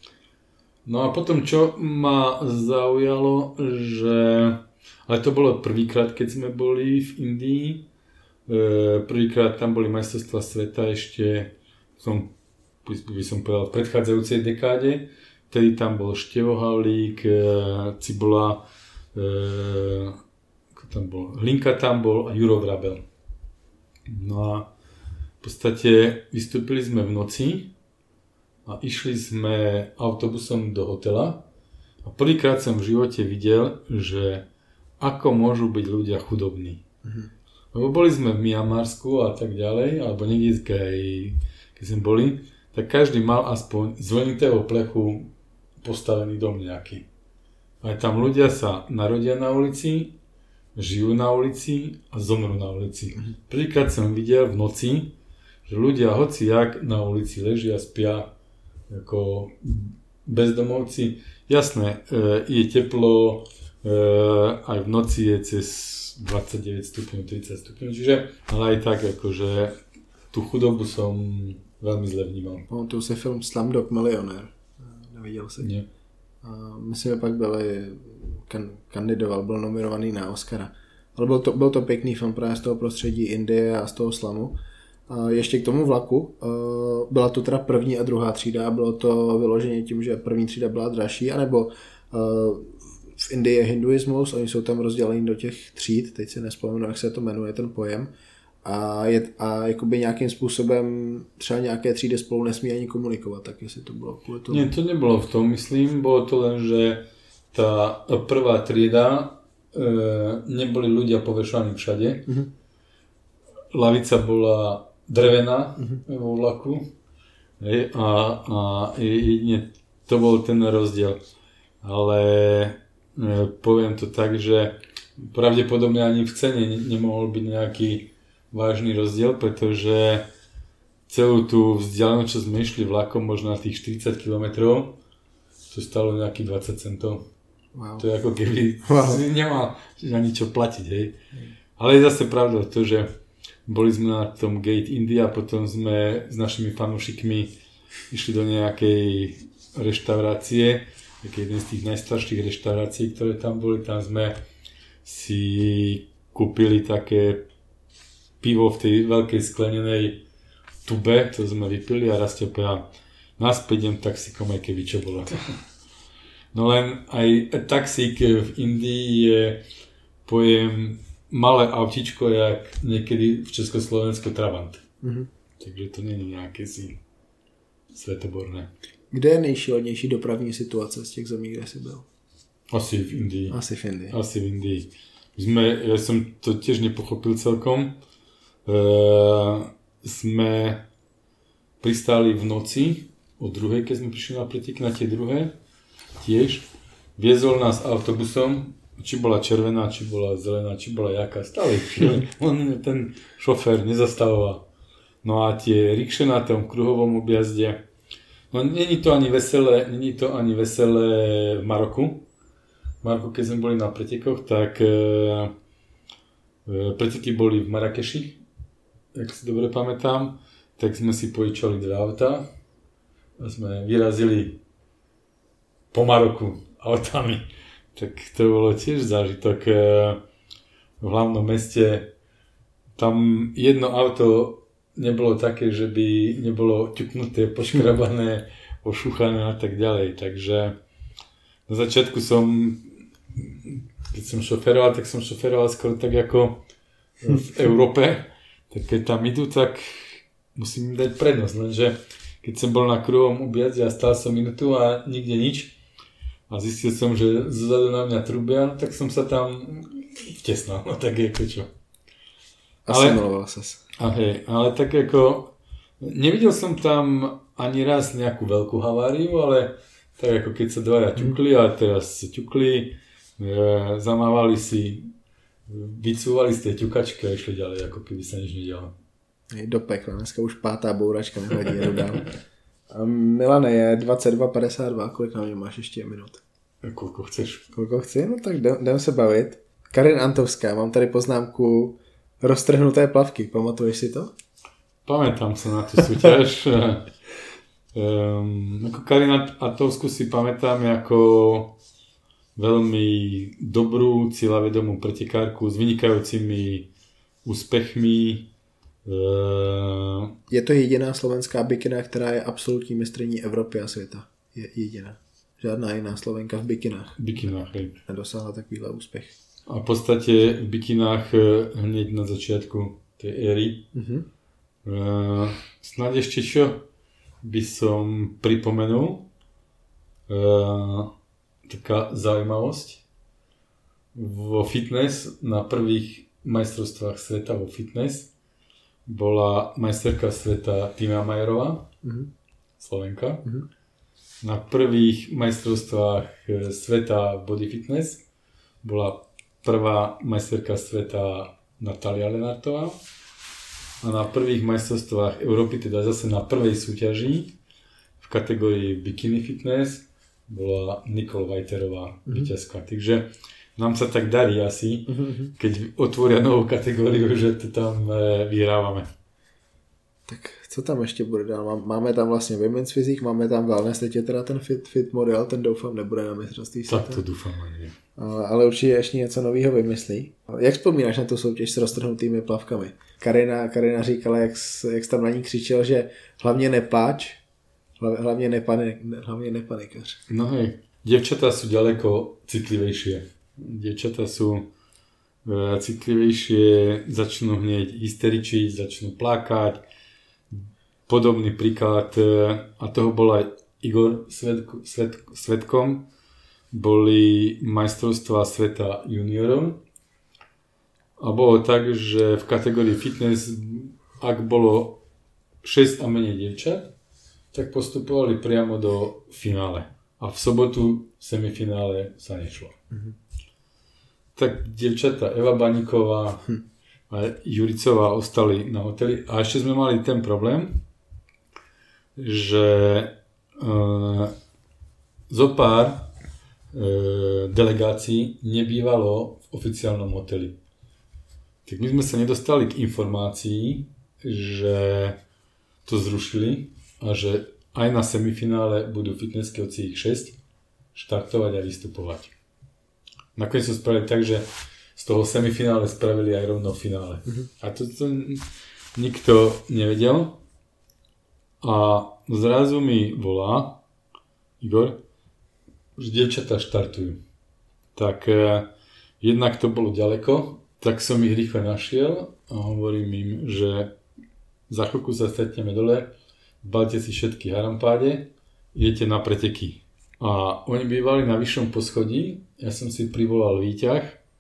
No a potom, čo ma zaujalo, že... Ale to bolo prvýkrát, keď sme boli v Indii. E, prvýkrát tam boli majstrovstvá sveta ešte, som, by som povedal, v predchádzajúcej dekáde. Vtedy tam bol Števo Havlík, e, Cibola, e, ako tam bol, Hlinka tam bol a Juro Vrabel. No a v podstate vystúpili sme v noci a išli sme autobusom do hotela a prvýkrát som v živote videl, že ako môžu byť ľudia chudobní. Mhm. Lebo boli sme v Mianmarsku a tak ďalej, alebo niekde, keď, keď sme boli, tak každý mal aspoň z vlnitého plechu postavený dom nejaký. Aj tam ľudia sa narodia na ulici, žijú na ulici a zomrú na ulici. Mhm. Prvýkrát som videl v noci, že ľudia hociak na ulici ležia, spia, ako bezdomovci. Jasné, je teplo, aj v noci je cez dvadsaťdeväť stupňov, tridsať stupňov, čiže, ale aj tak, akože tú chudobu som veľmi zle vnímal. Pamatuju si film Slumdog Millionaire, neviděl jsi? Nie. Myslím, že pak byli, kan, kandidoval, byl nominovaný na Oscara. Ale byl to, byl to pěkný film právě z toho prostředí Indie a z toho slamu. A ještě k tomu vlaku, byla to teda první a druhá třída, bylo to vyloženě tím, že první třída byla dražší, anebo v Indii je hinduismus, oni jsou tam rozděleni do těch tříd, teď si nespomenu, jak se to jmenuje ten pojem, a, je, a jakoby nějakým způsobem třeba nějaké třídy spolu nesmí ani komunikovat, tak jestli to bylo kvůli tomu. Nie, to nebylo v tom, myslím, bylo to len, že tá prvá trieda e, neboli ľudia povešovaní všade. Mm-hmm. Lavica bola drevená mm-hmm. vo vlaku hej, a, a jedine to bol ten rozdiel. Ale e, poviem to tak, že pravdepodobne ani v cene nemohol byť nejaký vážny rozdiel, pretože celú tú vzdialenú, čo sme išli vlakom, možno na tých štyridsať kilometrov, to stalo nejakých dvadsať centov. Wow. To je ako keby wow. si nemal ani čo platiť, hej. Ale je zase pravda to, že boli sme na tom Gate India, potom sme s našimi fanúšikmi išli do nejakej reštaurácie, taký jeden z tých najstarších reštaurácií, ktoré tam boli. Tam sme si kúpili také pivo v tej veľkej sklenenej tube, to sme vypili a Rastio povedal, naspäť idem taxíkom, aj keby čo bolo. No len aj taxík v Indii je pojem malé autičko, jak niekedy v Československu Trabant. Mm-hmm. Takže to není nejaké si svetoborné. Kde je nejšílenější dopravní situace z těch zemí, kde jsi byl? Asi v Indii. Asi v Indii. Asi v Indii. Sme, ja som to tiež nepochopil celkom. E, sme pristáli v noci o druhej, keď sme prišli na pretek, na tie druhé. Tiež. Viezol nás autobusom, či bola červená, či bola zelená, či bola jaká. Stále. On, ten šofér nezastavoval. No a tie rikše na tom kruhovom objazde, no není to ani veselé, není to ani veselé v Maroku. V Maroku, keď sme boli na pretekoch, tak e, e, preteky boli v Marrakeši, ak si dobre pamätám, tak sme si požičali dve autá a sme vyrazili po Maroku autami. Tak to bolo tiež zážitok. E, v hlavnom meste tam jedno auto nebolo také, že by nebolo ťuknuté, poškrabané, ošúchané a tak ďalej. Takže na začiatku som, keď som šoferoval, tak som šoferoval skoro tak ako v Európe. Tak keď tam idú, tak musím im dať prednosť. Lenže keď som bol na kruhovom objazde a stál som minútu a nikde nič a zistil som, že zozadu na mňa trúbia, tak som sa tam vtesnal. No tak ako čo. Asimiloval ses. Okay, ale tak ako nevidel som tam ani raz nejakú veľkú haváriu, ale tak ako keď sa dvaja ťukli a teraz ťukli, e, zamávali si, vycúvali z tej ťukačky a išli ďalej, ako keby sa nič nedialo. Do pekla, dneska už pátá bouračka nevadí, jedu dál. A Milane, je dvacet dva padesát dva, kolik na mě máš ještě minut? Koľko chceš? Koľko chci? No tak jdem se bavit. Karin Antovská, mám tady poznámku roztrhnuté plavky, pamatuješ si to? Pamätám sa na tú súťaž. um, ako Karina Antovskú si pamätám ako veľmi dobrú, cieľavedomú pretekárku s vynikajúcimi úspechmi. Uh, je to jediná slovenská bikina, která je absolutní mistryní Evropy a světa. Je jediná. Žádná jiná Slovenka v bikinách. Bikinách, hej. Nedosáhla takovýhle úspech. A v podstate v bikinách hneď na začiatku tej éry. Mm-hmm. Uh, snáď ešte čo by som pripomenul. Uh, taká zaujímavosť. Vo fitness, na prvých majstrovstvách sveta vo fitness bola majsterka sveta Tina Majerová, mm-hmm. Slovenka. Mm-hmm. Na prvých majstrovstvách sveta body fitness bola prvá majsterka sveta Natália Lenartová a na prvých majstrovstvách Európy, teda zase na prvej súťaži v kategórii bikini fitness bola Nicole Vajterová mm-hmm. víťazka. Takže nám sa tak darí asi, mm-hmm. keď otvoria novú kategóriu, že to tam e, vyhrávame. Tak co tam ještě bude dál? Máme tam vlastně women's fyzik, máme tam wellness, teď je teda ten fit, fit model, ten doufám nebude na mistrovství světa. Tak to doufám ani. Ale, ale určitě ještě něco nového vymyslí. Jak vzpomínáš na tu soutěž s roztrhnutými plavkami? Karina, Karina říkala, jak, jak jsi tam na ní křičel, že hlavně nepláč, hlavně, nepanik, hlavně nepanikař. No hej, dievčatá sú ďaleko citlivejšie. Dievčatá sú e, citlivejšie, začnú hneď hysteričiť, začnú plakať. Podobný príklad, e, a toho bol aj Igor svedk, svedk, svedkom, boli majstrovstvá sveta juniorov. A bolo tak, že v kategórii fitness, ak bolo šesť a menej dievčat, tak postupovali priamo do finále. A v sobotu v semifinále sa nešlo. Mm-hmm. Tak dievčatá Eva Baníková hm. a Juricová ostali na hoteli. A ešte sme mali ten problém, že uh, zopár uh, delegácií nebývalo v oficiálnom hoteli. Tak my sme sa nedostali k informácii, že to zrušili a že aj na semifinále budú fitnesskovci ich šesť štartovať a vystupovať. Nakoniec to spravili tak, že z toho semifinále spravili aj rovno finále. Mm-hmm. A to, to nikto nevedel. a zrazu mi volá Igor, že dievčatá štartujú. Tak e, jednak to bolo ďaleko, tak som ich rýchle našiel a hovorím im, že za chvíľku sa stretneme dole, balte si všetky harampáde, idete na preteky. A oni bývali na vyššom poschodí, ja som si privolal výťah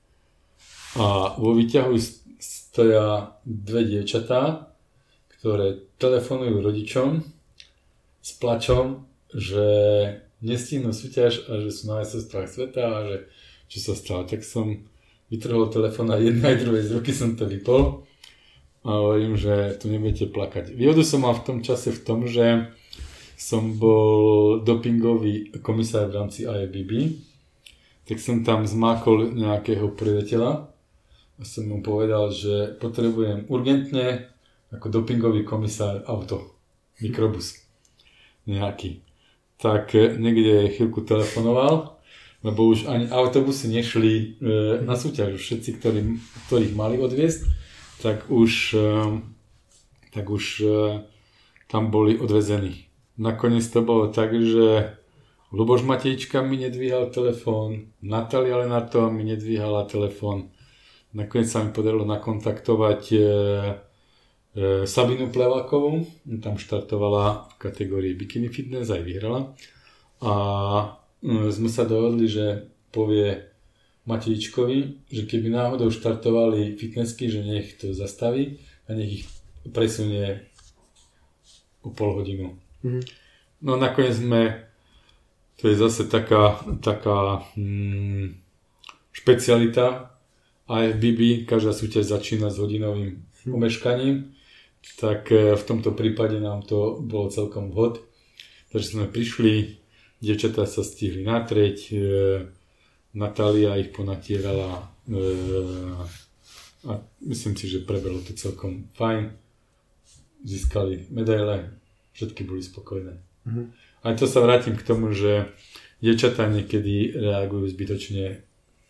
a vo výťahu stoja dve dievčatá, ktoré telefonujú rodičom s plačom, že nestihnú súťaž a že sú na majstrovstvách sveta a že čo sa stalo. Tak som vytrhol telefón a jednej aj druhej z ruky som to vypol a hovorím, že tu nebudete plakať. Výhodu som mal v tom čase v tom, že som bol dopingový komisár v rámci I F B B, tak som tam zmákol nejakého priateľa a som mu povedal, že potrebujem urgentne ako dopingový komisár auto, mikrobus nejaký. Tak niekde chvíľku telefonoval, lebo už ani autobusy nešli e, na súťaž. Všetci, ktorí, ktorých mali odviesť, tak už, e, tak už e, tam boli odvezení. Nakoniec to bolo tak, že Luboš Matejčka mi nedvíhal telefón, Natália Lenartová mi nedvíhala telefón. Nakoniec sa mi podarilo nakontaktovať e, e, Sabinu Plevákovú, tam štartovala v kategórii Bikini Fitness, aj vyhrala. A e, sme sa dohodli, že povie Matejčkovi, že keby náhodou štartovali fitnessky, že nech to zastaví a nech ich presunie o pol hodinu. Mm-hmm. No nakoniec sme, to je zase taká, taká hmm, špecialita I F B B, každá súťaž začína s hodinovým omeškaním, tak v tomto prípade nám to bolo celkom vhod. Takže sme prišli, dievčatá sa stihli natrieť, e, Natália ich ponatierala e, a myslím si, že prebehlo to celkom fajn. Získali medaile, všetky boli spokojné. Mm-hmm. Ale to sa vrátim k tomu, že dievčatá niekedy reagujú zbytočne e,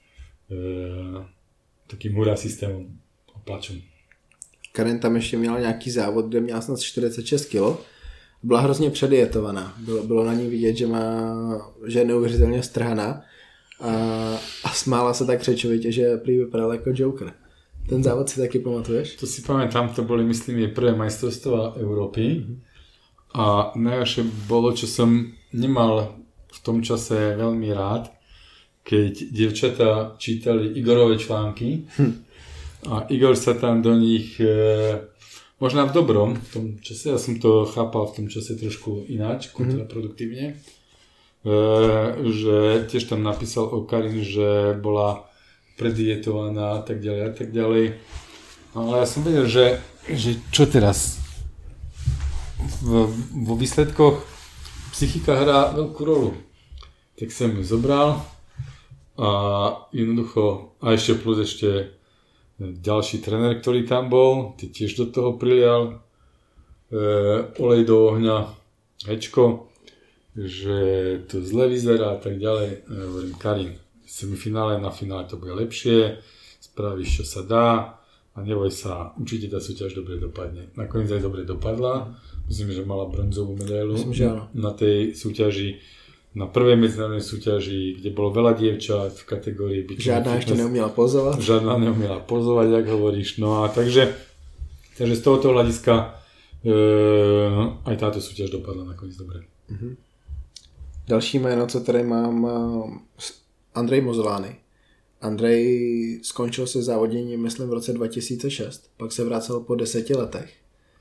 takým hurá systémom a plačom. Karen tam ještě měla nějaký závod, kde měla snad čtyřicet šest kilo. Byla hrozně předdietovaná. Bylo, bylo na ní vidět, že, má, že je neuvěřitelně strhaná a, a smála se tak křečovitě, že prý vypadala jako Joker. Ten závod si taky pamatuješ? To si pamätám, to boli, myslím, je prvé majstrovstvá Európy. Mm-hmm. A najhoršie bolo, čo som nemal v tom čase veľmi rád, keď dievčatá čítali Igorové články hm. a Igor sa tam do nich, e, možno v dobrom v tom čase, ja som to chápal v tom čase trošku ináč, kontraproduktívne, mm-hmm. e, že tiež tam napísal o Karin, že bola predietovaná a tak ďalej a tak ďalej. No, ale ja som vedel, že, že čo teraz? V, vo výsledkoch psychika hrá veľkú rolu. Tak som ju zobral a jednoducho, a ešte plus ešte ďalší tréner, ktorý tam bol, ty tiež do toho prilial e, olej do ohňa, hečko, že to zle vyzerá a tak ďalej. Ja hovorím, Karin, v semifinále, na finále to bude lepšie, spravíš, čo sa dá a neboj sa, určite tá súťaž dobre dopadne. Nakoniec aj dobre dopadla, myslím, že mala bronzovú medailu na tej súťaži, na prvej medzinárodnej súťaži, kde bolo veľa dievčat v kategórii bikini. Žiadna ešte neumiela pozovať. Žiadna neumiela pozovať, jak hovoríš. No a takže, takže z tohoto hľadiska e, aj táto súťaž dopadla nakoniec dobre. Mm-hmm. Další jméno, co tady mám, Andrej Mozolány. Andrej skončil se závoděním, myslím, v roce dva tisíce šest, pak se vracel po deseti letech.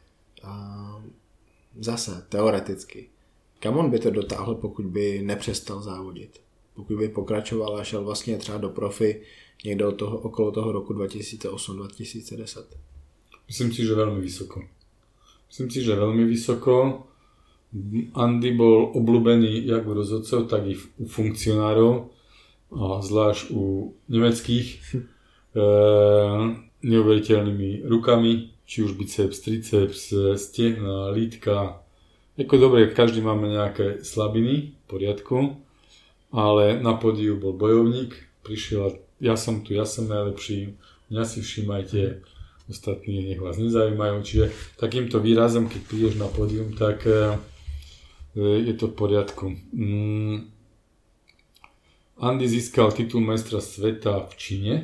A zase, teoreticky. Kam on by to dotáhl, pokud by nepřestal závodit? Pokud by pokračoval a šel vlastně třeba do profi někdo od toho, okolo toho roku dva tisíce osm dva tisíce deset? Myslím si, že veľmi vysoko. Myslím si, že veľmi vysoko. Andy bol obľúbený jak u rozhodcov, tak i u funkcionárov. A zvlášť u nemeckých e, neuveriteľnými rukami, či už biceps, triceps, stehna, lítka. Ako dobre, každý máme nejaké slabiny, v poriadku, ale na pódiu bol bojovník, prišiel a ja som tu, ja som najlepší, mňa si všímajte ostatní nech vás nezaujímajú. Čiže takýmto výrazom, keď prídeš na pódium, tak je to v poriadku. Andy získal titul majstra sveta v Číne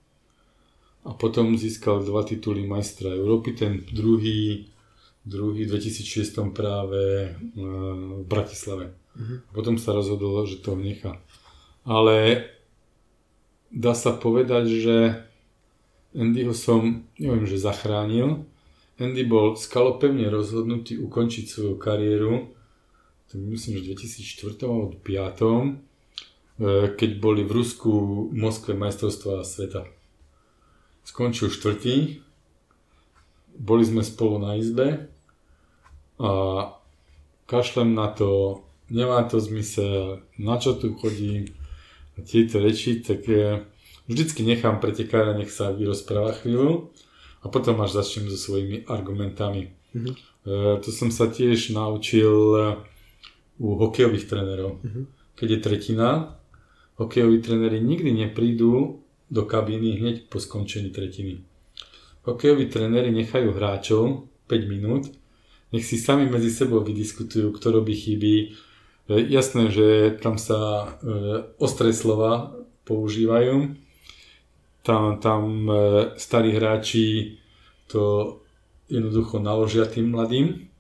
a potom získal dva tituly majstra Európy, ten druhý, druhý v dvetisícšesť práve v Bratislave. Uh-huh. Potom sa rozhodol, že to nechá. Ale dá sa povedať, že Andyho som, neviem, že zachránil. Andy bol skalopevne rozhodnutý ukončiť svoju kariéru, to myslím, že v dvetisícštyri alebo dvetisícpäť, keď boli v Rusku v Moskve majstrovstvá sveta. Skončil štvrtý, boli sme spolu na izbe a kašlem na to, nemá to zmysel, na čo tu chodím, a tieto reči, tak vždycky nechám pretekára, nech sa vyrozpráva chvíľu a potom až začnem so svojimi argumentami. Mm-hmm. E, to som sa tiež naučil u hokejových trénerov. Mm-hmm. Keď je tretina, hokejoví tréneri nikdy neprídu do kabíny hneď po skončení tretiny. Hokejoví tréneri nechajú hráčov päť minút, nech si sami medzi sebou vydiskutujú, kto robí chyby. E, jasné, že tam sa e, ostré slova používajú. Tam, tam e, starí hráči to jednoducho naložia tým mladým.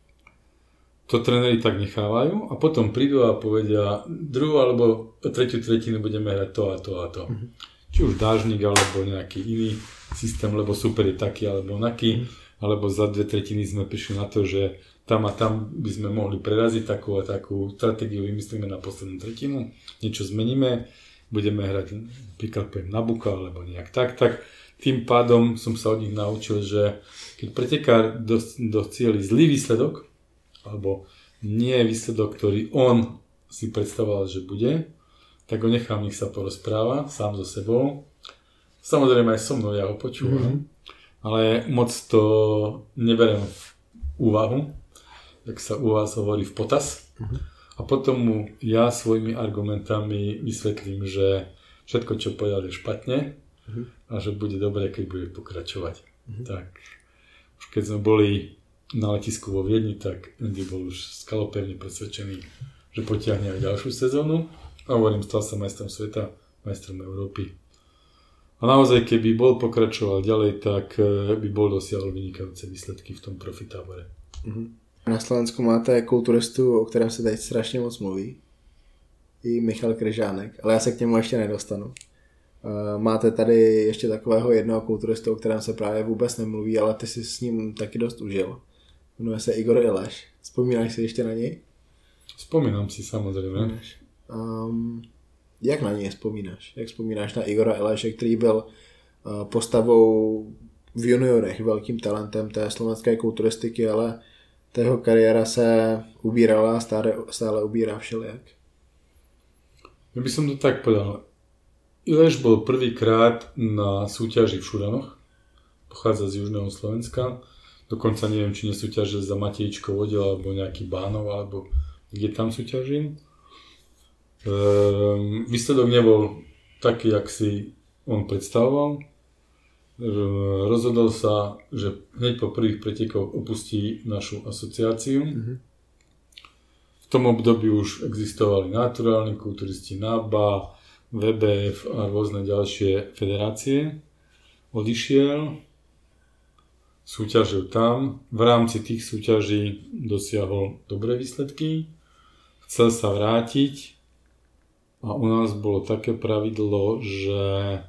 To tréneri tak nechávajú a potom prídu a povedia druhú alebo tretiu tretinu budeme hrať to a to a to. Mm-hmm. Či už dážnik alebo nejaký iný systém, lebo super je taký alebo onaký, mm-hmm. alebo za dve tretiny sme prišli na to, že tam a tam by sme mohli preraziť takú a takú stratégiu, vymyslíme na poslednú tretinu, niečo zmeníme, budeme hrať napríklad na buka alebo nejak tak, tak tým pádom som sa od nich naučil, že keď pretekár docieli zlý výsledok, alebo nie je výsledok, ktorý on si predstavoval, že bude, tak ho nechám, nech sa porozpráva sám so sebou. Samozrejme aj so mnou, ja ho počúvam, mm-hmm. ale moc to neberiem v úvahu, tak sa u vás hovorí v potaz. Mm-hmm. A potom mu ja svojimi argumentami vysvetlím, že všetko, čo povedal, je špatne uh-huh. a že bude dobré, keď bude pokračovať. Uh-huh. Tak už keď sme boli na letisku vo Viedni, tak Andy bol už skalopevne presvedčený, že potiahne aj ďalšiu sezónu. A hovorím, stal sa majstrom sveta, majstrom Európy. A naozaj, keby bol pokračoval ďalej, tak by bol dosiahol vynikajúce výsledky v tom profitábore. Uh-huh. Na Slovensku máte kulturistu, o kterém se teď strašně moc mluví. I Michal Kryžánek, ale já se k němu ještě nedostanu. Máte tady ještě takového jednoho kulturistu, o kterém se právě vůbec nemluví, ale ty si s ním taky dost užil. Jmenuje se Igor Ileš. Vzpomínáš si ještě na něj? Vzpomínám si samozřejmě. Um, jak na něj vzpomínáš? Jak vzpomínáš na Igora Ileše, který byl uh, postavou v juniorech, velkým talentem té slovenské kulturistiky, ale ta jeho kariéra se ubírala a stále, stále ubírá všelijak. Ja by som to tak povedal. Ileš bol prvýkrát na súťaži v Šuranoch. Pochádza z južného Slovenska. Dokonca neviem, či nesúťažil za Matejčkov oddiel alebo nejaký Bánov, alebo kde tam súťažil. Ehm, výsledok nebol taký, jak si on predstavoval. Rozhodol sa, že hneď po prvých pretekoch opustí našu asociáciu. Mm-hmm. V tom období už existovali naturálni kulturisti, NABA, vé bé ef a rôzne ďalšie federácie. Odišiel, súťažil tam, v rámci tých súťaží dosiahol dobré výsledky, chcel sa vrátiť a u nás bolo také pravidlo, že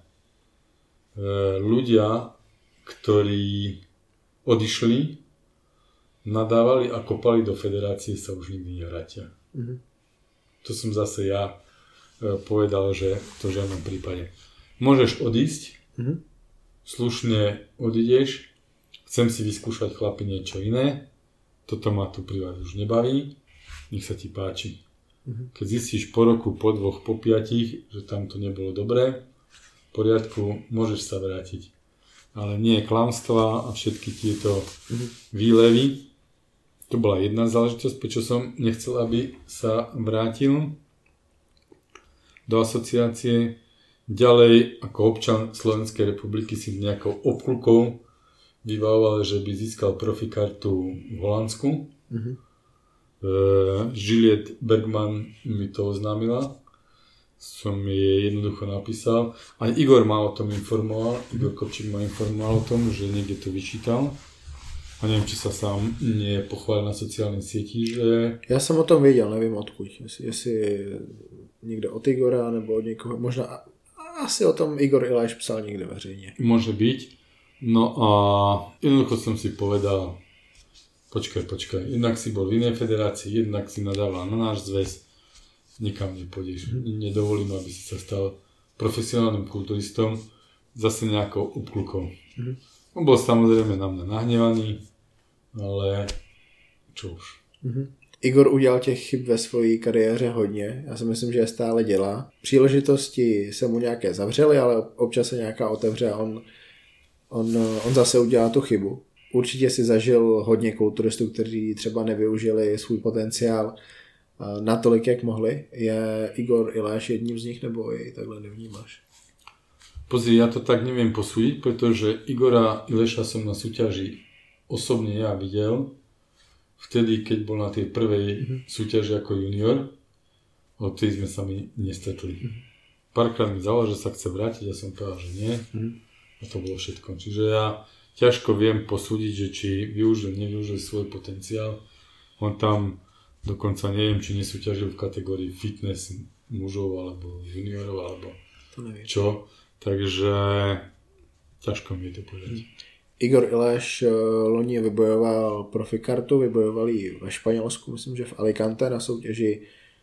ľudia, ktorí odišli, nadávali a kopali do federácie, sa už nikdy nevrátia. Mm-hmm. To som zase ja povedal, že to v žiadnom prípade. Môžeš odísť, mm-hmm. slušne odídeš, chcem si vyskúšať chlapi niečo iné, toto ma tu pri vás už nebaví, nech sa ti páči. Mm-hmm. Keď zistíš po roku, po dvoch, po piatich, že tam to nebolo dobré, v poriadku, môžeš sa vrátiť. Ale nie klamstvá a všetky tieto mm-hmm. výlevy. To bola jedna záležitosť, prečo som nechcel, aby sa vrátil do asociácie. Ďalej, ako občan Slovenskej republiky si nejakou obklukou vybavoval, že by získal profikartu v Holandsku. Mhm. Uh, Juliette Bergman mi to oznámila. Som jej jednoducho napísal. Aj Igor ma o tom informoval. Igor Kopčík ma informoval o tom, že niekde to vyčítal. A neviem, či sa sám nepochválil na sociálnej sieti, že... Já jsem o tom věděl, nevím odkud. Jestli, jestli někde od Igora, nebo od někoho. Možná asi o tom Igor Iláš psal někde veřejně. Môže byť. No a jednoducho som si povedal, počkaj, počkaj, jednak si bol v inej federácii, jednak si nadával na náš zväz, nikam nepôjdeš. Nedovolím, aby si sa stal profesionálnym kulturistom, zase nejakou obklukou. Mm-hmm. On bol samozrejme na mňa nahnevaný, ale čo už. Mm-hmm. Igor udělal těch chyb ve své kariéře hodně, já si myslím, že je stále dělá. Příležitosti se mu nějaké zavřely, ale občas se nějaká otevře a on, on, on zase udělá tu chybu. Určitě si zažil hodně kulturistů, kteří třeba nevyužili svůj potenciál natolik, jak mohli. Je Igor Iláš jedním z nich, nebo jej takhle nevnímáš? Pozri, ja to tak neviem posúdiť, pretože Igora Ileša som na súťaži osobne ja videl vtedy, keď bol na tej prvej mm-hmm. súťaži ako junior, odtedy sme sa mi nestretli. Mm-hmm. Párkrát mi zavolal, že sa chce vrátiť, ja som povedal, že nie. Mm-hmm. A to bolo všetko. Čiže ja ťažko viem posúdiť, že či využil, nevyužil svoj potenciál. On tam dokonca neviem, či nesúťažil v kategórii fitness mužov alebo juniorov alebo čo. Takže ťažko mi to povedať. Igor Iláš loni vybojoval profikartu, vybojoval ji ve Španělsku, myslím, že v Alicante na soutěži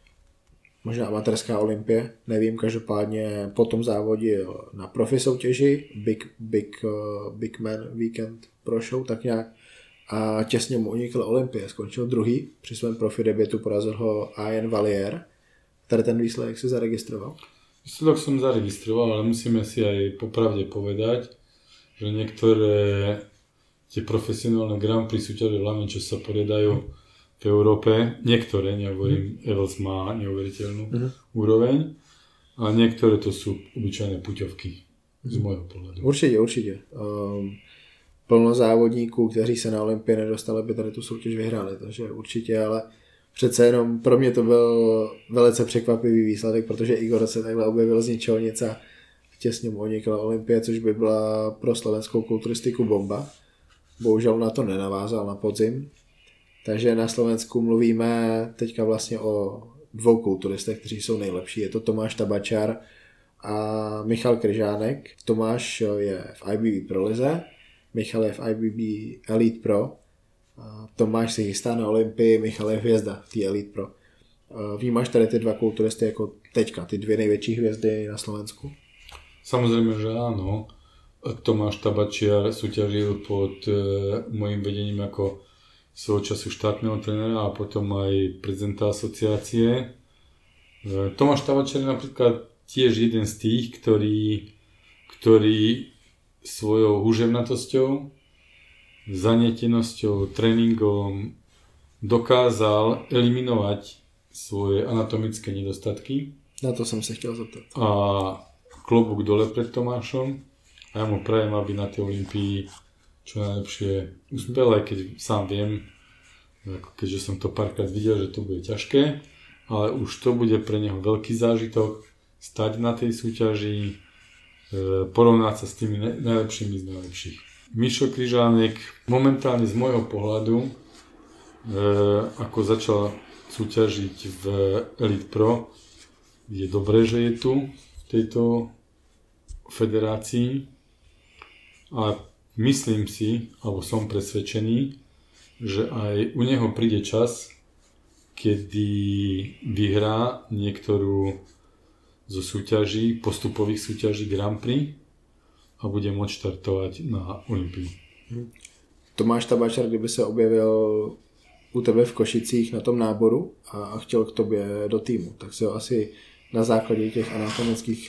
možná amatérská olympie, nevím, každopádně po tom závodil na profi soutěži Big, Big, Big Man Weekend Pro Show, tak nějak a těsně mu unikl olympie, skončil druhý, při svém profi debutu porazil ho Ian Valier. Tady ten výsledek si zaregistroval? Výsledok som zaregistroval, ale musíme si aj popravde povedať, že niektoré tie profesionálne Grand Prix súťaže, hlavne čo sa poriadajú v Európe, niektoré, nehovorím, mm. Evels má neuveriteľnú mm. úroveň, ale niektoré to sú obyčajné puťovky mm. z môjho pohľadu. Určitě, určitě. Um, plno závodníků, kteří se na Olympii nedostali, by tady tu soutěž vyhráli, takže určitě, ale přece jenom pro mě to byl velice překvapivý výsledek, protože Igor se takhle objevil z ničeho nic a těsně mu unikla Olympie, což by byla pro slovenskou kulturistiku bomba. Bohužel na to nenavázal na podzim. Takže na Slovensku mluvíme teďka vlastně o dvou kulturistech, kteří jsou nejlepší. Je to Tomáš Tabačar a Michal Kryžánek. Tomáš je v I B B Pro lize, Michal je v I B B Elite Pro. Tomáš se chystá na Olympii, Michal je hvězda v té Elite Pro. Vnímáš tady ty dva kulturisty jako teďka, ty dvě největší hvězdy na Slovensku? Samozrejme, že áno. Tomáš Tabačiar súťažil pod e, môjim vedením ako svojho času štátneho trénera a potom aj prezidenta asociácie. E, Tomáš Tabačiar je napríklad tiež jeden z tých, ktorý, ktorý svojou húževnatosťou, zanietenosťou, tréningom dokázal eliminovať svoje anatomické nedostatky. Na to som sa chtěl zeptat. A klobúk dole pred Tomášom a ja mu prajem, aby na tej Olympii čo najlepšie uspel, aj keď sám viem, keďže som to párkrát videl, že to bude ťažké, ale už to bude pre neho veľký zážitok stať na tej súťaži, porovnať sa s tými najlepšími z najlepších. Mišo Kryžánek momentálne z môjho pohľadu, ako začal súťažiť v Elite Pro, je dobré, že je tu v tejto federácii a myslím si, alebo som presvedčený, že aj u neho príde čas, kedy vyhrá niektorú zo súťaží, postupových súťaží Grand Prix a bude môcť štartovať na Olympii. Tomáš Tabačar, kdyby se objevil u tebe v Košicích na tom náboru a chtěl k tobě do týmu, tak si ho asi na základě těch anatomických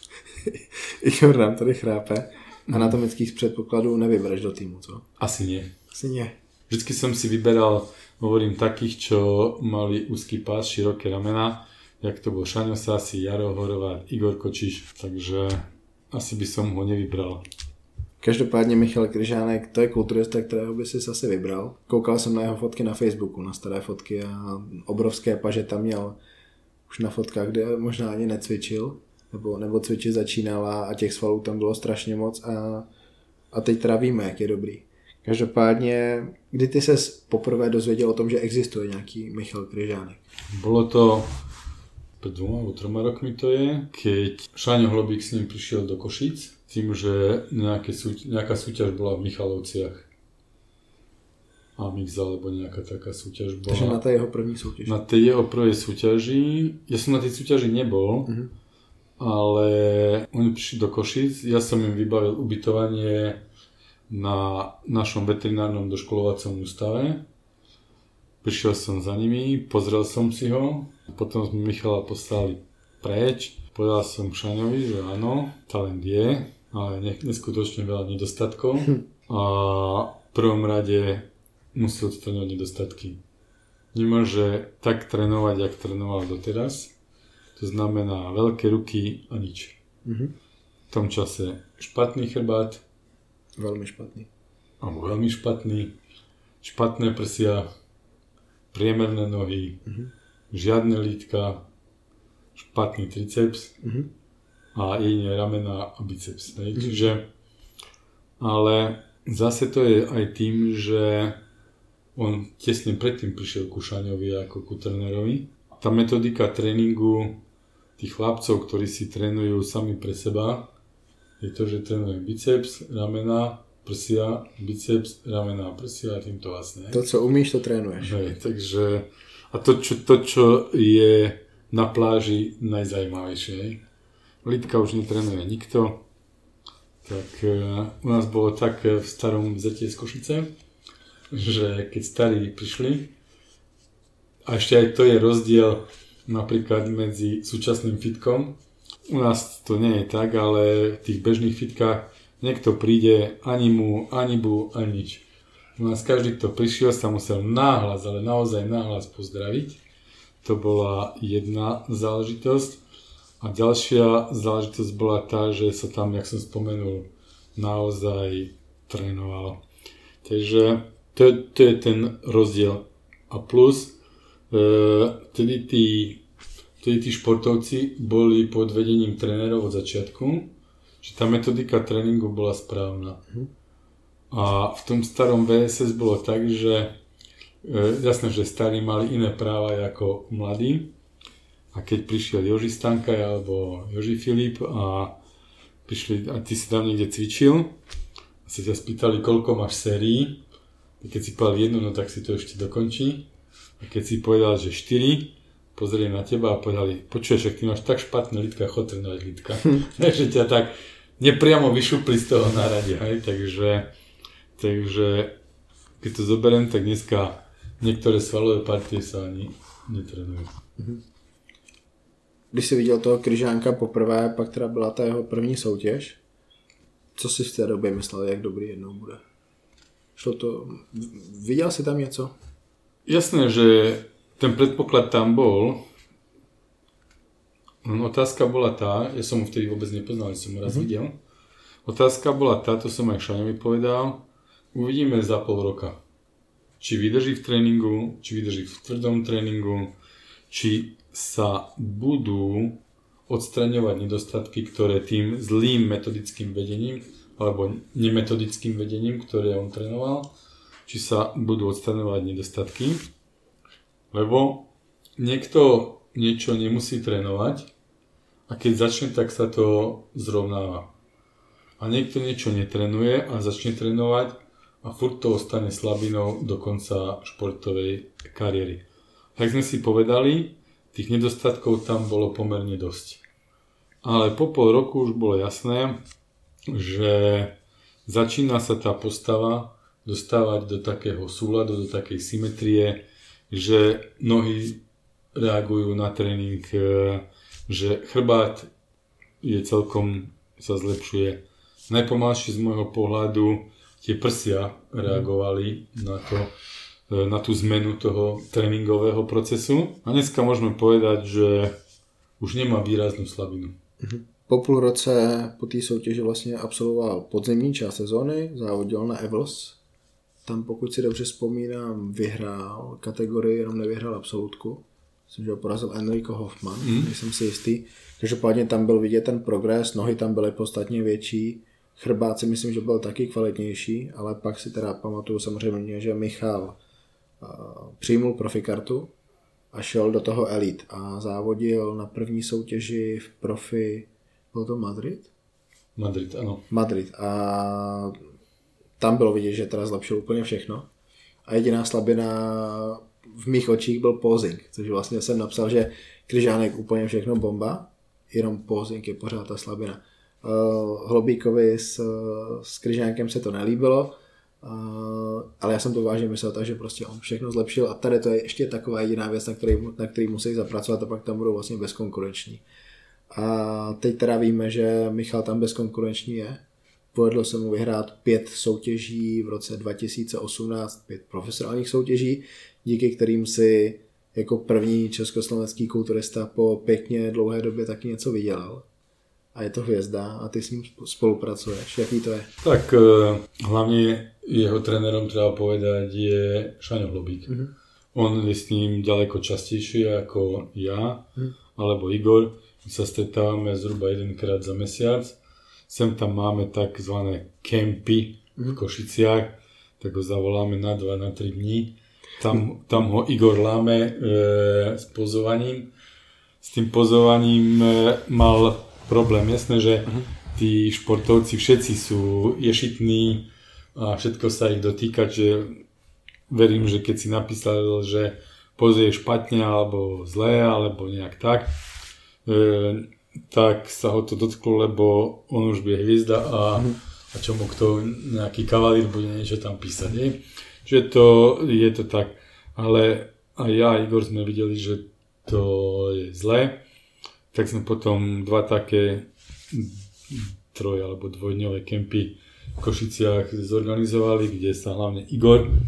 Igor nám tady chrápe. Anatomických předpokladů nevybereš do týmu, co? Asi nie. Asi nie. Vždycky som si vyberal, hovorím, takých, čo mali úzky pás, široké ramena, jak to bol Šaňo Sasi, Jaro Horváth, Igor Kočiš, takže asi by som ho nevybral. OK. Každopádně Michal Kryžánek, to je kulturista, kterého by si asi vybral. Koukal jsem na jeho fotky na Facebooku, na staré fotky a obrovské paže tam měl už na fotkách, kde možná ani necvičil, nebo, nebo cvičit začínal a, a těch svalů tam bylo strašně moc a, a teď teda víme, jak je dobrý. Každopádně, kdy ty ses poprvé dozvěděl o tom, že existuje nějaký Michal Kryžánek? Bolo to pred dvoma alebo troma rokmi to je, keď Šáňo Hlobík s ním prišiel do Košíc, tým, že nejaké súť, nejaká súťaž bola v Michalovciach. Amix alebo nejaká taká súťaž bola. Takže na tej jeho první súťaži. Na tej jeho prvej súťaži, ja som na tej súťaži nebol, uh-huh. ale oni prišli do Košíc, ja som im vybavil ubytovanie na našom veterinárnom doškolovacom ústave. Prišiel som za nimi, pozrel som si ho, potom sme Michala poslali preč. Povedal som Šaňovi, že áno, talent je, ale neskutočne veľa nedostatkov a v prvom rade musí odstraňovať nedostatky. Nemôže tak trénovať, jak trénoval doteraz. To znamená veľké ruky a nič. Mm-hmm. V tom čase špatný chrbát, Veľmi špatný. Alebo veľmi špatný. Špatné prsia, priemerné nohy, uh-huh. žiadne lítka, špatný triceps uh-huh. a jedine ramena a biceps. Uh-huh. Čiže, ale zase to je aj tým, že on tesne predtým prišiel ku Šaňovi ako ku trénerovi. Tá metodika tréningu tých chlapcov, ktorí si trénujú sami pre seba, je to, že trénuje biceps, ramena, prsia, biceps, ramena, prsia a týmto vlastne. To, co umíš, to trénuješ. Hej, takže a to čo, to, čo je na pláži najzajímavejšie. Lítka už netrénuje nikto. Tak uh, u nás bolo tak v starom Zete z Košice, že keď starí prišli, a ešte aj to je rozdiel napríklad medzi súčasným fitkom. U nás to nie je tak, ale v tých bežných fitkách niekto príde, ani mu, ani bu, ani nič. U nás každý, kto prišiel, sa musel náhlas, ale naozaj náhlas pozdraviť. To bola jedna záležitosť. A ďalšia záležitosť bola tá, že sa tam, jak som spomenul, naozaj trénovalo. Takže to, to je ten rozdiel. A plus, e, tedy tí Tedy tí športovci boli pod vedením trénerov od začiatku, že tá metodika tréningu bola správna. A v tom starom vé es es bolo tak, že e, jasné, že starí mali iné práva ako mladí. A keď prišiel Joži Stankaj alebo Joži Filip a prišli, a ty si tam niekde cvičil a sa ťa spýtali, koľko máš sérií, a keď si povedal jednu, no tak si to ešte dokončí. A keď si povedal, že štyri, pozreli na teba a povedali, počuješ, ak ty máš tak špatné lítka, chod trénovať lítka. Takže ťa tak nepriamo vyšupli z toho náradia. Hej? Takže, takže keď to zoberiem, tak dneska niektoré svalové partie sa ani netrénujú. Když jsi viděl toho Kryžánka poprvé, pak teda byla ta jeho první soutěž, co si v té době myslel, jak dobrý jednou bude? Šlo to... Viděl jsi tam něco? Jasné, že ten predpoklad tam bol. Otázka bola tá, ja som ho vtedy vôbec nepoznal, som ho raz mm-hmm. videl. Otázka bola tá, to som aj Šaňovi povedal, uvidíme za pol roka. Či vydrží v tréningu, či vydrží v tvrdom tréningu, či sa budú odstraňovať nedostatky, ktoré tým zlým metodickým vedením, alebo nemetodickým vedením, ktoré on trénoval, či sa budú odstraňovať nedostatky. Lebo niekto niečo nemusí trénovať a keď začne, tak sa to zrovnáva. A niekto niečo netrénuje a začne trénovať a furt to ostane slabinou do konca športovej kariéry. Tak sme si povedali, tých nedostatkov tam bolo pomerne dosť. Ale po pol roku už bolo jasné, že začína sa tá postava dostávať do takého súladu, do takej symetrie, že nohy reagujú na tréning, že chrbát je celkom, sa zlepšuje. Najpomalšie z môjho pohľadu tie prsia reagovali na, to, na tú zmenu toho tréningového procesu. A dneska môžeme povedať, že už nemá výraznú slabinu. Po půl roce po té soutěži vlastně absolvoval podzimní část sezóny, závodil na Evels. Tam, pokud si dobře vzpomínám, vyhrál kategorii, jenom nevyhrál absolutku. Myslím, že ho porazil Enrico Hoffman, mm. nejsem si jistý. Každopádně tam byl vidět ten progres, nohy tam byly podstatně větší, chrbát si myslím, že byl taky kvalitnější, ale pak si teda pamatuju samozřejmě, že Michal uh, přijmul profikartu a šel do toho Elite a závodil na první soutěži v profi, byl to Madrid? Madrid, ano. Madrid a tam bylo vidět, že teda zlepšil úplně všechno a jediná slabina v mých očích byl posing, což vlastně jsem napsal, že Kryžánek úplně všechno bomba, jenom posing je pořád ta slabina. Uh, Hlobíkovi s, s Kryžánkem se to nelíbilo, uh, ale já jsem to vážně myslel tak, že prostě on všechno zlepšil a tady to je ještě taková jediná věc, na který, na který musí zapracovat a pak tam budou vlastně bezkonkurenční. A teď teda víme, že Michal tam bezkonkurenční je. Povedlo se mu vyhrát pět soutěží v roce dva tisíce osmnáct, pět profesionálních soutěží, díky kterým si jako první československý kulturista po pěkně dlouhé době taky něco vydělal. A je to hvězda a ty s ním spolupracuješ. Jaký to je? Tak hlavne jeho trénerom treba povedať je Šaňo Hlobík. Mm-hmm. On je s ním ďaleko častejšie ako ja mm. alebo Igor. My sa stretávame zhruba jedenkrát za mesiac. Sem tam máme takzvané kempy v Košiciach, tak ho zavoláme na dva, na tri dní. Tam, tam ho Igor láme e, s pozovaním. S tým pozovaním e, mal problém. Jasné, že tí športovci všetci sú ješitní a všetko sa ich dotýka, že verím, že keď si napísal, že poze je špatne alebo zlé, alebo nejak tak, e, tak sa ho to dotklo, lebo on už bude hviezda a, a čo mu kto, nejaký kavalír bude niečo tam písať. Nie? Že to je to tak. Ale aj ja a Igor sme videli, že to je zlé. Tak sme potom dva také troj- alebo dvojdňové kempy v Košiciach zorganizovali, kde sa hlavne Igor e,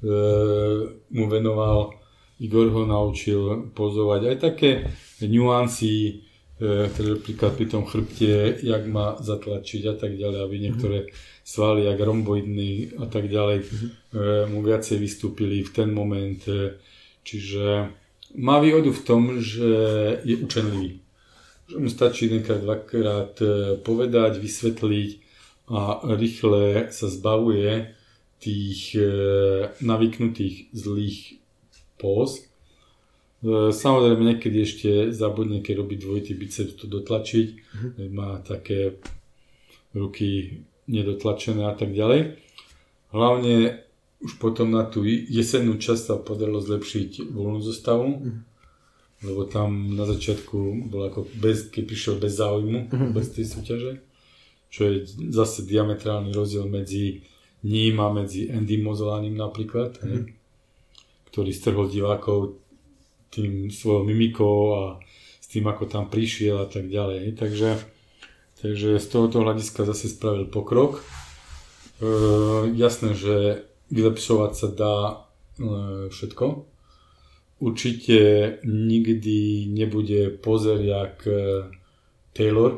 mu venoval. Igor ho naučil pozovať aj také nuancy, e, ktoré napríklad pri tom chrbte, jak má zatlačiť a tak ďalej, aby niektoré svaly, jak romboidný a tak ďalej, e, mu viacej vystúpili v ten moment. E, čiže má výhodu v tom, že je učenlivý. Že mu stačí jedenkrát, dvakrát povedať, vysvetliť a rýchle sa zbavuje tých e, navyknutých zlých póz. E, samozrejme niekedy ešte zabudne, keď robí dvojitý biceps, to dotlačiť. Mm-hmm. Má také ruky nedotlačené a tak ďalej. Hlavne už potom na tú jesennú časť sa podarilo zlepšiť voľnú zostavu. Mm-hmm. Lebo tam na začiatku bol ako bez, keď prišiel bez záujmu, mm-hmm. bez tej súťaže, čo je zase diametrálny rozdiel medzi ním a medzi Andy Mozolánim napríklad, mm-hmm. ktorý strhol divákov tým svojou mimikou a s tým, ako tam prišiel a tak ďalej. Takže, takže z tohoto hľadiska zase spravil pokrok. E, jasné, že vylepšovať sa dá e, všetko. Určite nikdy nebude pozer jak Taylor,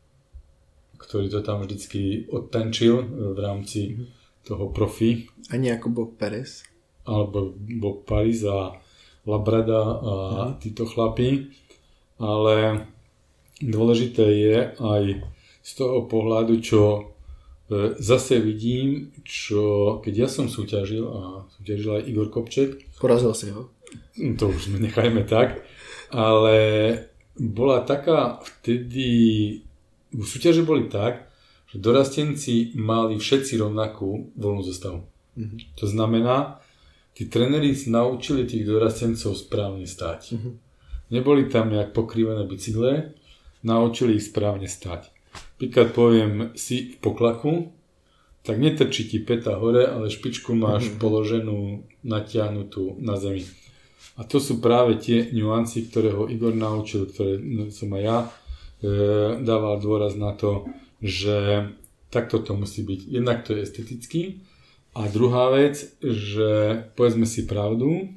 ktorý to tam vždycky odtančil v rámci toho profi. Ani ako Bob Paris. Alebo Bob Paris a Labrada a uh-huh. títo chlapí. Ale dôležité je aj z toho pohľadu, čo zase vidím, čo keď ja som súťažil a súťažil aj Igor Kopček. Porazil si ho. To už nechajme tak, ale bola taká vtedy, v súťaže boli tak, že dorastenci mali všetci rovnakú voľnú zostavu. Mm-hmm. To znamená, tí tréneri naučili tých dorastencov správne stáť. Mm-hmm. Neboli tam jak pokrývané bicykle, naučili ich správne stáť. Príklad poviem, si v poklaku, tak netrčí ti päta hore, ale špičku máš mm-hmm. položenú, natiahnutú na zemi. A to sú práve tie nuancy, ktoré ho Igor naučil, ktoré som aj ja e, dával dôraz na to, že takto to musí byť. Jednak to je estetický a druhá vec, že povedzme si pravdu,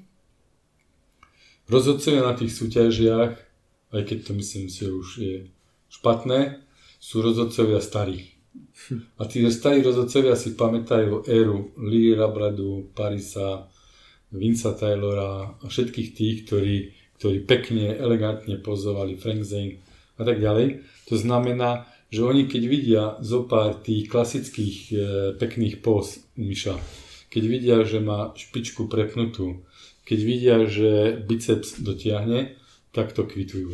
rozhodcovia na tých súťažiach, aj keď to myslím si už je špatné, sú rozhodcovia starí. A tí starí rozhodcovia si pamätajú éru Lee Labradu, Parisa, Vinca Taylora a všetkých tých, ktorí, ktorí pekne, elegantne pozovali, Frank Zane a tak ďalej. To znamená, že oni keď vidia zo pár tých klasických e, pekných póz u Miša, keď vidia, že má špičku prepnutú, keď vidia, že biceps dotiahne, tak to kvitujú.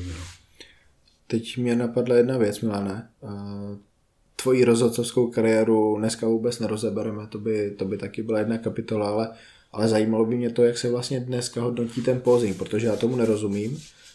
Teď mě napadla jedna věc, Milane. Tvoji rozhodcovskou kariéru dneska vůbec nerozebereme, to by, to by taky byla jedna kapitola, ale, ale zajímalo by mě to, jak se vlastně dneska hodnotí ten posing, protože já tomu nerozumím.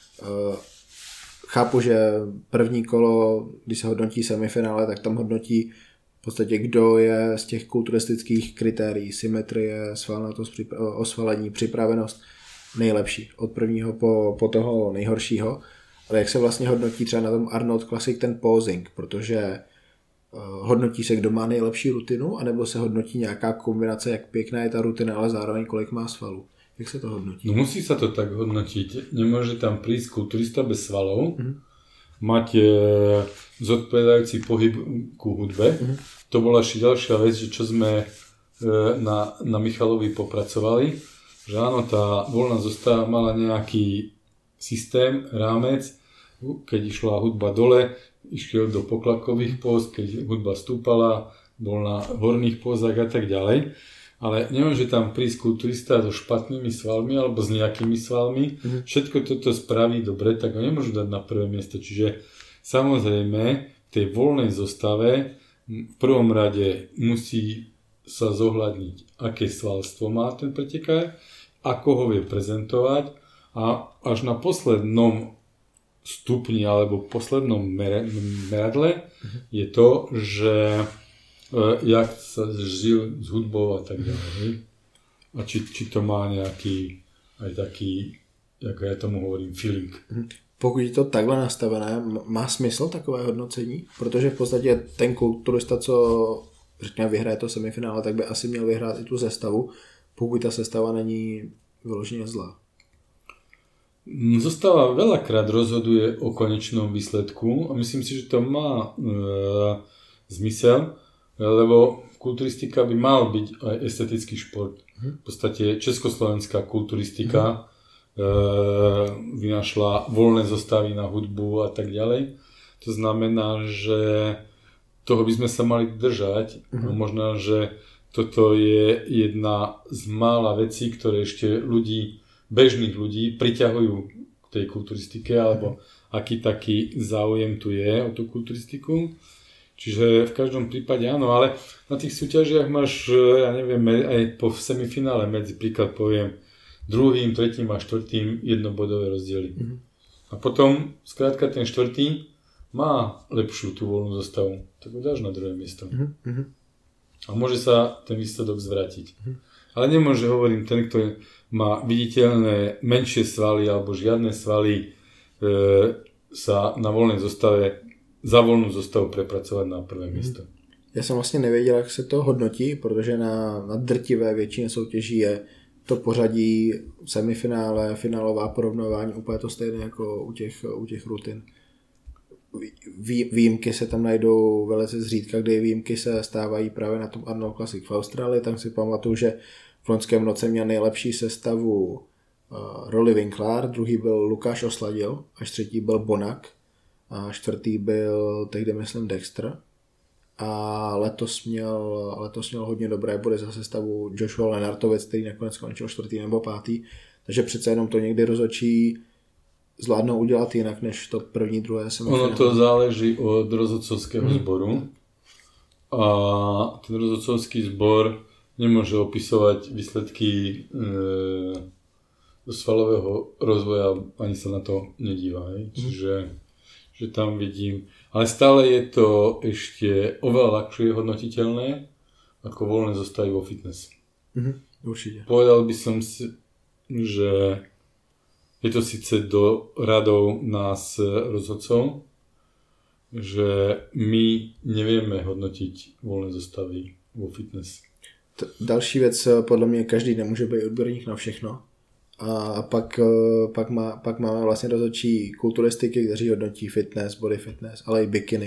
Chápu, že první kolo, když se hodnotí semifinále, tak tam hodnotí v podstatě, kdo je z těch kulturistických kritérií, symetrie, svalnatost, osvalení, připravenost nejlepší. Od prvního po, po toho nejhoršího. Ale jak se vlastně hodnotí třeba na tom Arnold Classic ten posing, protože uh, hodnotí se, kdo má nejlepší rutinu, anebo se hodnotí nějaká kombinace, jak pěkná je ta rutina, ale zároveň kolik má svalů. Jak se to hodnotí? No musí sa to tak hodnotiť. Nemôže tam prísť kulturista bez svalov, mm-hmm. mať e, zodpovedajúci pohyb ku hudbe. Mm-hmm. To bola ešte ďalšia vec, že čo sme e, na, na Michalovi popracovali, že áno, tá voľná zostava mala nejaký systém, rámec, keď išla hudba dole, išiel do poklakových póz, keď hudba stúpala, bol na horných pózach a tak ďalej. Ale nemôže tam prísť kulturista so špatnými svalmi alebo s nejakými svalmi. Mm-hmm. Všetko toto spraví dobre, tak ho nemôžu dať na prvé miesto. Čiže samozrejme v tej voľnej zostave v prvom rade musí sa zohľadniť, aké svalstvo má ten pretekár, ako ho vie prezentovať a až na poslednom stupni alebo poslednom meradle mm-hmm. je to, že jak sa žil s hudbou a tak ďalej. A či, či to má nejaký aj taký, jak ja tomu hovorím, feeling. Pokud je to takhle nastavené, má smysl takové hodnocení? Protože v podstatě ten kulturista, co řekněme vyhraje to semifinále, tak by asi měl vyhrát i tu sestavu, pokud ta sestava není vyloženě zlá. Zostava veľakrát rozhoduje o konečnom výsledku a myslím si, že to má e, zmysel, lebo kulturistika by mal byť aj estetický šport. V podstate československá kulturistika mm. e, vynašla voľné zostavy na hudbu a tak ďalej. To znamená, že toho by sme sa mali držať. Mm. Možno, že toto je jedna z mála vecí, ktoré ešte ľudí, bežných ľudí priťahujú k tej kulturistike, alebo aký taký záujem tu je o tú kulturistiku. Čiže v každom prípade áno, ale na tých súťažiach máš, ja neviem, aj po semifinále medzi, príklad poviem, druhým, tretím a štvrtým jednobodové rozdiely. Mm-hmm. A potom, skrátka ten štvrtý má lepšiu tú voľnú zostavu, tak ho dáš na druhé miesto. Mm-hmm. A môže sa ten výsledok zvrátiť. Mm-hmm. Ale nemôže, hovorím, ten, kto má viditeľné menšie svaly alebo žiadne svaly, e, sa na voľnej zostave za volnou zostavu prepracovat na prvé místo. Já jsem vlastně nevěděl, jak se to hodnotí, protože na, na drtivé většině soutěží je to pořadí semifinále, finálová porovnávání úplně to stejné jako u těch, u těch rutin. Vý, výjimky se tam najdou velice zřídka, kdy výjimky se stávají právě na tom Arnold Classic v Austrálii. Tam si pamatuju, že v loňském roce měl nejlepší sestavu uh, Rolly Winkler, druhý byl Lukáš Osladil, až třetí byl Bonak. A čtvrtý byl tehdy, myslím, Dexter. A letos měl, letos měl hodně dobré body za sestavu Joshua Lenartovec, který nakonec skončil čtvrtý nebo pátý. Takže přece jenom to někdy rozhodčí zvládnou udělat jinak, než to první, druhé semifinále. Ono to záleží od rozhodcovského hmm. zboru. A ten rozhodcovský zbor nemôže opisovať výsledky e, svalového rozvoja, ani sa na to nedíva. Hmm. Čiže že tam vidím, ale stále je to ešte oveľa ľahšie hodnotiteľné ako voľné zostavy vo fitness. Mhm, určite. Povedal by som si, že je to síce do radov nás rozhodcov, že my nevieme hodnotiť voľné zostavy vo fitness. T- další věc, podle mě každý nemůže být odborník na všechno. A pak, pak, má, pak máme vlastně rozhodčí kulturistiky, kteří hodnotí fitness, body fitness, ale i bikiny.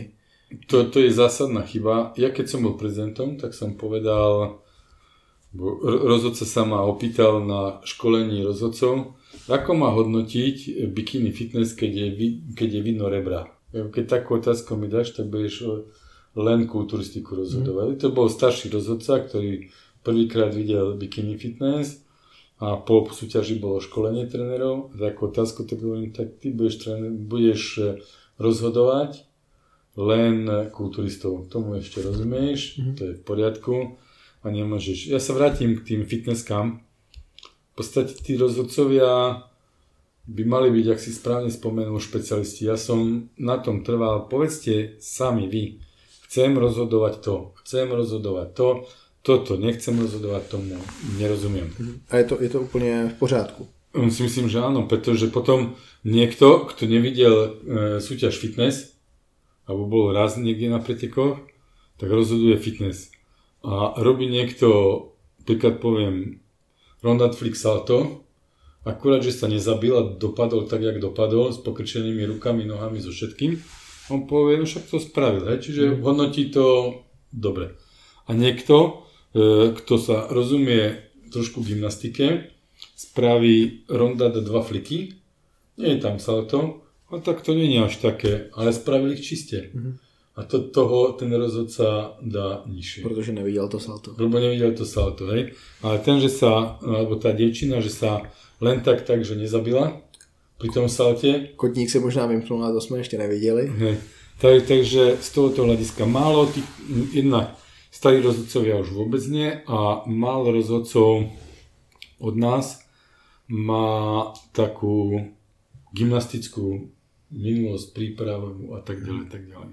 To, to je zásadná chyba. Ja keď som bol prezidentom, tak som povedal, bo rozhodca sa ma opýtal na školení rozhodcov, ako má hodnotiť bikini fitness, keď je, keď je vidno rebra. Keď takú otázku mi dáš, tak budeš len kulturistiku rozhodovať. Mm. To bol starší rozhodca, ktorý prvýkrát videl bikini fitness a po súťaži bolo školenie trénerov. Takú otázku tak hovorím, tak ty budeš, tréner, budeš rozhodovať len kulturistov. Tomu ešte rozumieš, mm. to je v poriadku a nemôžeš. Ja sa vrátim k tým fitnesskám. V podstate tí rozhodcovia by mali byť, ak si správne spomenul, špecialisti. Ja som na tom trval, povedzte sami vy, chcem rozhodovať to, chcem rozhodovať to, toto, nechcem rozhodovať tomu, nerozumiem. A je to, je to úplne v pořádku? Si myslím, že áno, pretože potom niekto, kto nevidel e, súťaž fitness, alebo bol raz niekde na pretekoch, tak rozhoduje fitness. A robí niekto, príklad poviem, Ronda Flick salto, akurát, že sa nezabil a dopadol tak, jak dopadol, s pokrčenými rukami, nohami, so všetkým, on povie, no však to spravil, hej? Čiže hodnotí to dobre. A niekto, e, kto sa rozumie trošku gymnastike, spraví Ronda dá dva fliky, nie je tam salto, a tak to nie je až také, ale spravili ich čiste. Mm-hmm. A to, toho ten rozhodca dá nižšie. Protože nevidel to salto. Lebo nevidel to salto, hej. Ale ten, že sa, alebo tá dievčina, že sa len tak tak, že nezabila pri tom salte. Kotník se možná vymknul, a to jsme ještě neviděli. Hej. Tak, takže z tohoto hľadiska málo tých, jednak starí rozhodcovia už vôbec nie a málo rozhodcov od nás má takú gymnastickú minulosť, prípravu a tak ďalej, tak ďalej.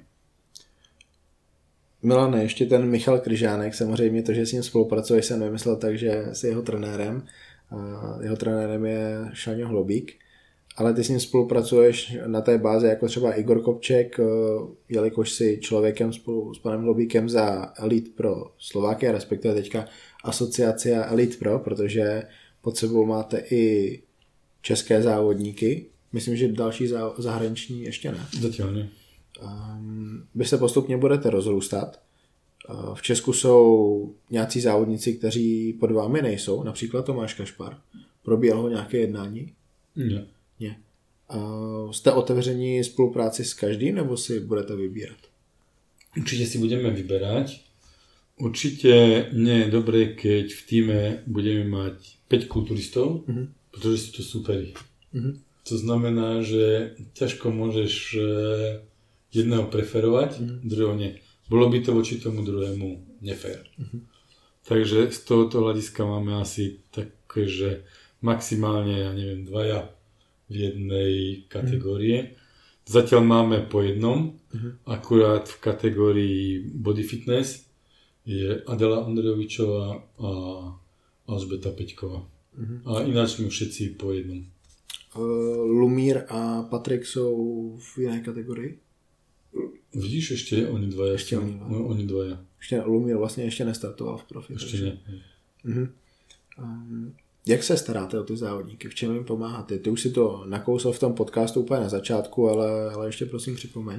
Milane, ještě ten Michal Kryžánek, samozřejmě to, že s ním spolupracuješ, jsem nemyslel tak, že jsi jeho trenérem. Jeho trenérem je Šaňo Hlobík, ale ty s ním spolupracuješ na té báze jako třeba Igor Kopček, jelikož si člověkem spolu s panem Hlobíkem za Elite Pro Slovákia, respektive teďka Asociacia Elite Pro, protože pod sebou máte i české závodníky. Myslím, že další zahraniční ještě ne. Zatiaľ ne. Um, vy se postupně budete rozrůstat. Uh, v Česku jsou nějací závodníci, kteří pod vámi nejsou, například Tomáš Kašpar. Probíhalo nějaké jednání? Ne. Ne. Uh, jste otevření spolupráci s každým, nebo si budete vybírat? Určite si budeme vyberať. Určite nie je dobré, keď v týme budeme mať päť kulturistov, uh-huh. pretože sú to superi. Uh-huh. To znamená, že ťažko môžeš jedného preferovať, uh-huh. druhého nie. Bolo by to voči tomu druhému nefér. Uh-huh. Takže z tohoto hľadiska máme asi také, že maximálne, ja neviem, dvaja v jednej kategórie. Uh-huh. Zatiaľ máme po jednom, uh-huh. akurát v kategórii body fitness je Adela Ondrejovičová a Alžbeta Peťková. Uh-huh. A ináč my všetci po jednom. Uh, Lumír a Patrik jsou v jiné kategorii? Vidíš, ešte oni dvaja. Ešte oni dvaja. Oni dvaja. Ešte Lumír vlastne ešte nestartoval v profi. Ešte nie. Uh-huh. Um, jak se staráte o ty závodníky? V čem jim pomáháte? Ty už si to nakousal v tom podcastu úplně na začátku, ale, ale ještě prosím připomeň.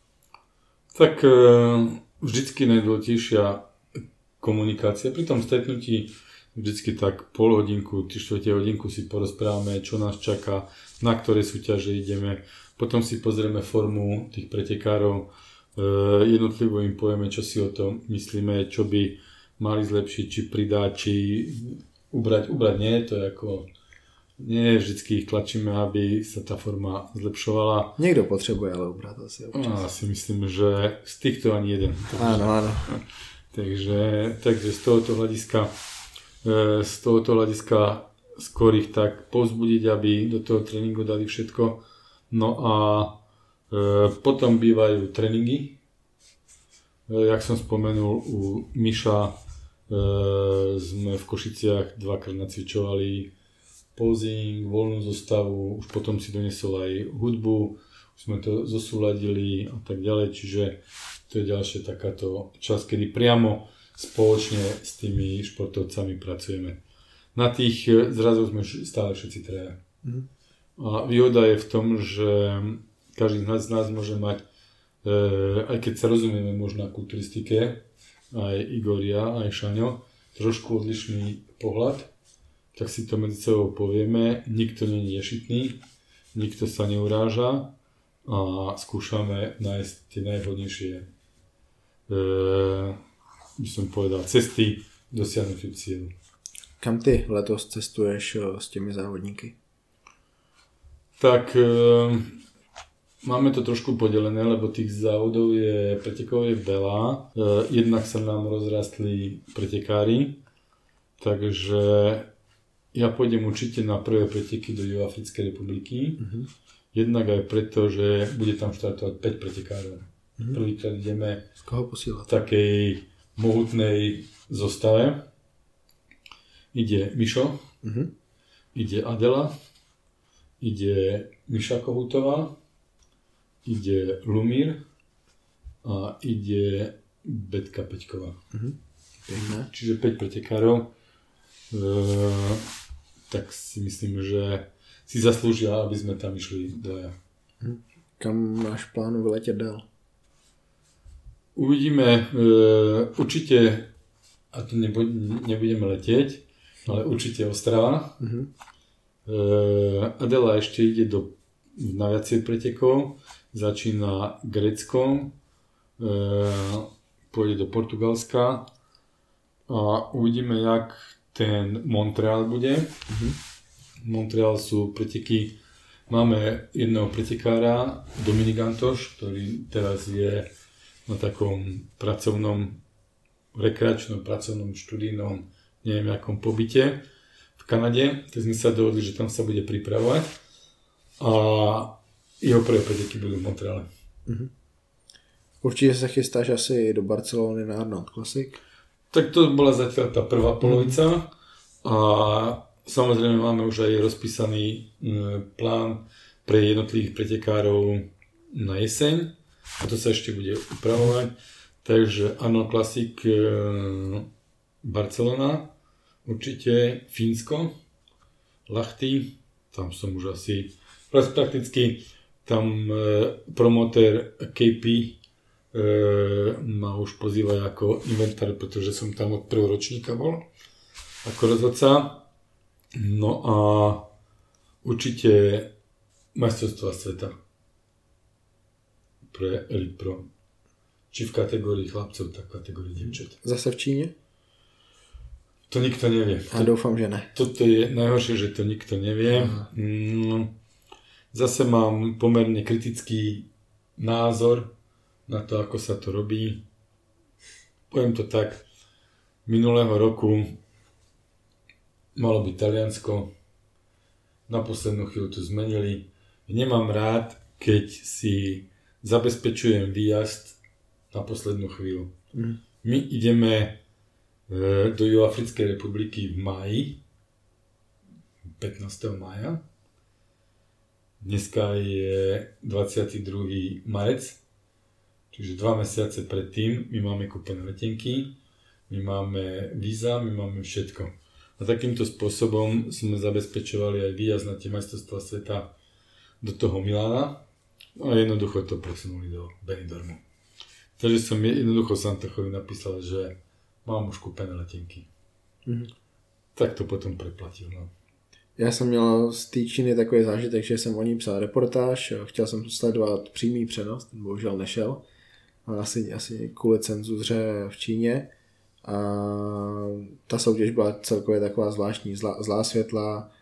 Tak vždycky najdôležitejšia komunikácia. Pri tom stretnutí vždycky tak pol hodinku, tri štvrte hodinku si porozprávame, čo nás čaká, na ktoré súťaže ideme. Potom si pozrieme formu tých pretekárov, jednotlivo im povieme, čo si o tom myslíme, čo by mali zlepšiť, či pridať, či ubrať. Ubrať nie, to je ako... Nie vždycky ich tlačíme, aby sa tá forma zlepšovala. Niekto potrebuje ale ubrať asi občas. Ja si myslím, že z týchto ani jeden. Áno, áno. Takže, takže z tohoto hľadiska z tohoto hľadiska skôr ich tak povzbudiť, aby do toho tréningu dali všetko. No a e, potom bývajú tréningy. E, jak som spomenul, u Miša e, sme v Košiciach dvakrát nacvičovali posing, voľnú zostavu, už potom si donesol aj hudbu, už sme to zosúladili a tak ďalej, čiže to je ďalšia takáto časť, kedy priamo spoločne s tými športovcami pracujeme. Na tých zrazoch sme stále všetci traja. Mm. A výhoda je v tom, že každý z nás môže mať aj keď sa rozumieme možno na kulturistike, aj Igoria, aj Šaňo, trošku odlišný pohľad, tak si to medzi sebou povieme, nikto nie je ješitný, nikto sa neuráža a skúšame nájsť tie najvhodnejšie, e, by som povedal, cesty dosiahnutiu cieľu. Kam ty letos cestuješ s těmi závodníky? Tak e, máme to trošku podelené, lebo tých závodov je, pretekov je veľa. E, jednak sa nám rozrastli pretekári, takže ja pôjdem určite na prvé preteky do Juhoafrickej republiky. Uh-huh. Jednak aj preto, že bude tam štartovať päť pretekárov. Uh-huh. Prvýkrát ideme z koho posílať? V takej mohutnej zostave. Ide Mišo, uh-huh. ide Adela, ide Miša Kohutová, ide Lumír a ide Betka Peťková. Uh-huh. Čiže päť pretekárov. E, tak si myslím, že si zaslúžia, aby sme tam išli dvaja. Uh-huh. Kam máš plánu vyletět dál? Uvidíme. E, určite, a to nebudeme letieť, ale určite Ostrava. Uh-huh. E, Adela ešte ide do, na viacej pretekov. Začína Gréckom, e, pôjde do Portugalska a uvidíme, jak ten Montreal bude. Uh-huh. Montreal sú preteky, máme jedného pretekára, Dominik Antoš, ktorý teraz je na takom pracovnom, rekreačnom, pracovnom, študijnom, neviem akom pobyte v Kanade, tak sme sa dohodli, že tam sa bude pripravovať a jeho prvé preteky budú v Montreale. Uh-huh. Určite sa chystáš asi do Barcelony na Arnold Classic? Tak to bola zatiaľ tá prvá polovica a samozrejme máme už aj rozpísaný plán pre jednotlivých pretekárov na jeseň a to sa ešte bude upravovať. Takže Arnold Classic Barcelona, určite Fínsko, Lahti, tam som už asi prakticky tam e, promotér ká pé e, ma už pozýva ako inventár, pretože som tam od prvého ročníka bol ako rozhodca. No a určite majstrovstvá sveta pre Elite Pro. Či v kategórii chlapcov, tak v kategórii dievčat. Zase v Číne? To nikto nevie. A doufám, že ne. Toto je najhoršie, že to nikto nevie. Mm, zase mám pomerne kritický názor na to, ako sa to robí. Poviem to tak, minulého roku malo byť Taliansko, na poslednú chvíľu to zmenili. Nemám rád, keď si zabezpečujem výjazd na poslednú chvíľu. Mm. My ideme e, do Juhoafrickej republiky v máji, pätnásteho mája. Dneska je dvadsiateho druhého marec, čiže dva mesiace predtým my máme kúpené letenky, my máme víza, my máme všetko. A takýmto spôsobom sme zabezpečovali aj výjazd na tie majstrovstvá sveta do toho Milána a jednoducho to presunuli do Benidormu. Takže som jednoducho Santachovi napísal, že mám už kúpené letenky. Mm-hmm. Tak to potom preplatil. No. Já jsem měl z té Číny takový zážitek, že jsem o ní psal reportáž, chtěl jsem sledovat přímý přenos, ten bohužel nešel, asi, asi kvůli cenzuře v Číně. A ta soutěž byla celkově taková zvláštní, zlá, zlá světla,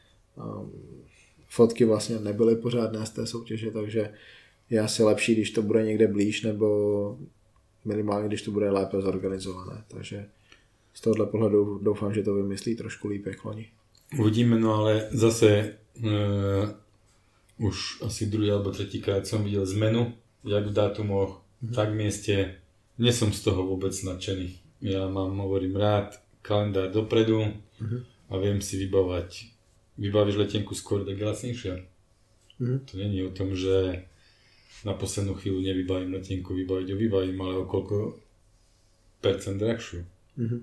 fotky vlastně nebyly pořádné z té soutěže, takže je asi lepší, když to bude někde blíž, nebo minimálně, když to bude lépe zorganizované. Takže z tohohle pohledu doufám, že to vymyslí trošku líp jak loni. Uvidíme, no ale zase uh, už asi druhý alebo tretíkrát som videl zmenu, jak v dátumoch, mm-hmm. tak v mieste. Nie som z toho vôbec nadšený. Ja mám, hovorím, rád kalendár dopredu mm-hmm. a viem si vybavať. Vybavíš letenku skôr, tak je lacnejšia. Mm-hmm. To nie je o tom, že na poslednú chvíľu nevybavím letenku, vybaviť ho vybavím, ale o koľko percent drahšiu. Mm-hmm.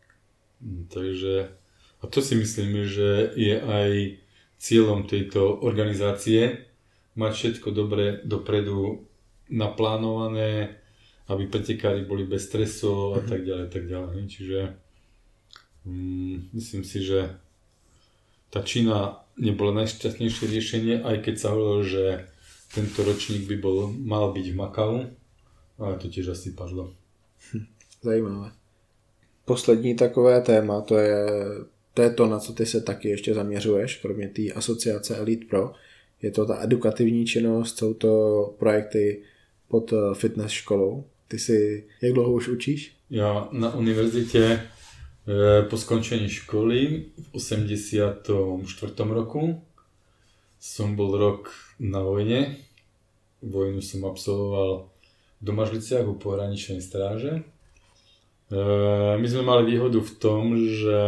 Takže a to si myslím, že je aj cieľom tejto organizácie mať všetko dobre dopredu naplánované, aby pretekári boli bez stresov a tak ďalej, tak ďalej. Čiže mm, myslím si, že tá Čína nebola najšťastnejšie riešenie, aj keď sa hovorilo, že tento ročník by bol, mal byť v Makau, ale to tiež asi padlo. Zajímavé. Poslední takové téma, to je, to je to, na co ty se taky ještě zaměřuješ, kromě té asociace Elite Pro. Je to ta edukativní činnost, jsou to projekty pod fitness školou. Ty si, jak dlouho už učíš? Ja na univerzite po skončení školy v osemdesiatom štvrtom roku som bol rok na vojne. Vojnu som absolvoval v Domažliciach u pohraničnej stráže. My sme mali výhodu v tom, že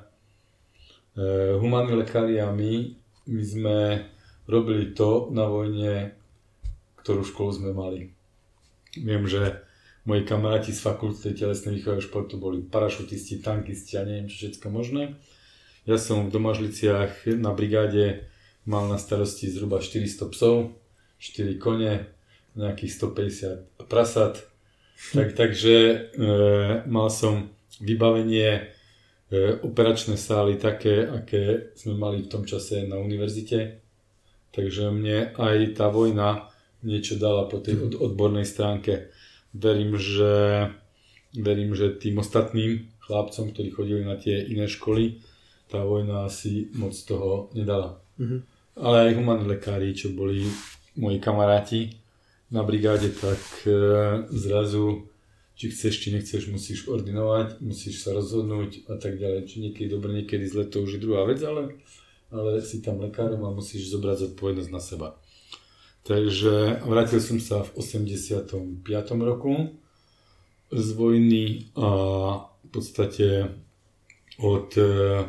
humánni lekári a my, my sme robili to na vojne, ktorú školu sme mali. Viem, že moji kamaráti z fakulty telesnej výchovy a športu boli parašutisti, tankisti a neviem čo všetko možné. Ja som v Domažliciach na brigáde mal na starosti zhruba štyristo psov, štyri kone, nejakých stopäťdesiat prasat. Tak, takže e, mal som vybavenie e, operačné sály také, aké sme mali v tom čase na univerzite. Takže mne aj tá vojna niečo dala po tej od, odbornej stránke. Verím, že, verím, že tým ostatným chlapcom, ktorí chodili na tie iné školy, tá vojna asi moc toho nedala. Mm-hmm. Ale aj humánni lekári, čo boli moji kamaráti na brigáde, tak e, zrazu, či chceš, či nechceš, musíš ordinovať, musíš sa rozhodnúť a tak ďalej. Či niekedy dobre, niekedy zle, to už je druhá vec, ale, ale si tam lekárom a musíš zobrať zodpovednosť na seba. Takže vrátil som sa v osemdesiatom piatom roku z vojny a v podstate od e,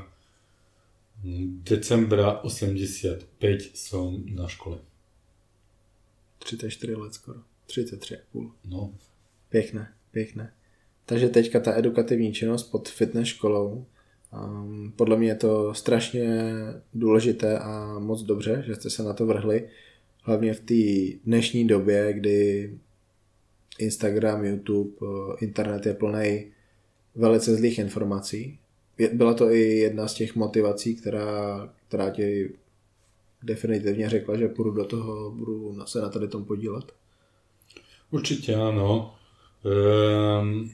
decembra osemdesiatpäť som na škole. třicet čtyři let skoro. třicet tři a půl. No. Pěkné, pěkné. Takže teďka ta edukativní činnost pod fitness školou. Um, podle mě je to strašně důležité a moc dobře, že jste se na to vrhli. Hlavně v té dnešní době, kdy Instagram, YouTube, internet je plný velice zlých informací. Byla to i jedna z těch motivací, která, která ti definitivně řekla, že půjdu do toho, budu se na tady tom podílet? Určite áno. Ehm,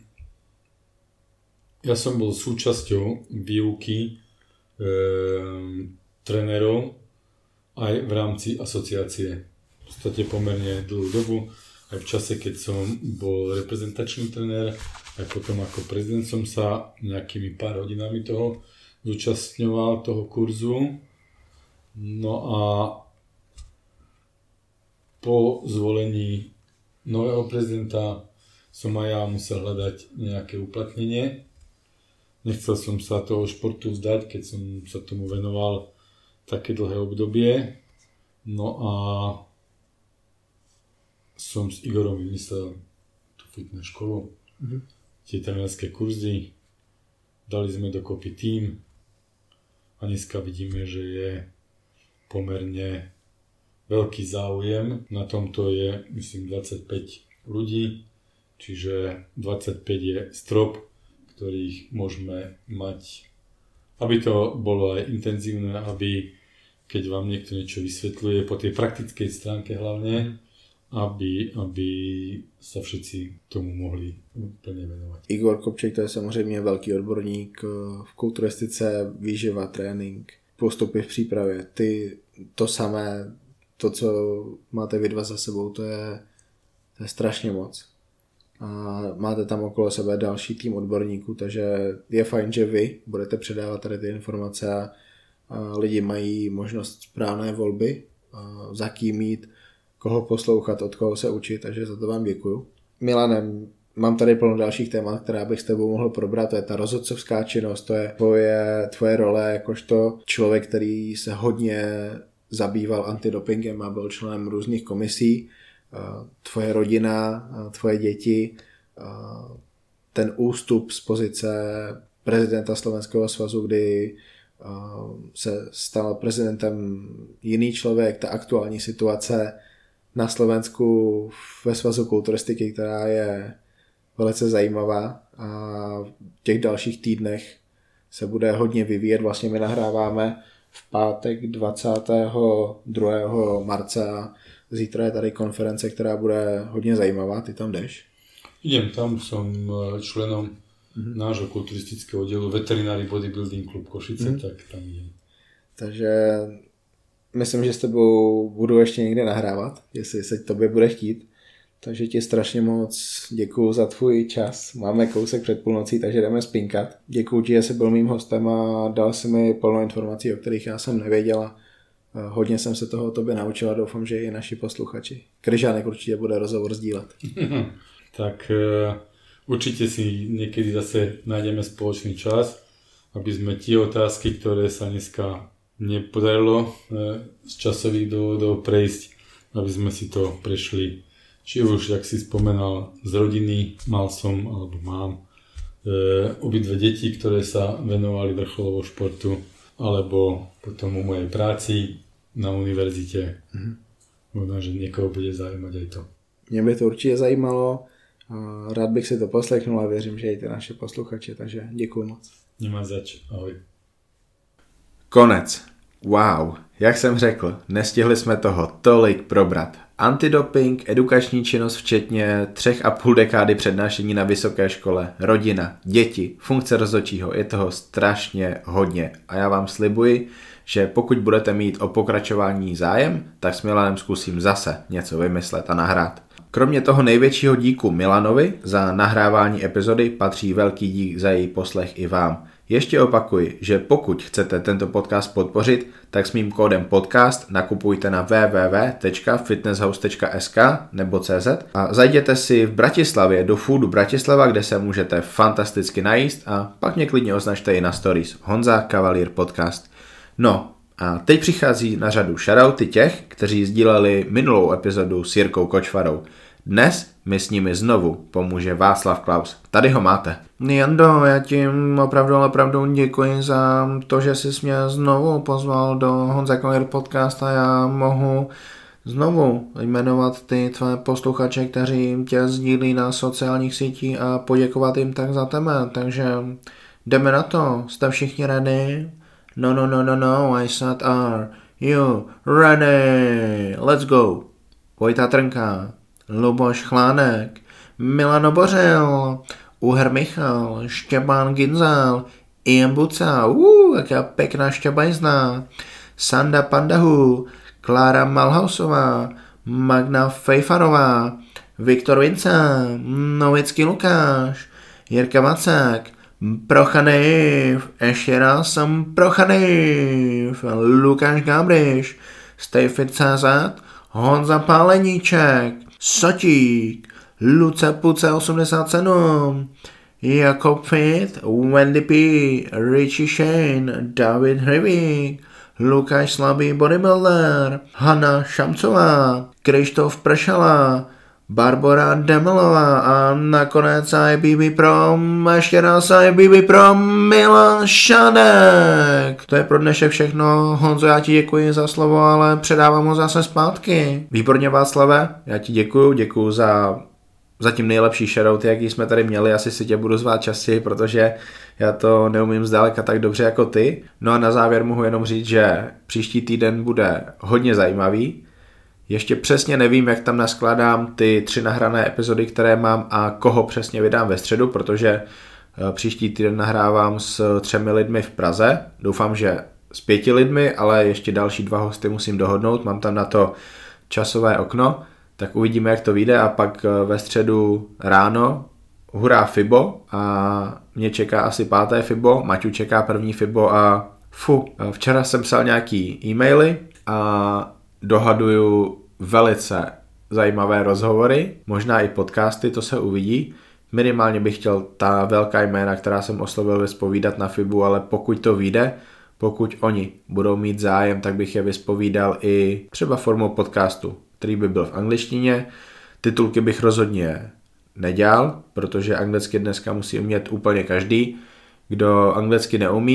ja som bol súčasťou výuky ehm, trénerov aj v rámci asociácie. V podstate pomerne dlhú dobu, aj v čase, keď som bol reprezentačný tréner, aj potom ako prezident som sa nejakými pár hodinami toho zúčastňoval, toho kurzu. No a po zvolení nového prezidenta som aj ja musel hľadať nejaké uplatnenie. Nechcel som sa toho športu vzdať, keď som sa tomu venoval také dlhé obdobie. No a som s Igorom vymyslel tú fitness školu, mm-hmm. tie trénerské kurzy. Dali sme dokopy tím a dneska vidíme, že je pomerne veľký záujem. Na tomto je, myslím, dvadsaťpäť ľudí, čiže dvadsaťpäť je strop, ktorých môžeme mať, aby to bolo aj intenzívne, aby keď vám niekto niečo vysvetľuje po tej praktickej stránke hlavne, aby, aby sa všetci tomu mohli plne venovať. Igor Kopček, to je samozřejmě velký odborník v kulturistice, výživa, trénink, postupy v přípravě. Ty to samé, to, co máte vy dva za sebou, to je, to je strašně moc. A máte tam okolo sebe další tým odborníků, takže je fajn, že vy budete předávat tady ty informace a, a lidi mají možnost správné volby, a za kým jít, koho poslouchat, od koho se učit, takže za to vám děkuju. Milanem, mám tady plno dalších témat, která bych s tebou mohl probrat, to je ta rozhodcovská činnost, to je tvoje, tvoje role jakožto člověk, který se hodně zabýval antidopingem a byl členem různých komisí, tvoje rodina, tvoje děti, ten ústup z pozice prezidenta Slovenského svazu, kdy se stal prezidentem jiný člověk, ta aktuální situace na Slovensku ve Svazu kulturistiky, která je velice zajímavá a v těch dalších týdnech se bude hodně vyvíjet. Vlastně my nahráváme v pátek dvacátého druhého marce a zítra je tady konference, která bude hodně zajímavá. Ty tam jdeš? Idem tam, som členom mm-hmm. nášho kulturistického oddielu Veterinary Bodybuilding Club Košice, mm-hmm. tak tam idem. Takže myslím, že s tebou budu ještě někde nahrávat, jestli se tobě bude chtít. Takže ti strašně moc děkuju za tvůj čas. Máme kousek před půlnocí, takže jdeme spinkat. Děkuju ti, že jsi byl mým hostem a dal si mi plno informací, o kterých já jsem nevěděla. Hodně jsem se toho o tobě naučila, doufám, že i naši posluchači. Kryžánek určitě bude rozhovor sdílet. Tak uh, určite si niekedy zase nájdeme spoločný čas, aby sme tie otázky, ktoré sa dneska nepodarilo uh, z časových dôvodov prejsť, aby sme si to prešli. Či už, jak si spomenal, z rodiny, mal som, alebo mám uh, obidve deti, ktoré sa venovali vrcholovo športu, alebo potom u mojej práci na univerzite. Mm-hmm. Možná, že niekoho bude zaujímať aj to. Mě by to určitě zajímalo. Rád bych si to poslechnul a věřím, že i ty naše posluchače, takže děkuji moc. Nemá zač, ahoj. Konec. Wow, jak jsem řekl, nestihli jsme toho tolik probrat. Antidoping, edukační činnost včetně třech a půl dekády přednášení na vysoké škole, rodina, děti, funkce rozhodčího, je toho strašně hodně. A já vám slibuji, že pokud budete mít o pokračování zájem, tak s Milanem zkusím zase něco vymyslet a nahrát. Kromě toho největšího díku Milanovi za nahrávání epizody patří velký dík za její poslech i vám. Ještě opakuji, že pokud chcete tento podcast podpořit, tak s mým kódem podcast nakupujte na w w w tečka fitnesshouse tečka s k nebo cz a zajděte si v Bratislavě do Foodu Bratislava, kde se můžete fantasticky najíst a pak mě klidně označte i na stories Honza Cavalier Podcast. No a teď přichází na řadu shoutouty těch, kteří sdíleli minulou epizodu s Jirkou Kočvarou. Dnes mi s nimi znovu pomůže Václav Klaus. Tady ho máte. Jando, já ti opravdu, opravdu děkuji za to, že jsi mě znovu pozval do Honza Cavalier Podcast a já mohu znovu jmenovat ty tvé posluchače, kteří tě sdílí na sociálních sítích a poděkovat jim tak za tebe. Takže jdeme na to. Jste všichni ready? No, no, no, no, no, I said are you ready? Let's go. Vojta Trnka, Luboš Chlánek, Milan Obořil, Uher Michal, Štěpán Ginzel, Ian Buca, uh, jaká pěkná štěbajzna, Sanda Pandahu, Klára Malhausová, Magna Fejfarová, Viktor Vince, Novický Lukáš, Jirka Macek, Prochaniv, ještě raz jsem Prochaniv, Lukáš Gabriš, Stayfit tečka cé zet, Honza Páleníček, Sotík, Luce Puce osmdesát sedm, Jakob Fit, Wendy P, Richie Shane, David Hrivík, Lukáš Slabý Bodybuilder, Hanna Šamcová, Krištof Pršala, Barbora Demelová a nakonec I B B Pro, ještě raz I B B Pro, Milan Šadek. To je pro dnešek všechno. Honzo, já ti děkuji za slovo, ale předávám ho zase zpátky. Výborně, Václave, já ti děkuji, děkuji za zatím nejlepší shoutout, jaký jsme tady měli. Asi si tě budu zvát častěji, protože já to neumím zdaleka tak dobře jako ty. No a na závěr mohu jenom říct, že příští týden bude hodně zajímavý. Ještě přesně nevím, jak tam naskládám ty tři nahrané epizody, které mám a koho přesně vydám ve středu, protože příští týden nahrávám s třemi lidmi v Praze. Doufám, že s pěti lidmi, ale ještě další dva hosty musím dohodnout. Mám tam na to časové okno, tak uvidíme, jak to vyjde a pak ve středu ráno hurá Fibo a mě čeká asi páté Fibo, Maťu čeká první Fibo a fu, včera jsem psal nějaký e-maily a dohaduju velice zajímavé rozhovory, možná i podcasty, to se uvidí. Minimálně bych chtěl ta velká jména, která jsem oslovil, vyspovídat na Fibu, ale pokud to vyjde, pokud oni budou mít zájem, tak bych je vyspovídal i třeba formou podcastu, který by byl v angličtině. Titulky bych rozhodně nedělal, protože anglicky dneska musí umět úplně každý. Kdo anglicky neumí,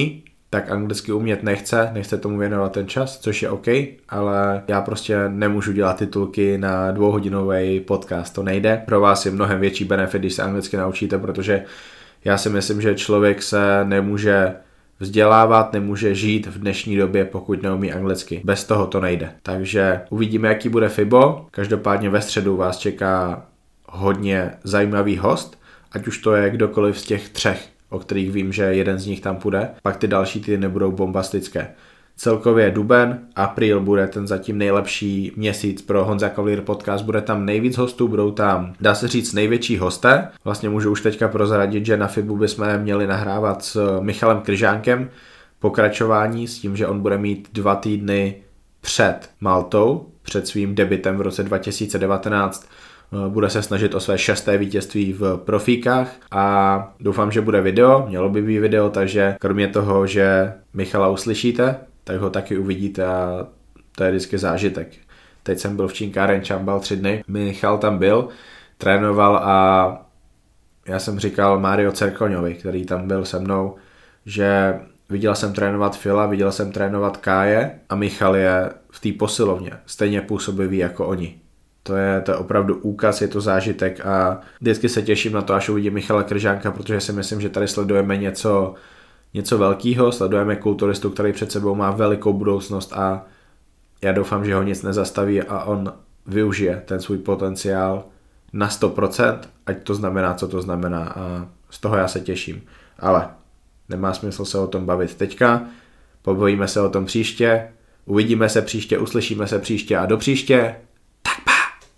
tak anglicky umět nechce, nechce tomu věnovat ten čas, což je OK, ale já prostě nemůžu dělat titulky na dvouhodinový podcast, to nejde. Pro vás je mnohem větší benefit, když se anglicky naučíte, protože já si myslím, že člověk se nemůže vzdělávat, nemůže žít v dnešní době, pokud neumí anglicky. Bez toho to nejde. Takže uvidíme, jaký bude FIBO. Každopádně ve středu vás čeká hodně zajímavý host, ať už to je kdokoliv z těch třech, o kterých vím, že jeden z nich tam půjde. Pak ty další týdny budou bombastické. Celkově duben, apríl bude ten zatím nejlepší měsíc pro Honza Cavalier podcast, bude tam nejvíc hostů, budou tam, dá se říct, největší hosté. Vlastně můžu už teďka prozradit, že na FIBu bychom měli nahrávat s Michalem Kryžánkem pokračování s tím, že on bude mít dva týdny před Maltou, před svým debutem v roce dva tisíce devatenáct. Bude se snažit o své šesté vítězství v profíkách a doufám, že bude video, mělo by být video, takže kromě toho, že Michala uslyšíte, tak ho taky uvidíte a to je vždycky zážitek. Teď jsem byl v Činkáren Čambal tři dny, Michal tam byl, trénoval a já jsem říkal Mário Cerkoňovi, který tam byl se mnou, že viděl jsem trénovat Fila, viděl jsem trénovat Káje a Michal je v té posilovně stejně působivý jako oni. To je, to je opravdu úkaz, je to zážitek a vždycky se těším na to, až uvidím Michala Kryžánka, protože si myslím, že tady sledujeme něco, něco velkého, sledujeme kulturistu, který před sebou má velikou budoucnost a já doufám, že ho nic nezastaví a on využije ten svůj potenciál na sto procent, ať to znamená, co to znamená a z toho já se těším. Ale nemá smysl se o tom bavit teďka, pobavíme se o tom příště, uvidíme se příště, uslyšíme se příště a do příště.